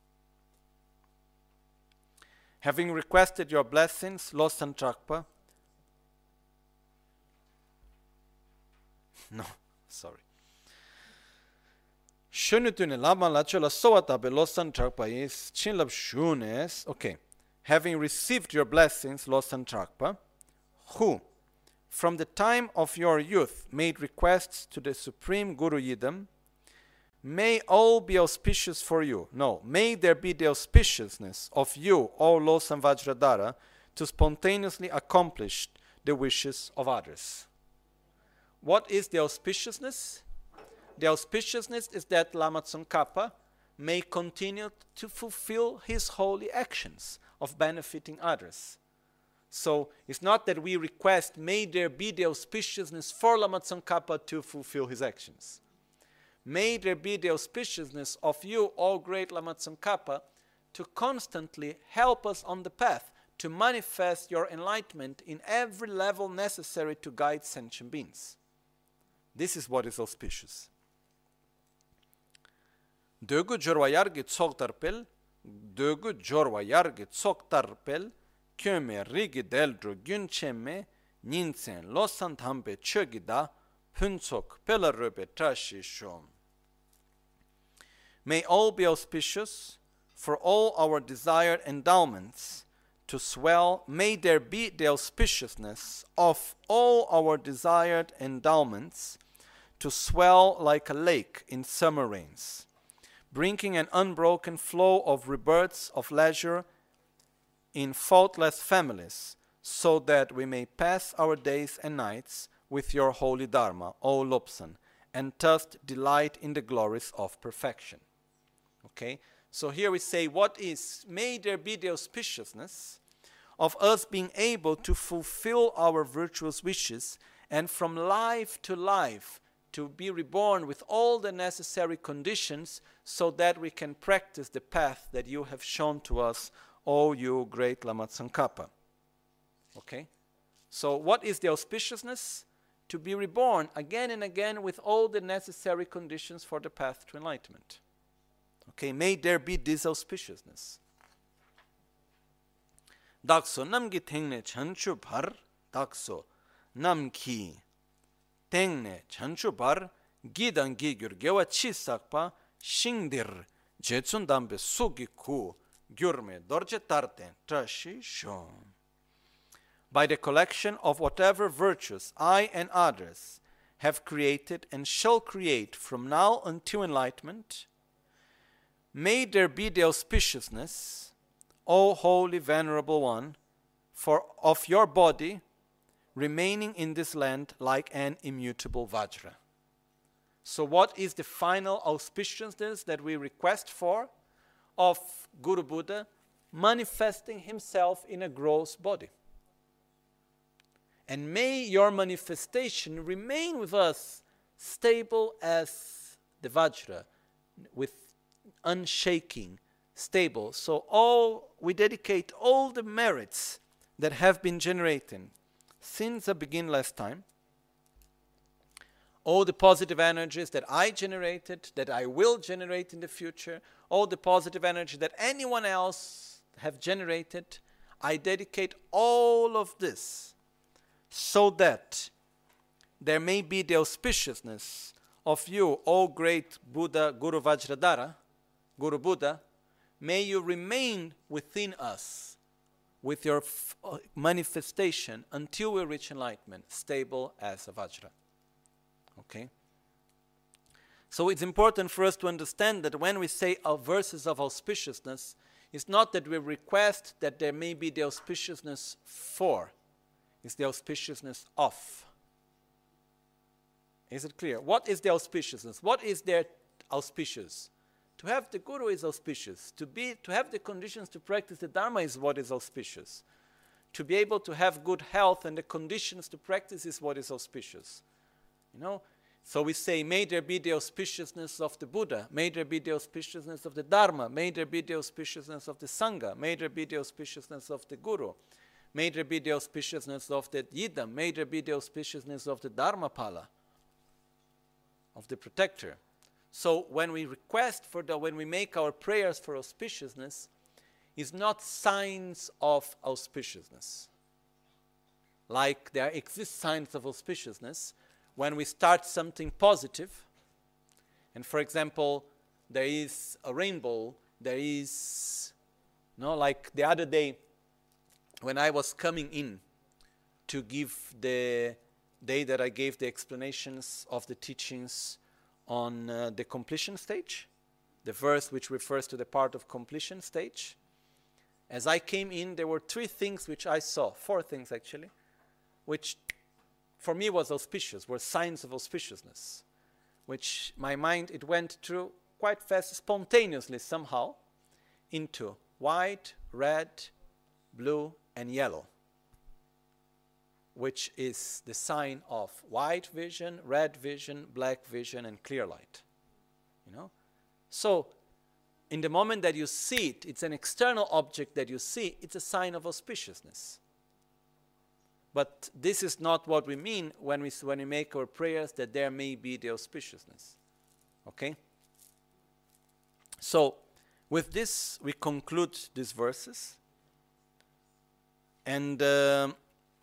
Having requested your blessings, Losang Tragpa, no, sorry. Shunutune lama la chola sowatabe Losang Tragpa is chinlab shunes, okay. Having received your blessings, Losang Tragpa, who, from the time of your youth, made requests to the Supreme Guru Yidam, may all be auspicious for you. No, may there be the auspiciousness of you, O Losang Vajradhara, to spontaneously accomplish the wishes of others. What is the auspiciousness? The auspiciousness is that Lama Tsongkhapa may continue to fulfill his holy actions of benefiting others. So it's not that we request, may there be the auspiciousness for Lama Tsongkhapa to fulfill his actions. May there be the auspiciousness of you, O great Lama Tsongkhapa, to constantly help us on the path, to manifest your enlightenment in every level necessary to guide sentient beings. This is what is auspicious. Dögu jorwa yargi tsog tarpel, dögu jorwa yargi tsog tarpel, kyome rigi deldro gyuncheme ninsen losan tambe chögida punsok pelaröbe trashi shom. May all be auspicious for all our desired endowments to swell. May there be the auspiciousness of all our desired endowments to swell like a lake in summer rains, bringing an unbroken flow of rebirths of leisure in faultless families, so that we may pass our days and nights with your holy Dharma, O Lobsang, and thus delight in the glories of perfection. Okay, so here we say, what is, may there be the auspiciousness of us being able to fulfill our virtuous wishes, and from life to life to be reborn with all the necessary conditions, so that we can practice the path that you have shown to us, O you great Lama Tsongkhapa. Okay, so what is the auspiciousness? To be reborn again and again with all the necessary conditions for the path to enlightenment. Okay, may there be this auspiciousness. Dakso namgi tengne chanchu bar, dakso namki tengne chanchu bar, gidan gigyur gewa chisakpa, shingdir jetsun dambe sugi ku, gyurme dorje tarte trashi shom. By the collection of whatever virtues I and others have created and shall create from now until enlightenment, may there be the auspiciousness, O holy venerable one, for of your body remaining in this land like an immutable Vajra. So what is the final auspiciousness that we request for? Of Guru Buddha manifesting himself in a gross body. And may your manifestation remain with us stable as the Vajra, with unshaking, stable. So all we dedicate all the merits that have been generated since the beginningless time, all the positive energies that I generated, that I will generate in the future, all the positive energy that anyone else have generated, I dedicate all of this so that there may be the auspiciousness of you, O great Buddha, Guru Vajradhara, Guru Buddha, may you remain within us with your f- manifestation until we reach enlightenment, stable as a Vajra. Okay? So it's important for us to understand that when we say our verses of auspiciousness, it's not that we request that there may be the auspiciousness for, it's the auspiciousness of. Is it clear? What is the auspiciousness? What is there auspicious? To have the Guru is auspicious. To be, to have the conditions to practice the Dharma is what is auspicious. To be able to have good health and the conditions to practice is what is auspicious. You know? So we say, may there be the auspiciousness of the Buddha, may there be the auspiciousness of the Dharma, may there be the auspiciousness of the Sangha, may there be the auspiciousness of the Guru, may there be the auspiciousness of the Yidam, may there be the auspiciousness of the Dharmapala, of the protector. So when we request for the, when we make our prayers for auspiciousness, is not signs of auspiciousness. Like there exist signs of auspiciousness when we start something positive, and for example, there is a rainbow, there is, no, like the other day, when I was coming in to give the day that I gave the explanations of the teachings on uh, the completion stage, the verse which refers to the part of completion stage. As I came in, there were three things which I saw, four things actually, which for me was auspicious, were signs of auspiciousness, which my mind, it went through quite fast, spontaneously somehow, into white, red, blue, and yellow, which is the sign of white vision, red vision, black vision, and clear light. You know? So, in the moment that you see it, it's an external object that you see, it's a sign of auspiciousness. But this is not what we mean when we, when we make our prayers, that there may be the auspiciousness. Okay? So, with this, we conclude these verses. And um,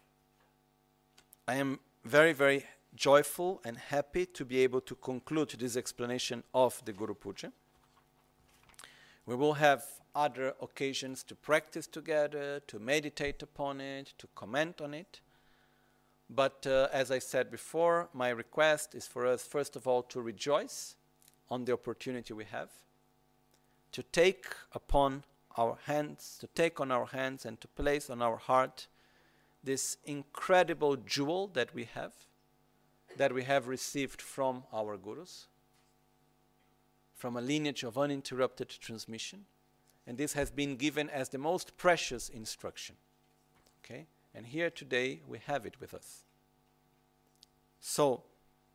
I am very, very joyful and happy to be able to conclude this explanation of the Guru Puja. We will have other occasions to practice together, to meditate upon it, to comment on it. But uh, as I said before, my request is for us, first of all, to rejoice on the opportunity we have, to take upon our hands, to take on our hands and to place on our heart this incredible jewel that we have, that we have received from our gurus, from a lineage of uninterrupted transmission. And this has been given as the most precious instruction. Okay? And here today we have it with us. So,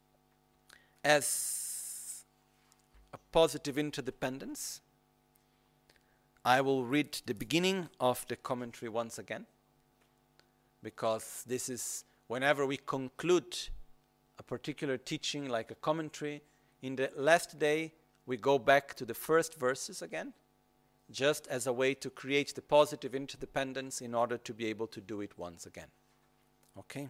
as a positive interdependence, I will read the beginning of the commentary once again, because this is whenever we conclude a particular teaching like a commentary, in the last day we go back to the first verses again, just as a way to create the positive interdependence in order to be able to do it once again. Okay?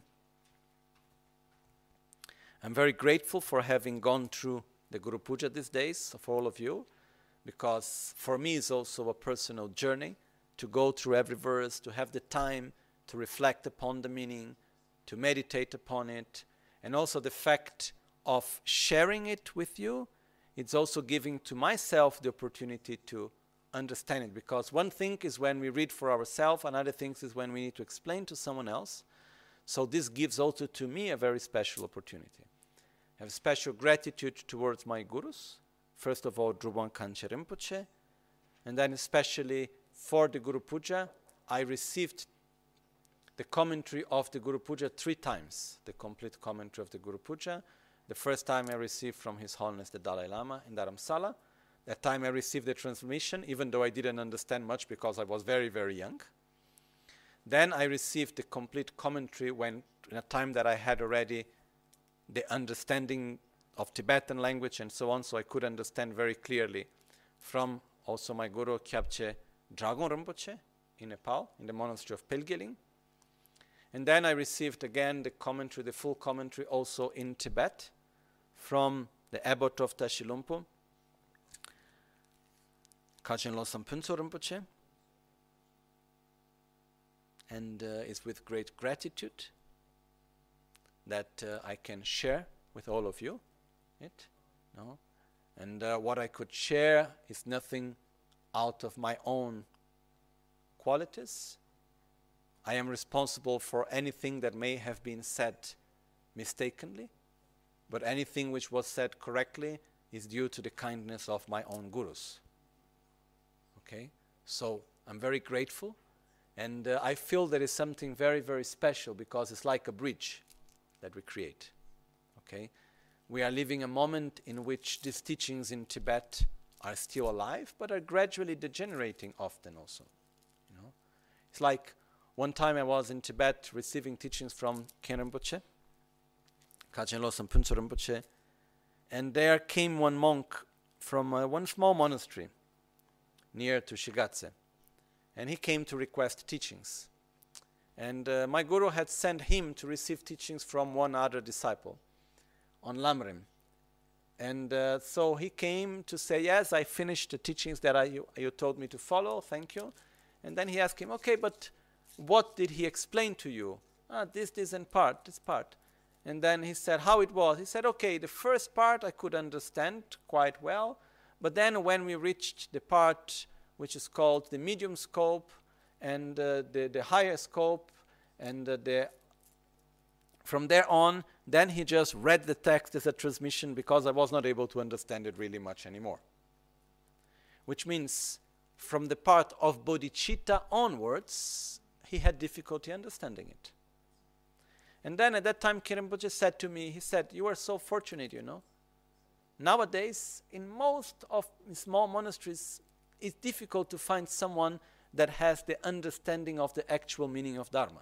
I'm very grateful for having gone through the Guru Puja these days, for all of you, because for me it's also a personal journey to go through every verse, to have the time to reflect upon the meaning, to meditate upon it, and also the fact of sharing it with you. It's also giving to myself the opportunity to understand it, because one thing is when we read for ourselves, another thing is when we need to explain to someone else. So this gives also to me a very special opportunity. I have special gratitude towards my gurus, first of all Drubon Kanche Rinpoche, and then especially for the Guru Puja, I received the commentary of the Guru Puja three times, the complete commentary of the Guru Puja. The first time I received from His Holiness the Dalai Lama in Dharamsala. That time I received the transmission, even though I didn't understand much because I was very, very young. Then I received the complete commentary when, in a time that I had already the understanding of Tibetan language and so on, so I could understand very clearly from also my Guru Kyabche Dragon Rinpoche in Nepal, in the monastery of Pelgeling. And then I received again the commentary, the full commentary also in Tibet from the abbot of Tashilumpo, Kachin Losam Punso Rinpoche. And uh, it's with great gratitude that uh, I can share with all of you it. No? And uh, what I could share is nothing out of my own qualities. I am responsible for anything that may have been said mistakenly, but anything which was said correctly is due to the kindness of my own gurus. Okay? So I'm very grateful, and uh, I feel there is something very, very special because it's like a bridge that we create. Okay? We are living a moment in which these teachings in Tibet are still alive, but are gradually degenerating often also. You know? It's like one time I was in Tibet receiving teachings from Khen Rinpoche, Kachin Losam Punso Rinpoche, and there came one monk from uh, one small monastery near to Shigatse, and he came to request teachings. And uh, my guru had sent him to receive teachings from one other disciple on Lamrim. And uh, so he came to say, yes, I finished the teachings that I, you, you told me to follow, thank you. And then he asked him, okay, but what did he explain to you? Ah, this, this, and part, this part. And then he said how it was. He said, okay, the first part I could understand quite well, but then when we reached the part which is called the medium scope and uh, the, the higher scope, and uh, the from there on, then he just read the text as a transmission because I was not able to understand it really much anymore. Which means from the part of bodhicitta onwards, he had difficulty understanding it. And then at that time, Khen Rinpoche said to me, he said, you are so fortunate, you know. Nowadays, in most of small monasteries, it's difficult to find someone that has the understanding of the actual meaning of Dharma,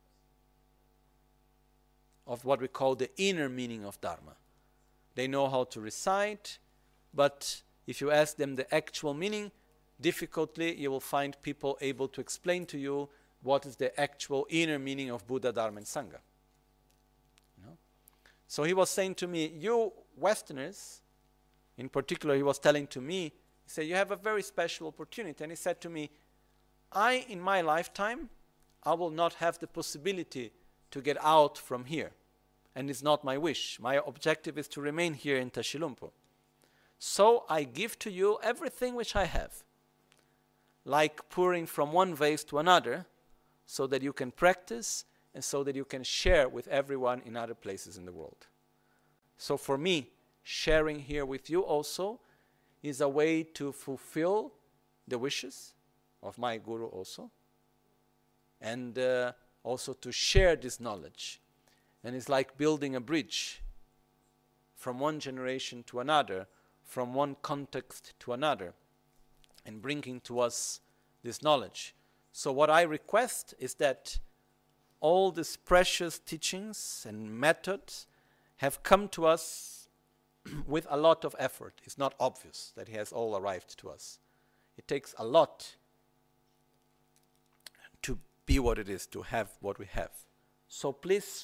of what we call the inner meaning of Dharma. They know how to recite, but if you ask them the actual meaning, difficultly you will find people able to explain to you what is the actual inner meaning of Buddha, Dharma, and Sangha. You know? So he was saying to me, you Westerners, in particular, he was telling to me, he said, you have a very special opportunity. And he said to me, I, in my lifetime, I will not have the possibility to get out from here. And it's not my wish. My objective is to remain here in Tashilhunpo. So I give to you everything which I have, like pouring from one vase to another, so that you can practice and so that you can share with everyone in other places in the world. So for me, sharing here with you also is a way to fulfill the wishes of my Guru also, and uh, also to share this knowledge. And it's like building a bridge from one generation to another, from one context to another, and bringing to us this knowledge. So what I request is that all these precious teachings and methods have come to us with a lot of effort. It's not obvious that it has all arrived to us. It takes a lot to be what it is, to have what we have. So please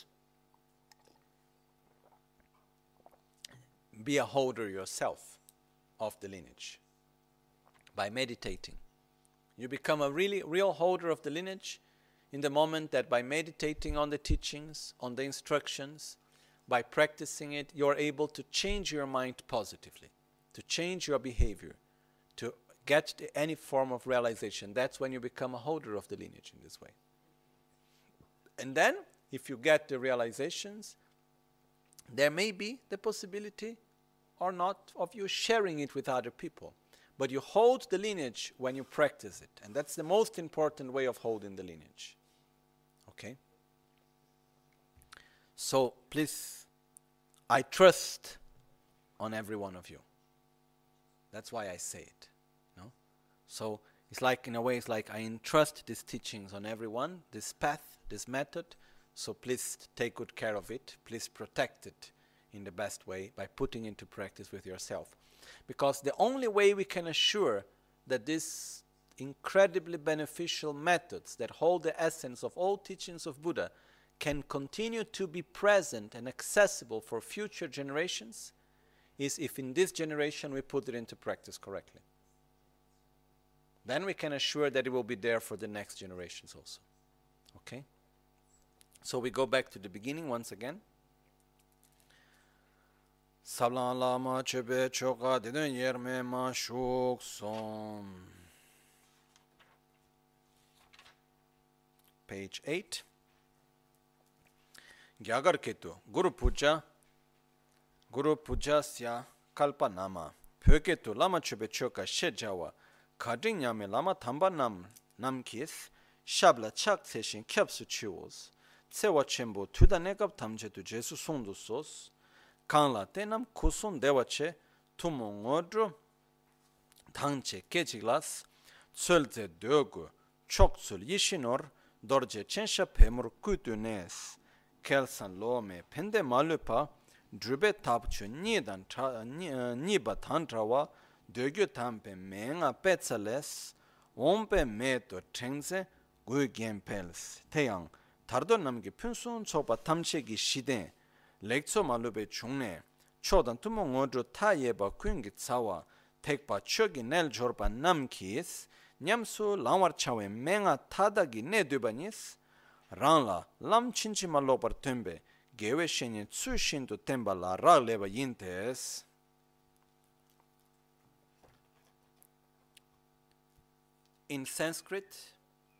be a holder yourself of the lineage by meditating. You become a really real holder of the lineage in the moment that by meditating on the teachings, on the instructions, by practicing it, you're able to change your mind positively, to change your behavior, to get to any form of realization. That's when you become a holder of the lineage in this way. And then, if you get the realizations, there may be the possibility or not of you sharing it with other people. But you hold the lineage when you practice it. And that's the most important way of holding the lineage. Okay? So please, I trust on every one of you. That's why I say it. No? So it's like, in a way, it's like I entrust these teachings on everyone, this path, this method. So please take good care of it. Please protect it in the best way by putting into practice with yourself. Because the only way we can assure that these incredibly beneficial methods that hold the essence of all teachings of Buddha can continue to be present and accessible for future generations is if in this generation we put it into practice correctly. Then we can assure that it will be there for the next generations also. Okay? So we go back to the beginning once again. Sablan lama chebe choka deden yerme ma shuk som. Page eight. Gyagar ketu Guru Puja Guru Puja sya kalpa nama pyoketu lama chebe choka shejawa kadring nyame lama thamba nam nam kis shabla chak seshin kyapsu chiwos tsewa chembo tuda negab tamje tu jesu sondu sos Kanla tenam kusun dewache tumu ngodro tangche kechiglas tsulze dögu choksul yishinor dorje chensha pemur kutu nes kelsan lome pende malupa drube tapchu nidan niba tantrawa dögu tampe menga petsales ompe meto chengze gugen pels teyang tardo namgi punsun choba tamchegi shide 렉처 말로베 중내 초단 투몽 어조 타예바 퀸기 차와 택바 척이 넬 조르바 남키스 냠수 라와르차웨 맹아 타다기 네드바니스 란라 람친치 말로버 템베 게웨셴이 추신도 템발라 라레바 인테스 In Sanskrit,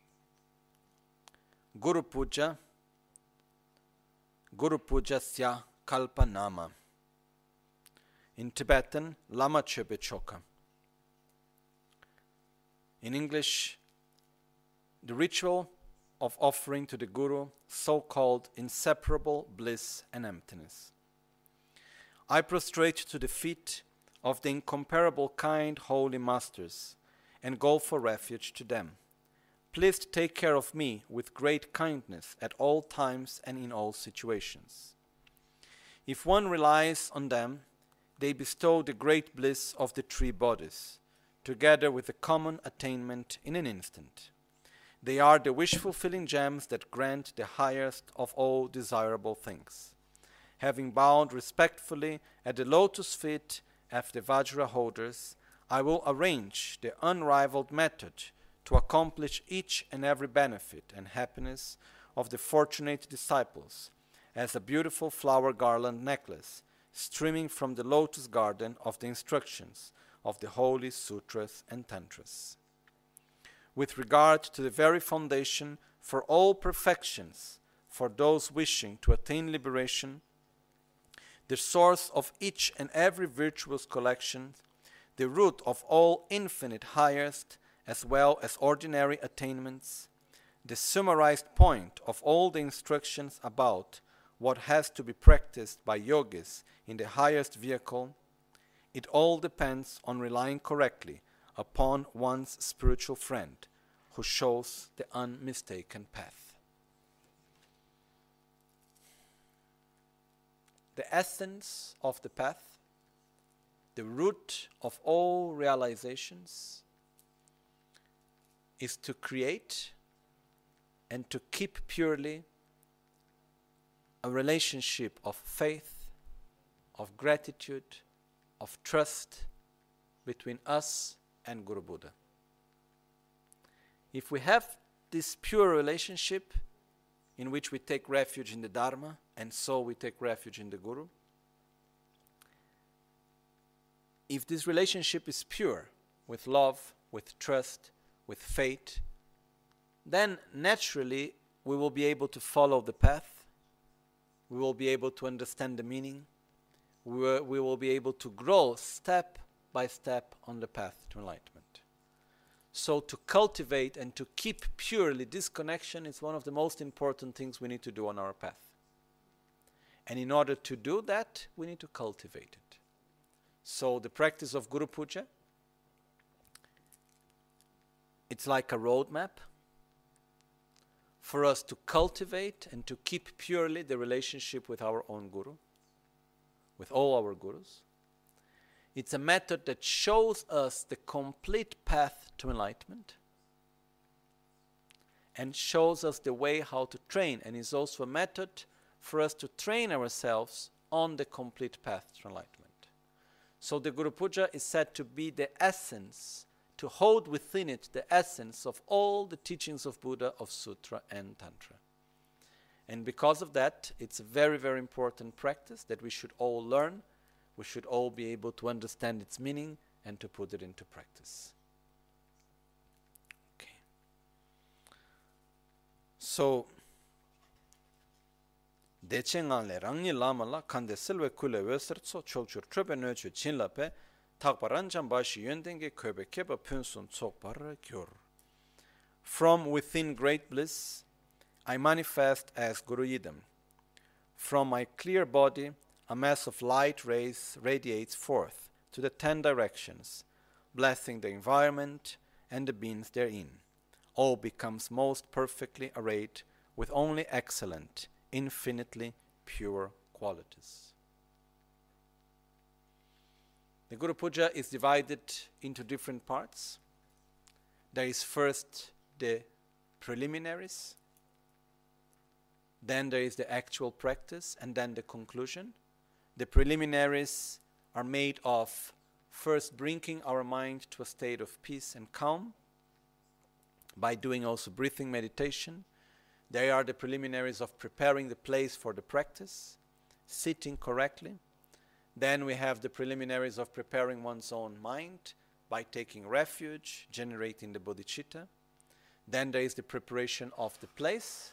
Guru Puja Guru Puja sya kalpa nama. In Tibetan, Lama Chöpe Choka. In English, the ritual of offering to the Guru so-called inseparable bliss and emptiness. I prostrate to the feet of the incomparable kind holy masters and go for refuge to them. Please take care of me with great kindness at all times and in all situations. If one relies on them, they bestow the great bliss of the three bodies, together with the common attainment in an instant. They are the wish-fulfilling gems that grant the highest of all desirable things. Having bowed respectfully at the lotus feet of the Vajra holders, I will arrange the unrivaled method to accomplish each and every benefit and happiness of the fortunate disciples as a beautiful flower garland necklace streaming from the lotus garden of the instructions of the holy sutras and tantras. With regard to the very foundation for all perfections, for those wishing to attain liberation, the source of each and every virtuous collection, the root of all infinite highest as well as ordinary attainments, the summarized point of all the instructions about what has to be practiced by yogis in the highest vehicle, it all depends on relying correctly upon one's spiritual friend who shows the unmistaken path. The essence of the path, the root of all realizations, is to create and to keep purely a relationship of faith, of gratitude, of trust between us and Guru Buddha. If we have this pure relationship in which we take refuge in the Dharma and so we take refuge in the Guru, if this relationship is pure, with love, with trust, with faith, then naturally we will be able to follow the path, we will be able to understand the meaning, we will, we will be able to grow step by step on the path to enlightenment. So to cultivate and to keep purely this connection is one of the most important things we need to do on our path. And in order to do that, we need to cultivate it. So the practice of Guru Puja, it's like a roadmap for us to cultivate and to keep purely the relationship with our own Guru, with all our Gurus. It's a method that shows us the complete path to enlightenment and shows us the way how to train, and is also a method for us to train ourselves on the complete path to enlightenment. So the Guru Puja is said to be the essence, to hold within it the essence of all the teachings of Buddha, of Sutra and Tantra. And because of that, it's a very, very important practice that we should all learn. We should all be able to understand its meaning and to put it into practice. Okay. So, Deche ngale rangi lama la kande silwe kule wesertso chokchur trobe nochu chinlape takparan jambashi yöndenge köbe keba pünsun tsokpara gyor. From within great bliss, I manifest as Guru Yidam. From my clear body, a mass of light rays radiates forth to the ten directions, blessing the environment and the beings therein. All becomes most perfectly arrayed with only excellent, infinitely pure qualities. The Guru Puja is divided into different parts. There is first the preliminaries, then there is the actual practice, and then the conclusion. The preliminaries are made of first bringing our mind to a state of peace and calm by doing also breathing meditation. They are the preliminaries of preparing the place for the practice, sitting correctly. Then we have the preliminaries of preparing one's own mind by taking refuge, generating the bodhicitta. Then there is the preparation of the place,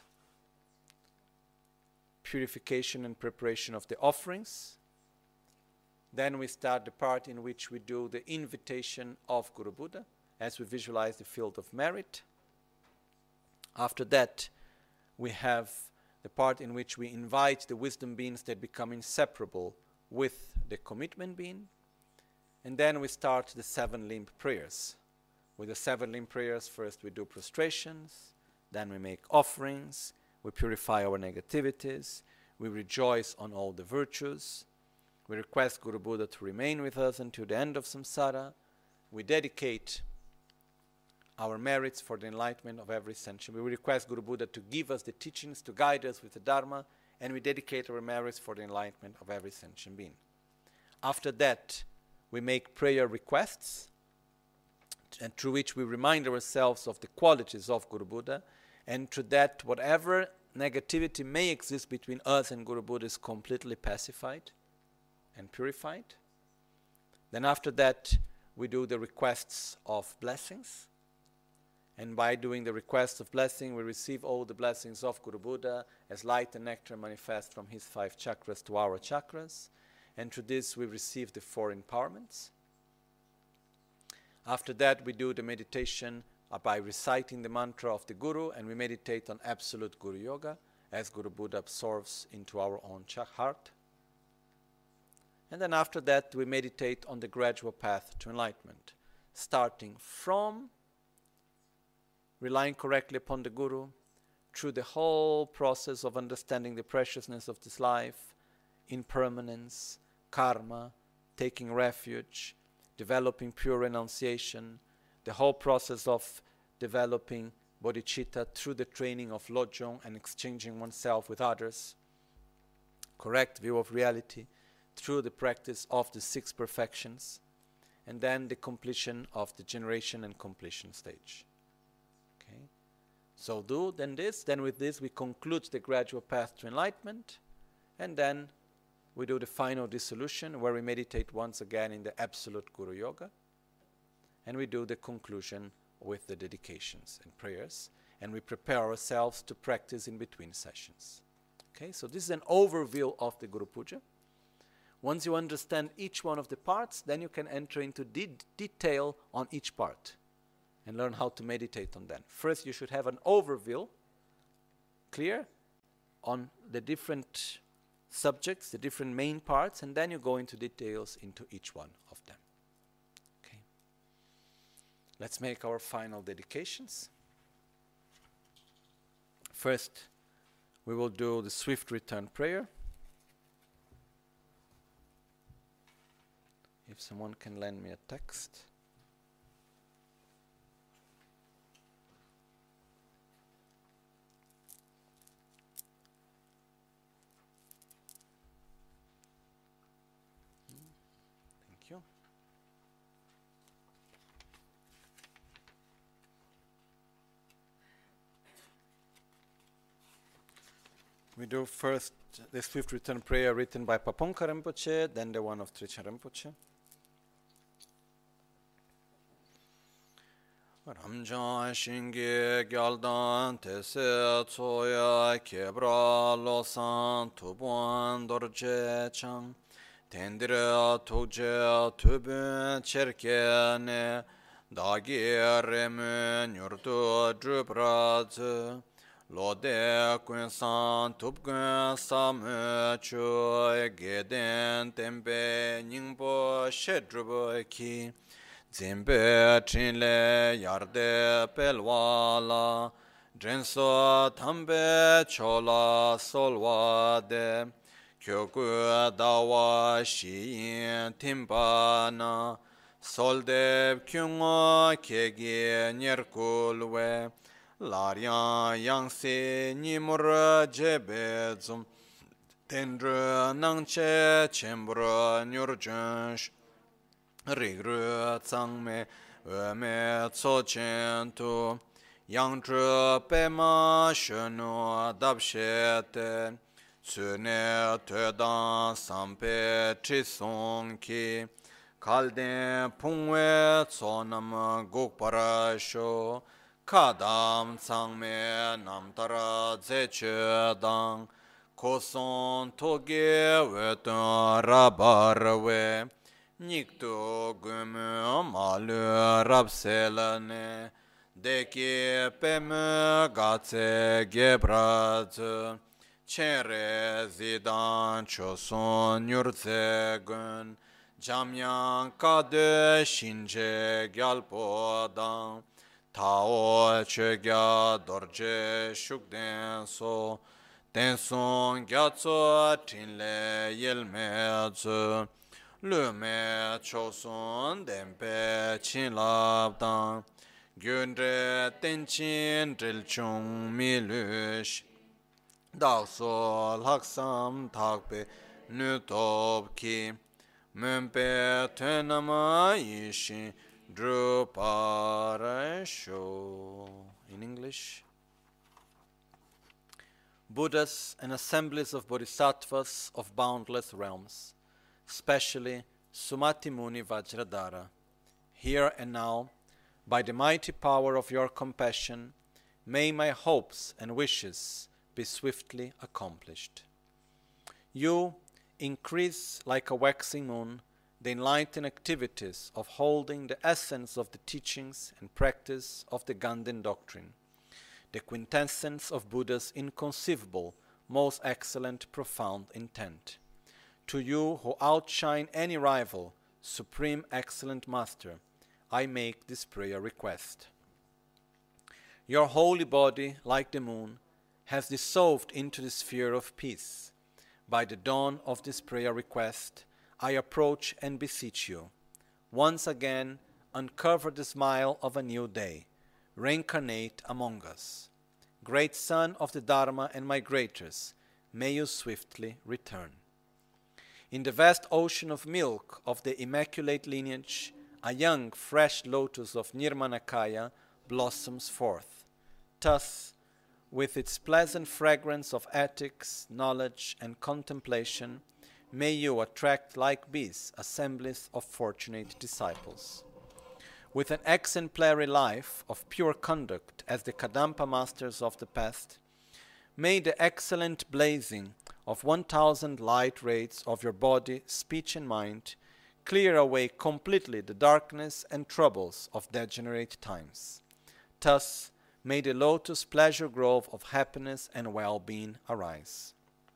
purification and preparation of the offerings. Then we start the part in which we do the invitation of Guru Buddha as we visualize the field of merit. After that, we have the part in which we invite the wisdom beings that become inseparable with the commitment being. And then we start the seven limb prayers. With the seven limb prayers, first we do prostrations, then we make offerings, we purify our negativities, we rejoice on all the virtues, we request Guru Buddha to remain with us until the end of samsara, we dedicate our merits for the enlightenment of every sentient. We request Guru Buddha to give us the teachings, to guide us with the Dharma, and we dedicate our merits for the enlightenment of every sentient being. After that, we make prayer requests, and through which we remind ourselves of the qualities of Guru Buddha, and through that, whatever negativity may exist between us and Guru Buddha is completely pacified and purified. Then after that, we do the requests of blessings. And by doing the request of blessing, we receive all the blessings of Guru Buddha as light and nectar manifest from his five chakras to our chakras. And through this, we receive the four empowerments. After that, we do the meditation uh, by reciting the mantra of the Guru, and we meditate on absolute Guru Yoga as Guru Buddha absorbs into our own ch- heart. And then after that, we meditate on the gradual path to enlightenment, starting from relying correctly upon the Guru, through the whole process of understanding the preciousness of this life, impermanence, karma, taking refuge, developing pure renunciation, the whole process of developing bodhicitta through the training of lojong and exchanging oneself with others, correct view of reality through the practice of the six perfections, and then the completion of the generation and completion stage. So do then this, then with this we conclude the gradual path to enlightenment, and then we do the final dissolution where we meditate once again in the absolute Guru Yoga, and we do the conclusion with the dedications and prayers, and we prepare ourselves to practice in between sessions. Okay, so this is an overview of the Guru Puja. Once you understand each one of the parts, then you can enter into de- detail on each part and learn how to meditate on them. First, you should have an overview, clear, on the different subjects, the different main parts, and then you go into details into each one of them. Okay. Let's make our final dedications. First, we will do the swift return prayer. If someone can lend me a text. We do first the swift return prayer written by Paponka Rinpoche, then the one of Trichan Rinpoche. Ramjan Shingi Gyaldan Tese Tsoya Kebra Losan Tubuan Dorje Chang Tendira Tugje Tubun Cherkene Dagi Remu Nyurdu Drubradze Lode Kunsan Tubgun Samu Chu Geden Tembe Ningbo Shedrubo Ki Zimbe Chinle Yarde Pelwala Drenso Tambe Chola Solwade Kyoku Dawa Shiin Timbana Soldev Kyungo Kegi Nyerkulwe Laryan Yangsi Nimur Jebezum Tendru Nangche Chembra Nyurjunsh Rigru Tsangme Weme Tsochentu Yangzhu Pema Shenu Dabshete Tsune Tedan Sampe Chisonki Kalden Pungwe Tsonam Gokparasho Kadam Tsangme Namtara Zechedang Koson Toge Wetun Rabarwe Nikto Gumu Malu Rapselane Deki Peme Gatse Gebradze Chere Zidan Choson Nyurtsegun Jamyan Kade Shinje Gyalpodan Tao Chegya Dorje Shukden So Tenson Gyatso Tinle Yelmedze Lume Choson Dempe Chinlabdan gyundre tenchin trilchung milush dakso laksam thakpe nutop ki mumpe tenama yishin druparasho. In English, Buddhas and assemblies of bodhisattvas of boundless realms, especially Sumati Muni Vajradhara, here and now, by the mighty power of your compassion, may my hopes and wishes be swiftly accomplished. You increase like a waxing moon the enlightened activities of holding the essence of the teachings and practice of the Ganden doctrine, the quintessence of Buddha's inconceivable, most excellent, profound intent. To you who outshine any rival, Supreme Excellent Master, I make this prayer request. Your holy body, like the moon, has dissolved into the sphere of peace. By the dawn of this prayer request, I approach and beseech you. Once again, uncover the smile of a new day. Reincarnate among us. Great Son of the Dharma and migrators, may you swiftly return. In the vast ocean of milk of the immaculate lineage, a young, fresh lotus of Nirmanakaya blossoms forth. Thus, with its pleasant fragrance of ethics, knowledge, and contemplation, may you attract like bees assemblies of fortunate disciples. With an exemplary life of pure conduct as the Kadampa masters of the past, may the excellent blazing of one thousand light rays of your body, speech, and mind clear away completely the darkness and troubles of degenerate times. Thus, may the lotus pleasure grove of happiness and well-being arise.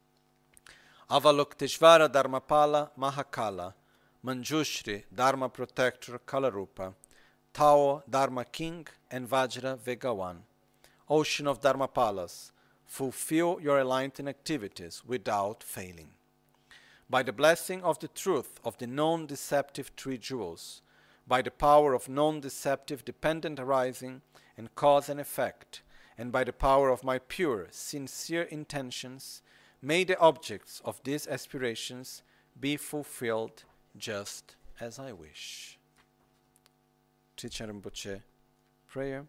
Avalokiteshvara Dharmapala Mahakala, Manjushri Dharma Protector Kalarupa, Tao Dharma King, and Vajra Vegawan, Ocean of Dharmapalas, fulfill your enlightened activities without failing. By the blessing of the truth of the non-deceptive three jewels, by the power of non-deceptive dependent arising and cause and effect, and by the power of my pure, sincere intentions, may the objects of these aspirations be fulfilled just as I wish. Teacher Rinpoche, prayer.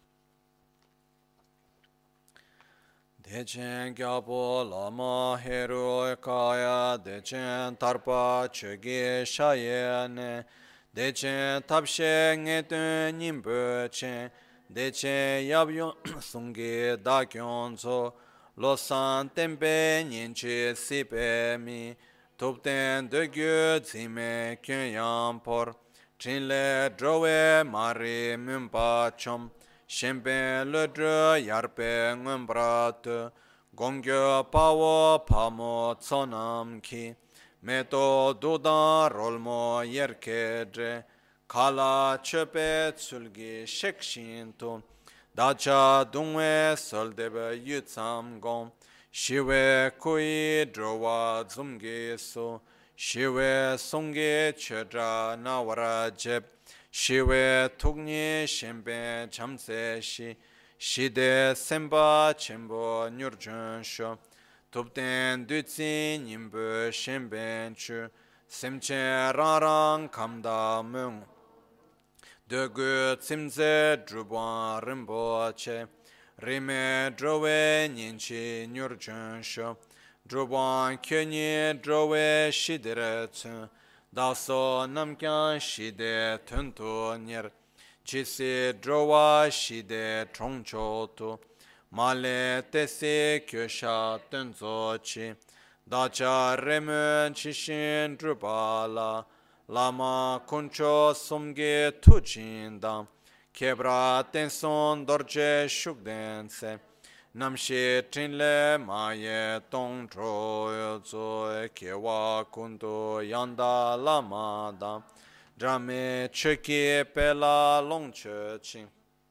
Dechen gyabo lama heru kaya, dechen tarpa chöge shayene, dechen tapshe ngetun nimbo chen, dechen yabyon sungi dakyon so, losan tempe nyenche sipe mi, tupten degyu zime kyen yampor, chinle drowe mari mumpa chom, Shempen le dre yarpe ngumbrat, gongyo pawo pamo tsonam ki, meto dudan rolmo yerkedre, kala chepe tsulgi shekshinto, dacha dungwe soldebe yutsam gom, shiwe kui drowa zumgi so, shiwe songi chedra nawara jeb, Shiwe tukni shembe chamse shi, shide semba chembo nyurjun sho, tupten dutsi nimbu shemben chu, semche rarang kamda mung. Degu tsimze druban rimbo che, rime drowe nyenchi nyurjun sho, druban kyonyi drowe shidire tsu, Daso namkyan shide tuntu nyer, jisi drowa shide trongcho tu, male tesi kyosha tunzo chi, dacha remu chishin drupala, lama kuncho sumge tujindam, kebra tenson dorje shukdense, Namshi trinle maye tong tro zo kewa kundu yanda lama da drame cheki pela long chchi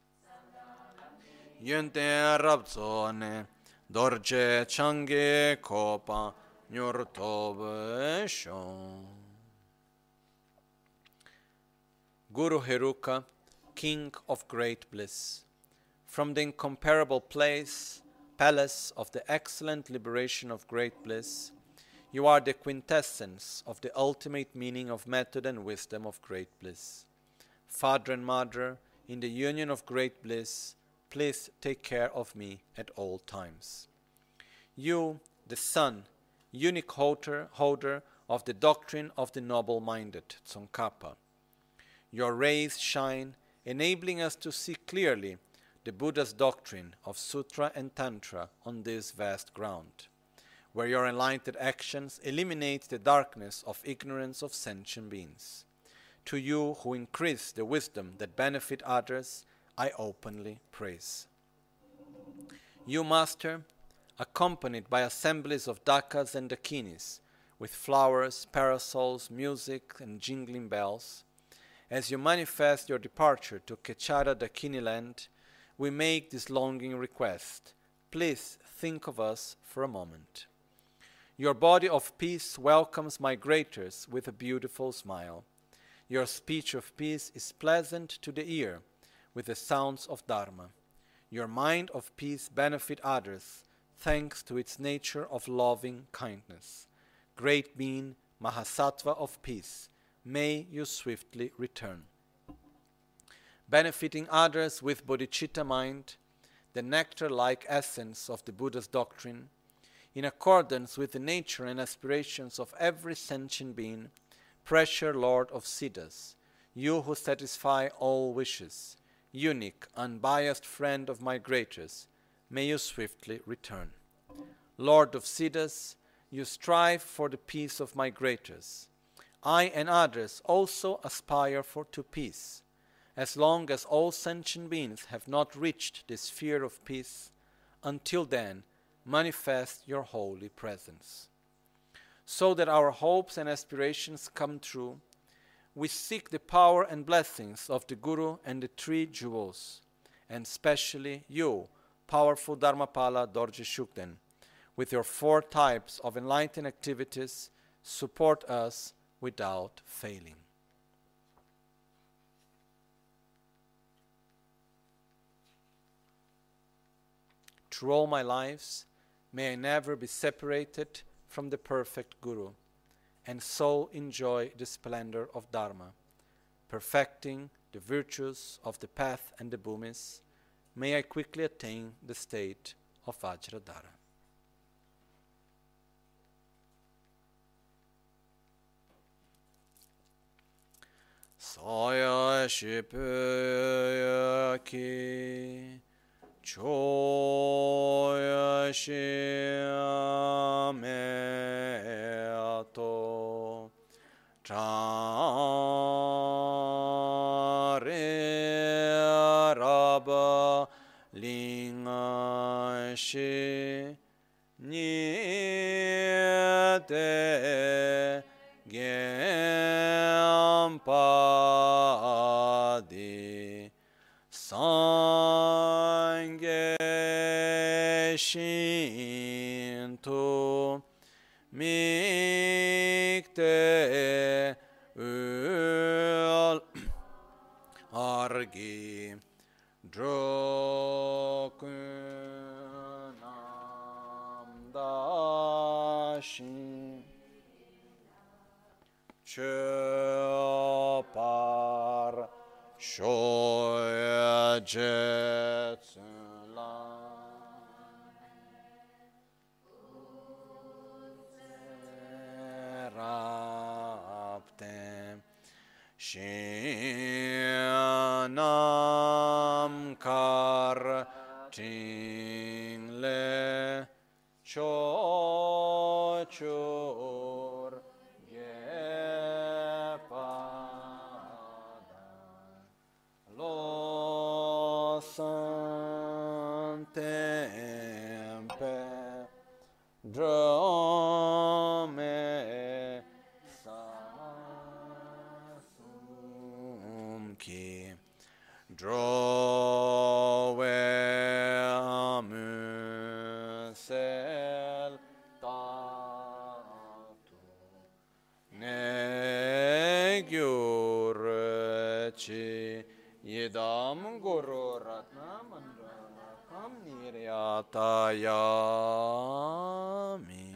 yente rabzo ne dorje change kopa nyurtobe shon Guru Heruka King of great bliss. From the incomparable place, palace of the excellent liberation of great bliss, you are the quintessence of the ultimate meaning of method and wisdom of great bliss. Father and Mother, in the union of great bliss, please take care of me at all times. You, the Son, unique holder, holder of the doctrine of the noble-minded, Tsongkhapa. Your rays shine, enabling us to see clearly the Buddha's doctrine of Sutra and Tantra on this vast ground, where your enlightened actions eliminate the darkness of ignorance of sentient beings. To you who increase the wisdom that benefit others, I openly praise. You, Master, accompanied by assemblies of dakas and dakinis, with flowers, parasols, music, and jingling bells, as you manifest your departure to Kechara Dakini land, we make this longing request. Please think of us for a moment. Your body of peace welcomes migrators with a beautiful smile. Your speech of peace is pleasant to the ear with the sounds of Dharma. Your mind of peace benefits others thanks to its nature of loving kindness. Great being, Mahasattva of peace, may you swiftly return. Benefiting others with bodhicitta mind, the nectar-like essence of the Buddha's doctrine, in accordance with the nature and aspirations of every sentient being, precious Lord of Siddhas, you who satisfy all wishes, unique, unbiased friend of migrators, may you swiftly return. Lord of Siddhas, you strive for the peace of migrators. I and others also aspire for to peace. As long as all sentient beings have not reached the sphere of peace, until then, manifest your holy presence. So that our hopes and aspirations come true, we seek the power and blessings of the Guru and the three jewels, and especially you, powerful Dharmapala Dorje Shugden, with your four types of enlightened activities, support us without failing. Through all my lives, may I never be separated from the perfect Guru, and so enjoy the splendor of Dharma, perfecting the virtues of the path and the bhumis. May I quickly attain the state of Vajradhara. Saya shipuya ki choya shiameato chare raba linga shi nite Gyāmpādi Sangye Shintu Mikte Ul Argi Drokunam Dashin Chöpar Shoya Jetsulan Raptem Shinam Kar Tingle Chochur Santempe Drome Sasumki Drove Amusel Tatu Negurci Yedam Guru Ratna Mandra Kam Niryatayami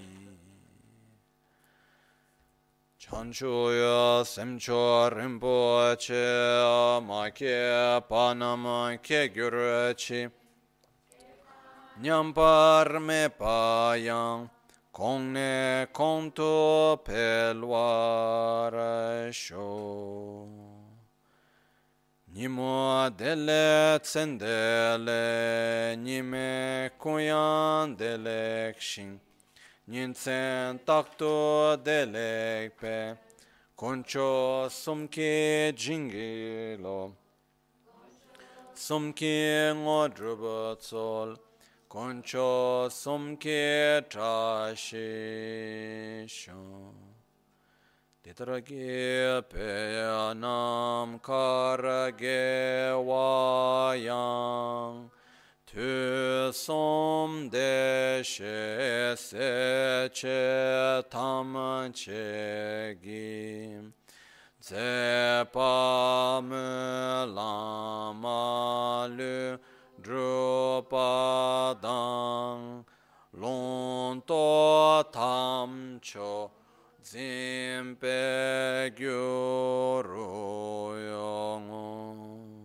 Chanchuya Semcho Rinpoche Make Panama Ke Gyurchi Nyampar Me Payang Kongne Konto Pelwara Sho Nimo Dele Tsendele Nime Kuyan Delekshin Ninsen Takto Delekpe Koncho Sumke Jingilo Sumke Ngodrubatsol Koncho Sumke Trashisho Titrage Peyanam Karage Wayang Tu Som Deshe Seche Tam Chegim Zepa Lama Lu Drupadang Lonto Tamcho Zimpe Gyuru.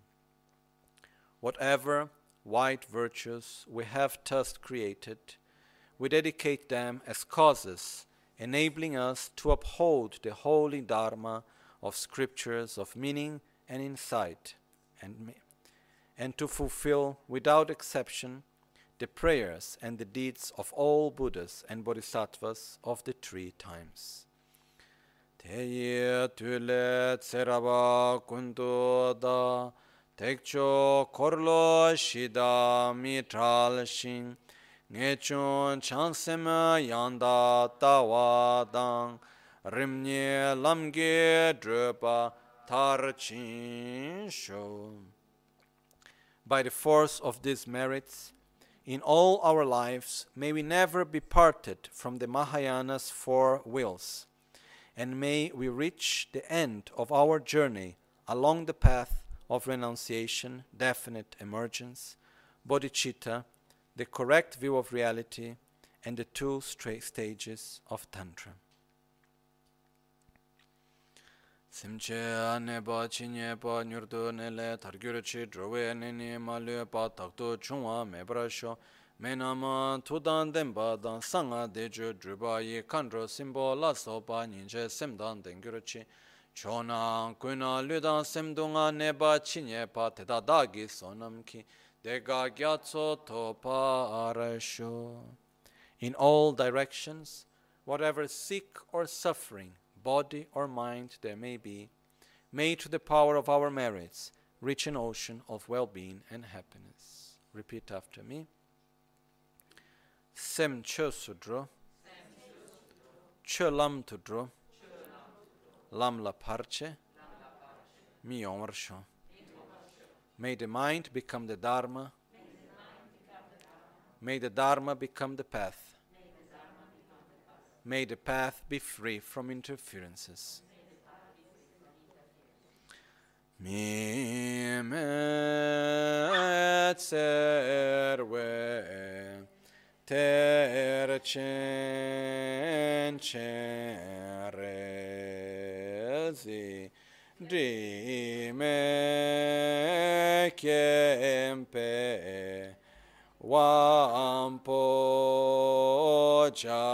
Whatever white virtues we have thus created, we dedicate them as causes enabling us to uphold the holy Dharma of scriptures of meaning and insight, and, and to fulfill without exception the prayers and the deeds of all Buddhas and Bodhisattvas of the three times. Teye tule tseraba kundu da tekcho korlo shida mitral shin ngechon chansema yanda tawadang rimnye lamge drupa tarchin sho. By the force of these merits, in all our lives, may we never be parted from the Mahayana's four wills, and may we reach the end of our journey along the path of renunciation, definite emergence, bodhicitta, the correct view of reality, and the two straight stages of Tantra. Simche aneba chinyepa nyurdu nele targyurchi drowe nini maluepa takto chungwa mebrasho menama tudan denpa dan sanga deju druba yi kandro simbo lasopa ninche semdan dengyurchi chona kuna ludan semdunga neba chinyepa teda dagi sonamki dega gyatso topa arasho. In all directions, whatever sick or suffering, body or mind there may be, may to the power of our merits reach an ocean of well-being and happiness. Repeat after me. Sem Chö Sudro, Chö Lam Tudro, Lam La Parche, Mi Omrsho. May the mind become the Dharma, may the Dharma become the path. May the path be free from interferences. Mi me tserwe ter chen chen rezi di me kempe Wampo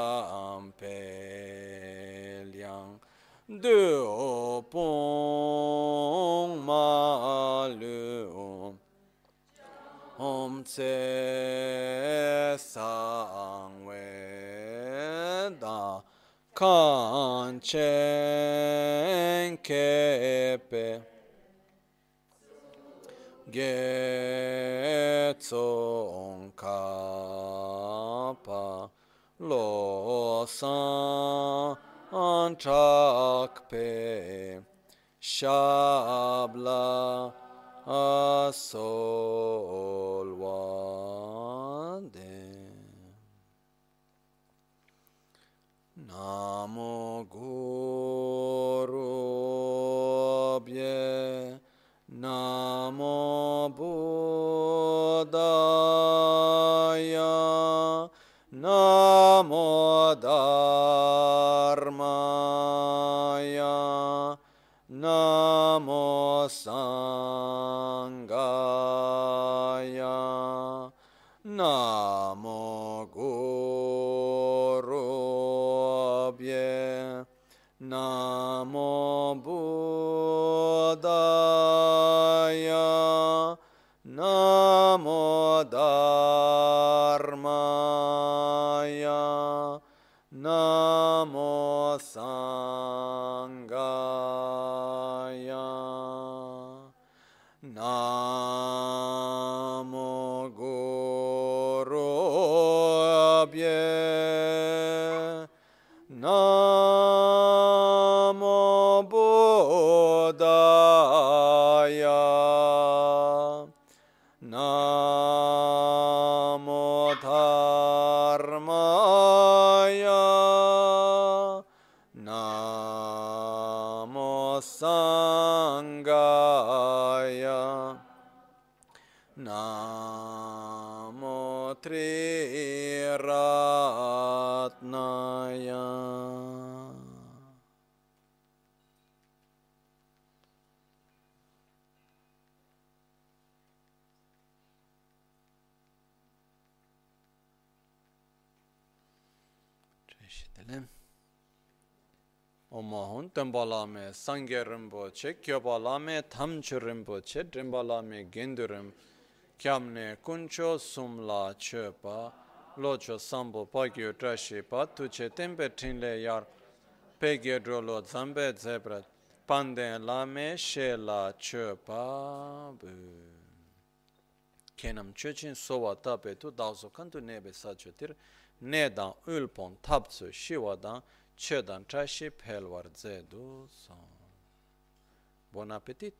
jampe liang du pong ma lu om tse sang we da kan chen kepe Getsong Kapa Lo San Chakpe Shabla Asolwade Namo Guru Bye Namo Buddhaya, Namo Dharmaya, Namo Sanghaya, Namo Gurubhye, Namo Buddhaya, Namo Dharmaya, Namo Sanghaya, Namo Gurubhye, Namo Buddhaya, Namo Dharmaya, Namo Sanghaya, Namo Triratnaya. Omahun Tembalame, Sangye Rinpoche, Kyobalame, Tamchu Rinpoche, Trimbalame, Gendurim, Kyamne, Kuncho, Sumla, Chepa, Locho, Sambo, Pagyo, Trashipa, Tuche, Tempe, Tinle, Yar, Pegye, Drolo, Zambe, Zebra, Pande, Lame, Shela, Chepa, Kenam Chuchin, Sowa, Tape, Tu, Dauso, Kantu, Nebe, Sachotir, Nedan, Ulpon, Tapsu, Shiwadan, Chedan, Trashi, Pelwar, Zedu, Son. Buon appetito.